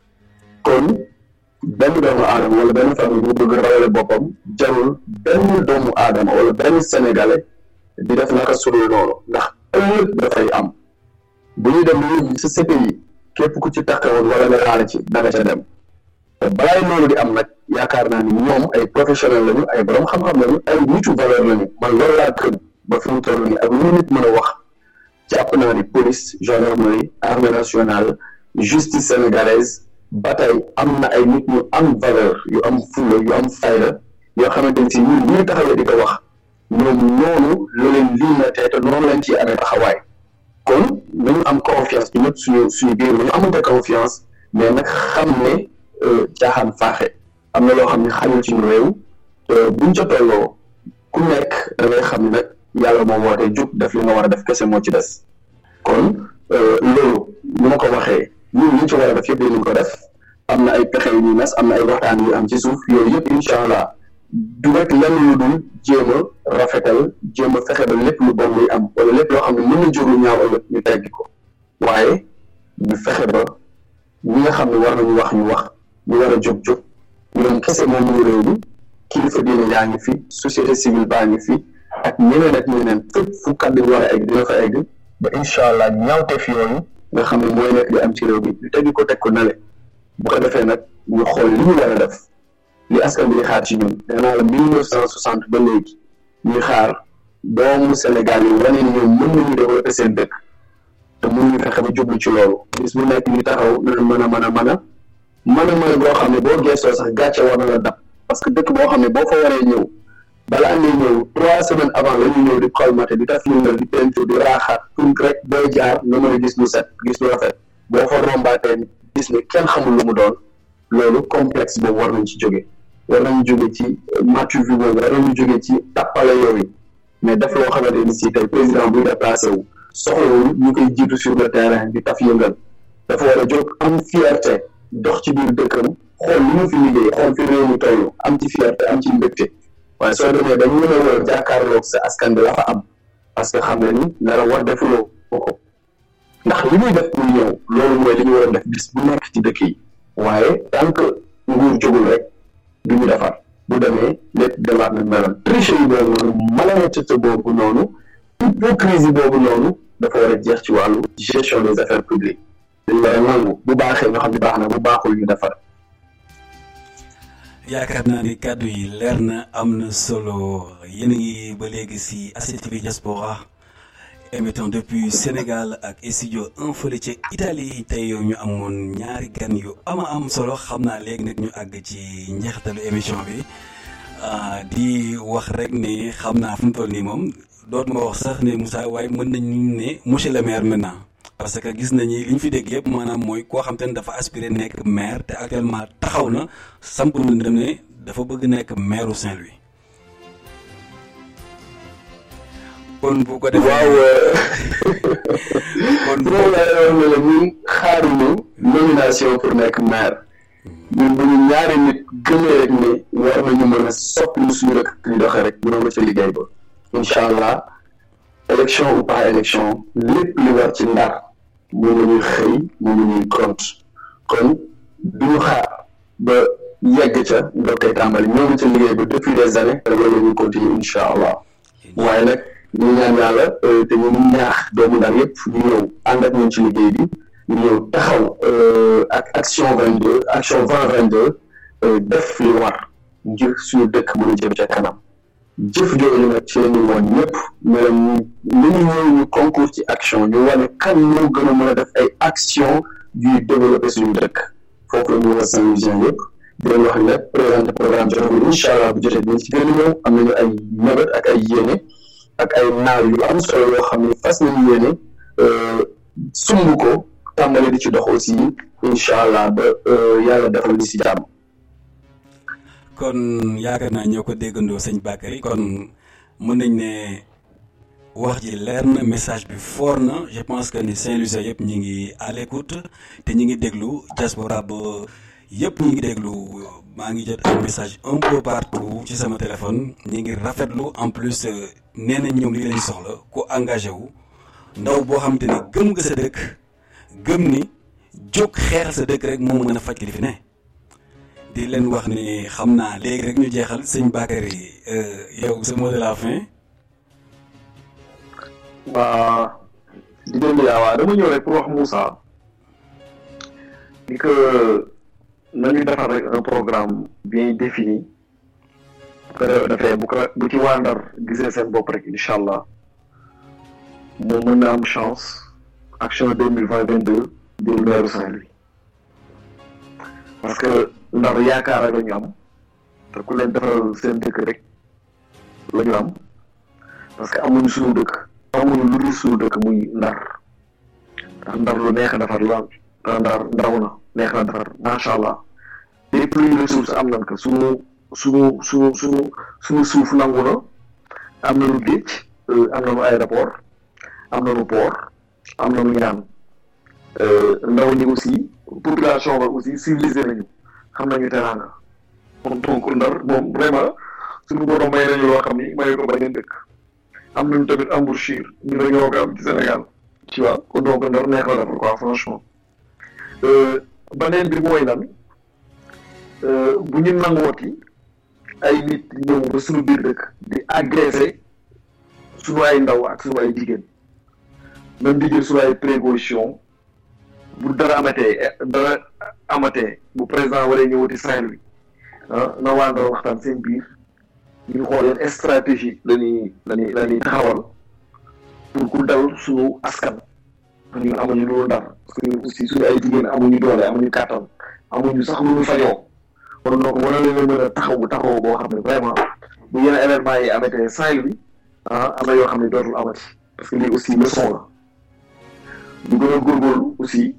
kon benn doomu aadama wala benn famille bu bëgg rawale boppam jarul benn doomu aadama wala benn sénégalais di def naka sudul noonu ndax ëllëg dafay am bu ñuy dem lu sa C P I képp ku ci takkawoon wala nga laal ci danga ca dem te balaay loolu di am nag yaakaar naa ni ñoom ay professionnel lañu ay borom xam-xam lañu ay nitu valeur lañu man loolu laa gëm ba fi mu toll nii ak lu nit mën a wax jàpp naa ni police gendarmerie armée nationale justice sénégalaise ba tey am na ay nit ñu am valeur yu am fulla yu am fayda yoo xamante ni si ñun ñu taxawee di ko wax ñoom noonu la leen lii na tey te noonu lañ ciy amee taxawaay kon nañu am confiance ñu ñëpp suñu suñu biir nañu amante confiance mais nag xam ne caaxaan faaxe am na loo xam ne xañul ci ñu réew buñ ca tolloo ku nekk da ngay xam ne nag yàlla moo woote jug def li nga war a def kese moo ci des kon loolu ñu ma ko waxee ñun liñ ci war a def yëpp dinañ ko def am na ay pexe yu ñuy nas am na ay waxtaan yu am ci suuf yooyu yëpp incha allah du rek lenn lu dul jéem a rafetal jéem a fexe ba lépp lu bon muy am wala lépp loo xam ne mën na jur lu ñaaw ëllëg ñu teggi ko waaye ñu fexe ba ñi nga xam ne war nañu wax ñu wax ñu war a jóg jóg ñoom kese moom ñu réew mi kilifa diine yaa ngi fi société civile baa ngi fi ak ñeneen ak ñeneen fépp fu kàddu war a egg dina fa egg ba incha allah ñaawteef yooyu nga xam ne mooy nekk di am ci réew mi ñu teggi ko teg ko nale bu ko defee nag ñu xool li ñu war a def li askan bi di xaar ci ñun nee naa la mille neuf cent soixante ba léegi ñuy xaar doomu Sénégal yi wane ni ñoom mën nañu développer seen dëkk te mënuñu fexe ba jublu ci loolu bis bu nekk ñu taxaw na mën a mën a mën a mën a mën a boo xam ne boo geestoo sax gàcce war na la dab parce que dëkk boo xam ne boo fa waree ñëw balaa ngay ñëw trois semaines avant la ñu ñëw di colmaté di taf yëngal di peinture di raaxaat pour rek booy jaar nga mën a gis lu set gis lu rafet boo fa rombaatee gis ne kenn xamul lu mu doon loolu complexe boobu war nañ ci jóge war nañu jóge ci matu vi boobu war nañu jóge ci tappale yooyu mais def loo xamante ni si tey président buy déplacé wu soxlawul ñu koy jiitu sur le terrain di taf yëngal dafa war a jóg am fierté dox ci biir dëkkam xool li mu fi liggéey xool fi réew mi toll am ci fierté am ci mbégte waaye soo demee dañ mën a war jàkkaarloog sa askan bi la fa am parce que xam ne ni dara war defuloo ko ndax li muy def pour ñëw loolu mooy li ñu war a def bis bu nekk ci dëkk yi waaye tant que nguur jógul rek du ñu defar bu demee lépp demaat na meloon triche yi boobu noonu malhonnêteté boobu noonu hypocrisie boobu noonu dafa war a jeex ci wàllu gestion des affaires publiques dañ war a nangu bu baaxee nga xam ne baax na bu baaxul ñu defar. yaakaar naa ni kàddu yi leer na am na solo yéen a ngi ba léegi si A C T V Diaspora émettant depuis Sénégal ak studio un fële ca Italie tey yow ñu amoon ñaari gan yu ama am solo xam naa léegi nag ñu àgg ci njeexitalu émission bi di wax rek ne xam naa fu mu toll nii moom dootuma wax sax ne Moussa waaye mën nañu ne monsieur le maire maintenant parce que gis nañu li ñu fi dégg yëpp maanaam mooy koo xam te ne dafa aspiré nekk maire te actuellement taxaw na samp na dem ne dafa bëgg nekk maire Saint-Louis. kon bu ko defee waaw kon loolu laa ne la ñun xaaruñu nomination pour nekk maire ñun bu ñu ñaari nit gëmee rek ne war nañu mën a soppi lu suñu rek ñu doxee rek mënoo nga ca liggéey ba incha allah élection ou pas élection lépp li war ci Ndar moom la ñuy xëy moom la ñuy compte kon du ñu xaar ba yegg ca nga koy tàmbali ñoo ngi ca liggéey ba depuis des années te loolu la ñuy continuer incha allah waaye nag ñu ñaan yàlla te ñu ñaax doomu Ndar yëpp ñu ñëw ànd ak ñun ci liggéey bi ñu ñëw taxaw ak action vingt deux action vingt vingt deux def li war ngir suñu dëkk mën a jëm ca kanam jëf jooju nag ci la ñu woon ñëpp mais li ñu ñëw ñu concours ci action ñu wane kan moo gën a mën a def ay action yuy développer suñu dëkk foofu la ñu war a Saint-Louisien yëpp di leen wax ne présenté programme jotagul incha allah bu jotee dinañ ci gën a ñëw am nañu ay mébét ak ay yéene ak ay naaw yu am solo yoo xam ne fas nañu yéene sumb ko tàmbali di ci dox aussi incha allah ba yàlla defal li si jàmm. kon yaakaar naa ñoo ko déggandoo sëñ Bakary kon mën nañ ne wax ji leer na message bi fort na je pense que ni Saint-Louisien yëpp ñi ngi à l'écoute te ñi ngi déglu diaspora ba yëpp ñi ngi déglu maa ngi jot ay message un peu partout ci sama téléphone ñi ngi rafetlu en plus nee nañ ñoom li lañ soxla ku engagé wu ndaw boo xam te ni gëm nga sa dëkk gëm ni jóg xeexal sa dëkk rek moo mën a faj li fi ne di leen wax ni xam naa léegi rek ñu jeexal sëñ Bakary yow sa mot de la fin. waa di déglu yaa waa dama ñëw rek pour wax Moussa ni que nañu defar rek un programme bien défini bu ko defee bu ko bu ci waa Ndar gisee seen bopp rek incha allah moo mën na am chance action deux mille vingt vingt deux di maire Saint-Louis parce que Ndar yaakaar rek la ñu am te ku leen defaral seen dëkk rek la ñu am parce que amuñu suñu dëkk amuñu lu dul suñu dëkk muy Ndar ndax Ndar lu neex a defar la te Ndar ndaw na neex na defar macha allah lépp luy ressource am nañ ko suñu suñu suñu suñu suñu suuf nangu na am nañu géej am nañu aéroport am nañu port am nañu ñaan ndaw ñi aussi population ba aussi civilisé nañu xam nañu teraanga kon donc Ndar moom vraiment suñu borom may nañu loo xam ni mayu ko beneen dëkk am nañu tamit embouchure ñu dañoo ko am ci Sénégal tu vois kon donc Ndar neex na defar quoi franchement beneen bi mooy lan bu ñu nangooti ay nit ñëw ba suñu biir dëkk di agressé suñu ay ndaw ak suñu ay jigéen même di jël suñu ay précaution bu dara amatee dara amatee bu président waree ñëwati Saint-Louis ah na waa Ndar waxtaan seen biir ñu xool yan stratégie lañuy lañuy lañuy taxawal pour ku dal suñu askan ñun amuñu loolu Ndar parce que ñun aussi suñu ay jigéen amuñu doole amuñu kàttan amuñu sax lu ñu fajoo kon donc war na leen mën a taxawu taxawu boo xam ne vraiment bu yenn événement yi amatee Saint-Louis ah am na yoo xam ne dootul amati parce que lii aussi leçon la ñu gën a góorgóorlu aussi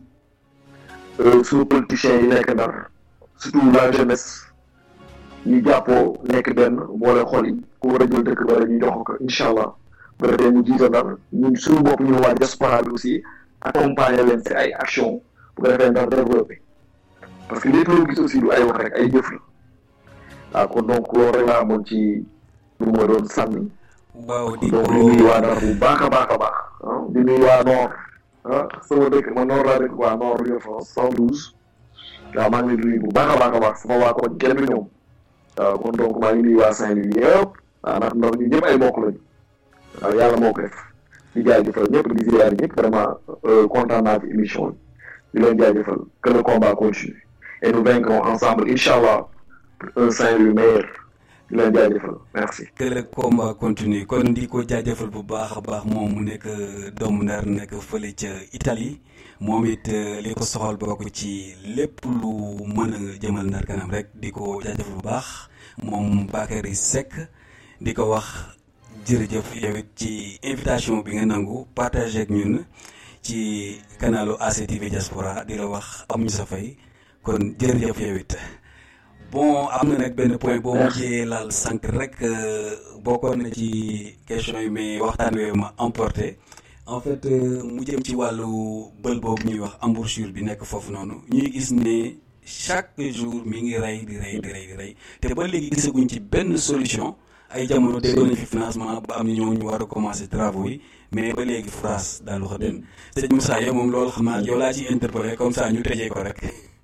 suñu politiciens yi nekk Ndar surtout la jeunesse ñu jàppoo nekk benn boole xol yi ku war a jël dëkk ba ñu jox ko incha allah bu defee mu jiite Ndar ñun suñu bopp ñu waa diaspora bi aussi accompagner leen si ay action bu ko defee Ndar développé parce que lépp loo gis aussi du ay wax rek ay jëf la waaw kon donc loolu rek laa amoon ci lu ma doon sànni. waaw di donc di nuyu waa Ndar bu baax a baax a baax ah di nuyu waa Nord ah sama dëkk ma Nord laa dëkk waa Nord Île-de-France cent douze waaw maa ngi leen di nuyu bu baax a baax a baax sama waa koñ kenn du ñoom waaw kon donc maa ngi nuyu waa Saint-Louis yëpp waaw ndax Ndar ñu ñëpp ay mbokk lañu waaw yàlla moo ko def di jaajëfal ñëpp di ziar ñëpp vraiment kontaan naa ci émission bi di leen jaajëfal que le combat continue et nous vaincrons ensemble inchallah pour un Saint-Louis meilleur di leen jaajëfal merci. que le combat continue kon di ko jaajëfal bu baax a baax moom mu nekk doomu Ndar nekk fële ca Italie moom it li ko soxal bokk ci lépp lu mën a jëmal Ndar kanam rek di ko jaajëfal bu baax moom Bakary Seck di ko wax jërëjëf yow it ci invitation bi nga nangu partagé ak ñun ci kanalu A C T V Diaspora di la wax am ñu sa fay kon jërëjëf yow it bon am na nag benn point boo mujjee laal sànq rek bokkoon na ci question yi mais waxtaan wi ma emporté en fait mu jëm ci wàllu bël boobu ñuy wax embouchure bi nekk foofu noonu ñuy gis ne chaque jour mi ngi rey di rey di rey di rey te ba léegi gisaguñ ci benn solution ay jamono déggoon nañ fi financement ba am ñoo ñu war a commencer travaux yi mais ba léegi France daal wax den sëñ Moussa yow moom loolu xam naa yow laa ciy interpellé comme ça ñu tëjee ko rek.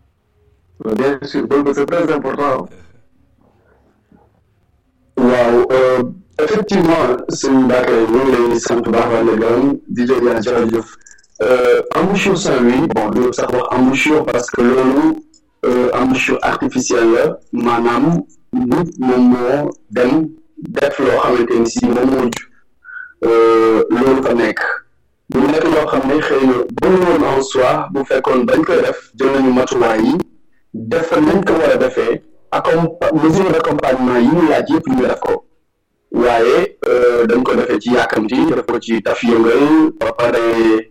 bien sûr donc c'est très important. waaw effectivement sëñ Bakary ñu ngi lay sant bu baax wàllu gërëm di leen jërëjëf embouchure Saint-Louis bon du sax wax embouchure parce que loolu embouchure artificielle la maanaam nit moom moo dem def loo xamante ni si moom moo ju loolu fa nekk bu nekk loo xam ne xëy na bu woon en soi bu fekkoon bañ koy def jël nañu matuwaay yi def nañ ko war a defee accompa mesure d'accompagnement yi ñu laaj yëpp ñu def ko waaye dañ ko defee ci yàkkamti def ko ci taf yëngal ba pare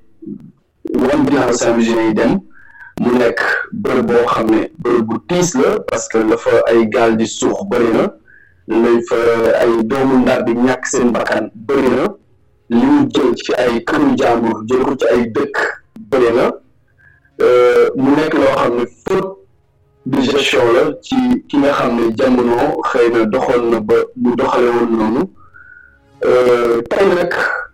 wan ginnaaw Saint-Louis yi dem mu nekk bërëb boo xam ne bërëb bu tiis la parce que la fa ay gaal di suux bëri na lay fa ay doomu Ndar di ñàkk seen bakkan bëri na li mu jël ci ay këru jàmbur jël ko ci ay dëkk bëri na mu nekk loo xam ne faute de gestion la ci ki nga xam ne jamono xëy na doxoon na ba mu doxale woon noonu tey nag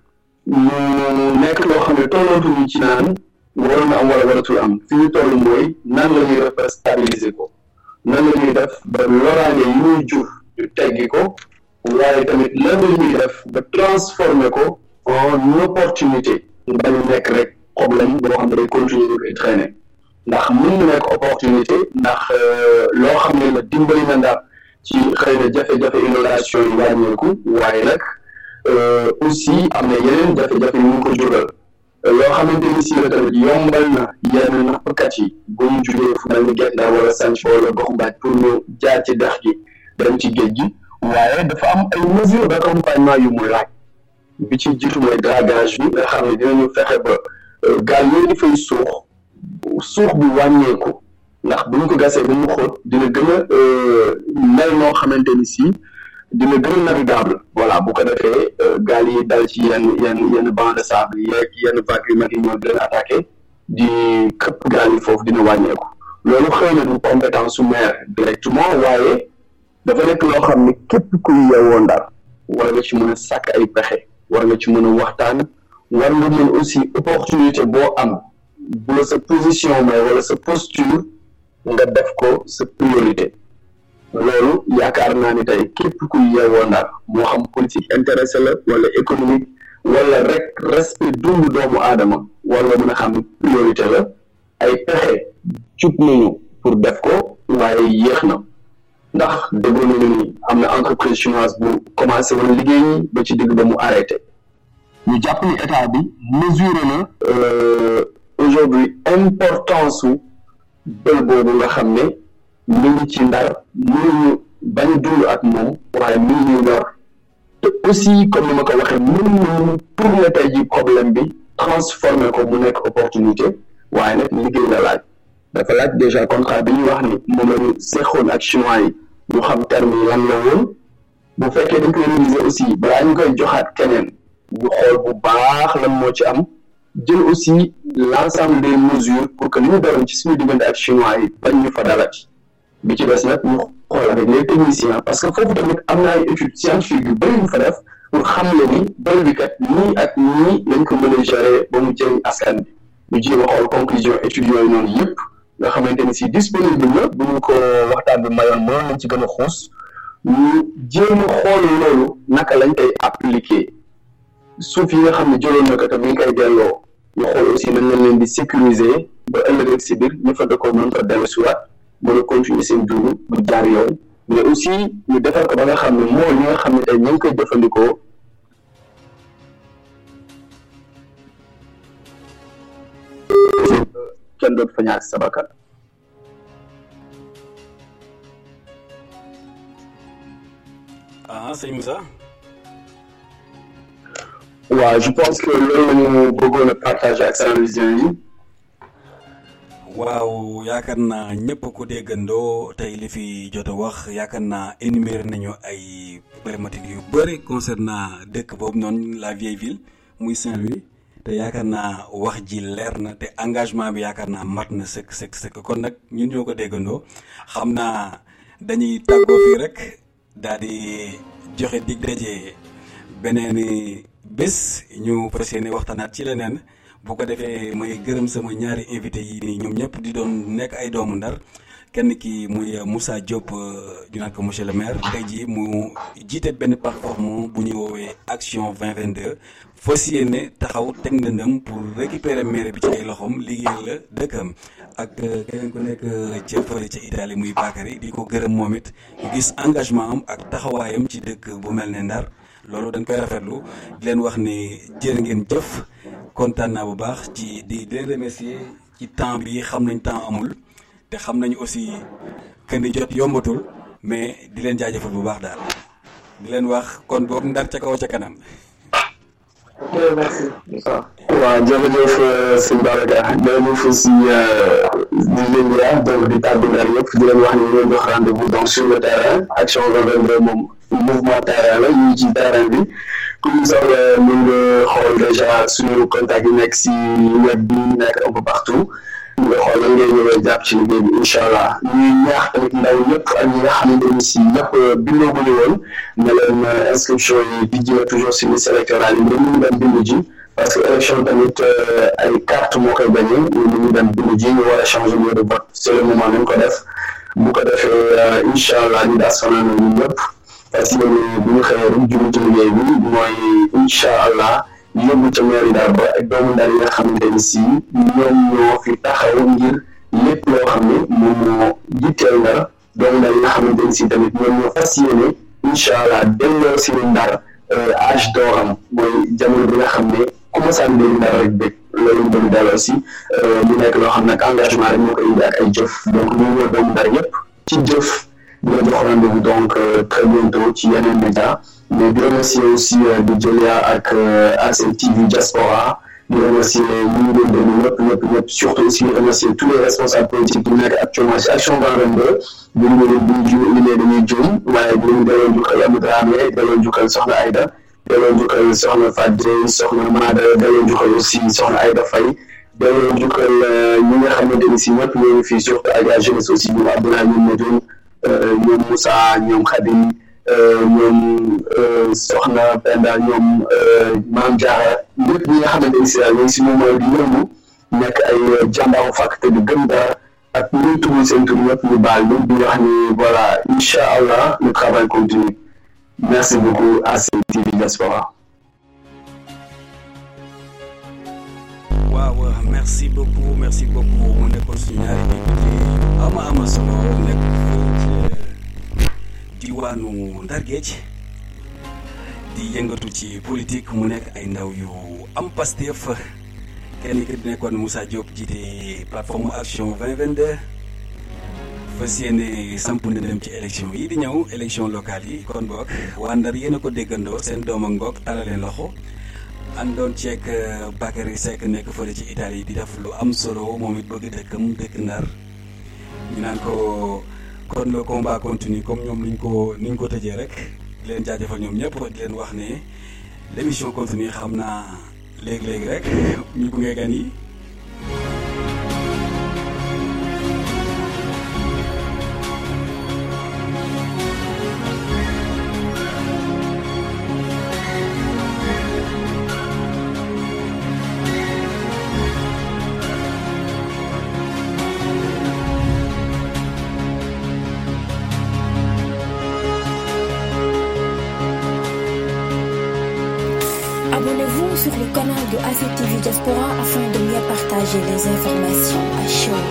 mu nekk loo xam ne tollootuñu ci naan waroon na am wala waratul am fi ñu toll mooy nan la ñuy def ba stabiliser ko nan la ñuy def ba loraange yi muy jur ñu teggi ko waaye tamit lan la ñuy def ba transformer ko en opportunité ñu bañ a nekk rek problème boo xam ne day continuer di koy traîner ndax mën na nekk opportunité ndax loo xam ne la dimbali na Ndar ci xëy na jafe-jafe inondation yi wàññeeku waaye nag aussi am na yeneen jafe-jafe yu ñu ko jural loo xamante ni si la tamit yombal na yenn nappkat yi bu ñu jugee fu mel ni Guet Ndar wala Santhie wala Gox Mbaaj pour ñu jaar ci dex gi dem ci géej gi waaye dafa am ay mesures d'accompagnement yu mu laaj bi ci jiitu mooy dragage bi nga xam ne dinañu fexe ba gaal yooyu di fay suux suux bi wàññeeku ndax bu ñu ko gasee ba mu xóot dina gën a mel noo xamante ni si dina gën a navigable voilà bu ko defee gaal yi dal ci yenn yenn yenn banc de sable yeeg yenn vagues yu mag yi ñoo di leen attaqué di këpp gaal yi foofu dina wàññeeku loolu xëy na du compétence su maire directement waaye dafa nekk loo xam ne képp kuy yeewoo Ndar war nga ci mën a sàkk ay pexe war nga ci mën a waxtaan war nga mën aussi opportunité boo am bu la sa position may wala sa posture nga def ko sa priorité loolu yaakaar naa ni tey képp ku yeewoo Ndar moo xam politique intéressé la wala économique wala rek respect dundu doomu aadama wala mën a xam priorité la ay pexe jub nañu pour def ko waaye yéex na ndax déglu nañu ni am na entreprise chinoise bu commencé woon liggéey ba ci digg ba mu arrêté ñu jàpp ni état bi mesuré na aujourd'hui importance su bël boobu nga xam ne mi ngi ci Ndar mënuñu bañ dund ak moom waaye mi ngi ñu ñor te aussi comme ni ma ko waxee mënuñu tourner tey ji problème bi transformer ko mu nekk opportunité waaye nag liggéey la laaj dafa laaj déjà contrat bi ñu wax ni moom la ñu seexoon ak chinois yi ñu xam terme yi lan la woon bu fekkee dañ koy réviser aussi balaa ñu koy joxaat keneen ñu xool bu baax lan moo ci am jël aussi l'ensemble des mesures pour que li ñu daloon ci suñu diggante ak chinois yi bañ ñu fa dalati bi ci des nag ñu xool avec les techniciens parce que foofu tamit am na ay études scientifiques yu bëri yu fa def pour xam le ni bël bi kat nii ak nii lañ ko mën a gérer ba mu jëriñ askan bi ñu jéem a xool conclusion études yooyu noonu yëpp nga xamante ni si disponible na bu ñu ko waxtaan bi mayoon mënoon nañ ci gën a xuus ñu jéem a xool loolu naka lañ koy appliquer suuf yi nga xam ne jëloon na ko te mi ngi koy delloo ñu xool aussi nañ leen leen di sécuriser ba ëllëg si biir ñu fa dëkkoo mën fa dellu si waat mën a continuer seen dund bu jaar yoon mais aussi ñu defar ko ba nga xam ne moo ñi nga xam ne tey ñu ngi koy jëfandikoo kenn dootu fa ñàkk sa bakkan. ah sëñ Moussa. waaw je pense que loolu la ñu bëggoon a partager ak télévision yi. waaw yaakaar naa ñëpp ko déggandoo tey li fi jot a wax yaakaar naa énuméré nañu ay problématiques yu bëri concernant dëkk boobu noonu la vieille ville muy Saint-Louis te yaakaar naa wax ji leer na te engagement bi yaakaar naa mat na sëkk sëkk sëkk kon nag ñun ñoo ko déggandoo xam naa dañuy tàggoo fii rek daal di joxe dig daje beneen bés ñu fas yéene waxtaanaat ci leneen. bu ko defee may gërëm sama ñaari invité yi nii ñoom ñëpp di doon nekk ay doomu Ndar kenn ki muy Moussa Diop ñu naan ko monsieur le maire tey jii mu jiite benn plateforme bu ñuy woowee action vingt vingt-deux fas yéene taxaw teg ndëndëm pour récupérer maire bi ci ay loxoom liggéeyal la dëkkam ak keneen ku nekk ca fële ca Italie muy Bakary di ko gërëm moom it gis engagement am ak taxawaayam ci dëkk bu mel ne Ndar loolu dañ koy rafetlu di leen wax ni jërë ngeen jëf. kontaan naa bu baax ci di di leen remercier ci temps bi xam nañ temps amul te xam nañu aussi que ni jot yombatul mais di leen jaajëfal bu baax daal di leen wax kon boog Ndar ca kaw ca kanam. ok merci. waaw jërëjëf sëñ Babacar jërëjëf aussi di leen di donc di tàggu Ndar yëpp di leen wax ni ñu jox rendez-vous donc sur le terrain action vingt vingt-deux moom mouvement terrain la ñu ci terrain bi. comme ça mën nga xool déjà suñu contact yi nekk si web bi nekk un peu partout nga xool lan ngay ñëwee jàpp ci liggéey bi incha allah ñuy ñaax tamit ndaw ñëpp ak ñi nga xamante ni si ñëpp bindoo bu ñu woon ne leen inscription yi di jël toujours si liste électorale yi ñu dem bindu ji parce que élection tamit ay carte moo koy bañee ñu ñu dem bindu ji ñu war a changer lieu de vote c'est le moment nañ ko def bu ko defee incha allah ñu daas fanaan ñu ñëpp parce que bu ñu xëyee rek jublu ci liggéey bi mooy incha allah yóbbu ca mairie Ndar ba ak doomu Ndar yi nga xamante ni si ñoom ñoo fi taxaw ngir lépp loo xam ne moom moo jitteel Ndar doomu Ndar yi nga xamante ni si tamit ñoom ñoo fas yéene incha allah delloo si Ndar âge d'or am mooy jamono bi nga xam ne commencé am dégg Ndar rek bëgg loolu bëgg delloo si mu nekk loo xam ne ak engagement rek moo koy indi ak ay jëf donc ñu ñëw doomu Ndar yëpp ci jëf. di la jox rendez-vous donc euh, très bientôt ci yeneen média mais di remercier aussi euh, di Jëlia ak A C T V Diaspora di remercier ñu ngi leen déglu ñëpp ñëpp ñëpp surtout aussi di remercier tous les responsables politiques yi nekk actuellement ci action vingt vingt-deux bu ñu leen bu ñu ju limee dañuy juum waaye di leen delloo njukkal Amadou Dramé delloo njukkal Soxna Aïda delloo njukkal Soxna Fadjey Soxna Mada delloo njukkal aussi Soxna Aïda Faye delloo njukkal ñi nga xamante ni si ñëpp ñoo ngi fii surtout ak la jeunesse aussi ñoom Abdoulaye ñoom Medoune ñoom Moussa ñoom Khadim ñoom Soxna Penda ñoom Maam Diarra ñëpp ñi nga xamante ni si daal ñoom si moom mooy di yëngu nekk ay jàmbaaru fàkk te di gëm dara ak ñu tudd seen tur yëpp ñu baal ñu di wax ni voilà incha allah le travail continue. Merci beaucoup à A C T V Diaspora. waaw merci beaucoup merci beaucoup mu nekkoon suñu ñaari invité ama ama solo nekk ci diwaanu Ndar Géej di yëngatu ci politique mu nekk ay ndaw yu am Pastef kenn ki nekkoon Moussa Diop jiite plateforme action vingt vingt-deux fas yéene samp na dem ci élection yi di ñëw élection locale yi kon boog waa Ndar yéen a ko déggandoo seen doom ak ngoog talaleen loxo àndoon ceeg Bakary Seck nekk fële ci Italie di def lu am solo moom it bëgg dëkkam dëkk Ndar ñu naan ko kon le combat continue comme ñoom niñ ko niñ ko tëjee rek di leen jaajëfal ñoom ñëpp di leen wax ne l'émission continue xam naa léegi-léegi rek ñu gunge gan yi Abonnez-vous sur le canal de A C T V Diaspora afin de mieux partager les informations à chaud.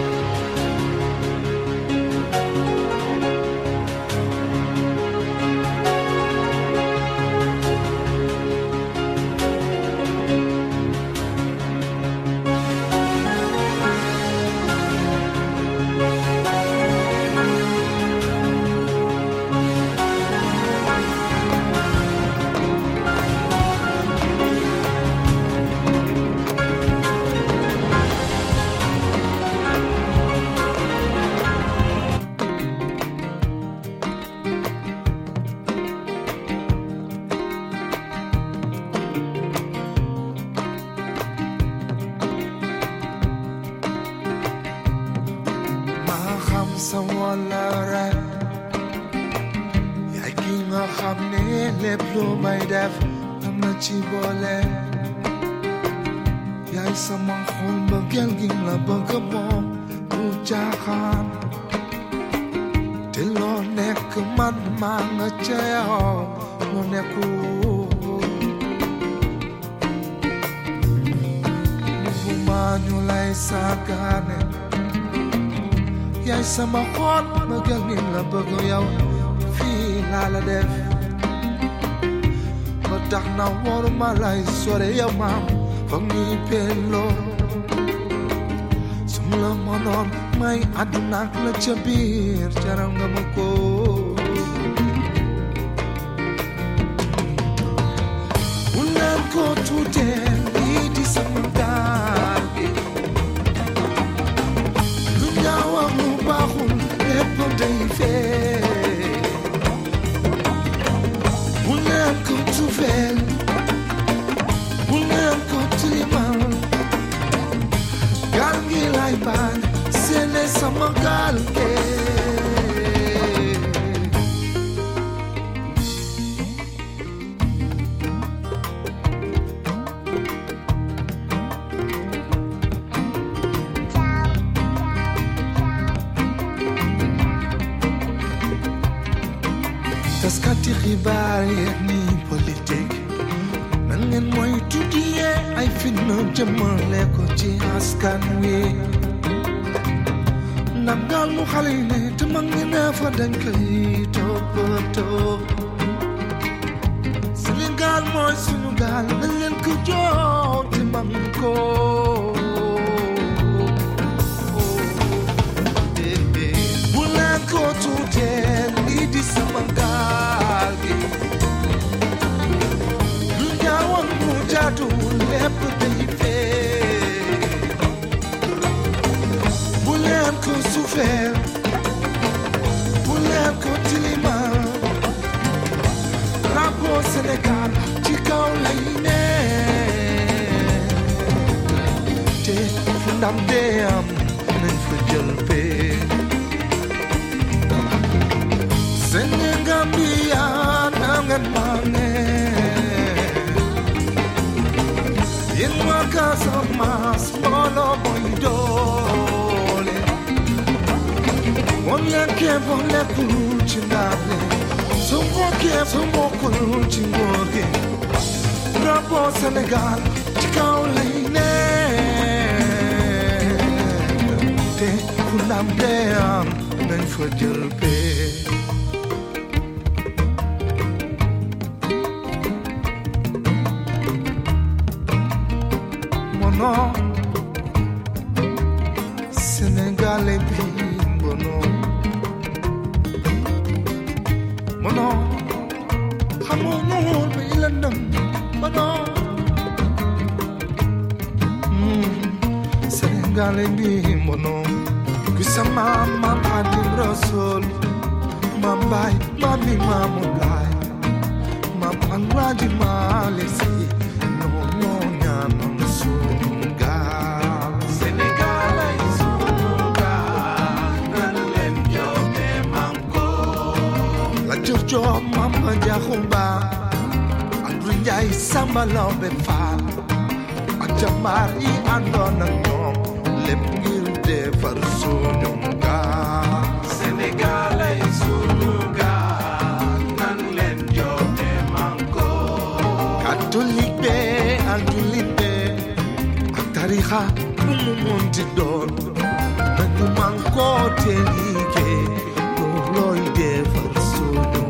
Yaay sama xol mbëggeel gi la bëgg moom du jaaxaan te loo nekk man maa nga ca yow loo nekkul bu maa ñu lay saagaane yaay sama xol mbëggeel gi la bëgg yow fii laa la def ba tax na waruma lay sore yow maam foog ñuy pelloo sum la mënoon may àdduna ak la ca biir jaral nga ma ko bu leen ko tuutee lii di sama gaal gi lu ñaaw ak lu baaxul lépp day fee bu leen ko tuufeel bu leen ko tilimal gaal gi lay baal seene sama gaal gi taskati xibaar yeeg ni politique nan ngeen mooy tuddiyee ay fitna jëmale ko ci askan wi ndax gaal mu xale yi ne te mag ñi ne fa dañ koy toppatoo Sénégal mooy suñu gaal nañ leen ko jox te mag ko bu leen ko tuutee lii di sama gaal gi lu ñaawoon mu jaatuwul lépp day fee bu leen ko suufeel bu leen ko tilimal drapeau Sénégal ci kaw lay ne te fu ndam dee am nañ fa jël pee Sénégambia nangan mane yéen waa Casamance moo bolo boy dole One ya ke bonne kuchindale Sumo ke sumo kuchingorge Rabo Senegal chikaulene Te kunam deam nañ fa jël pe Mono Sénégalais bi mono Mono xamono bi la ndam mono Sénégalais bi mono Kusama mam Adim Rasul Mam bay mami mamulay Mam angraji malesi No no nyano sunga Sénégalais sunga Nanlen jote manko La Giorgio mama jahumba Andrinjay samba lobe fa Achamari andona nyom Lep ngir defar suñu gaal Sénégalais suñu gaal nan leen jote manko catholique be ak jullit be ak tarixa nu mu munti doon nañu manko te liggéey loolooy defar suñu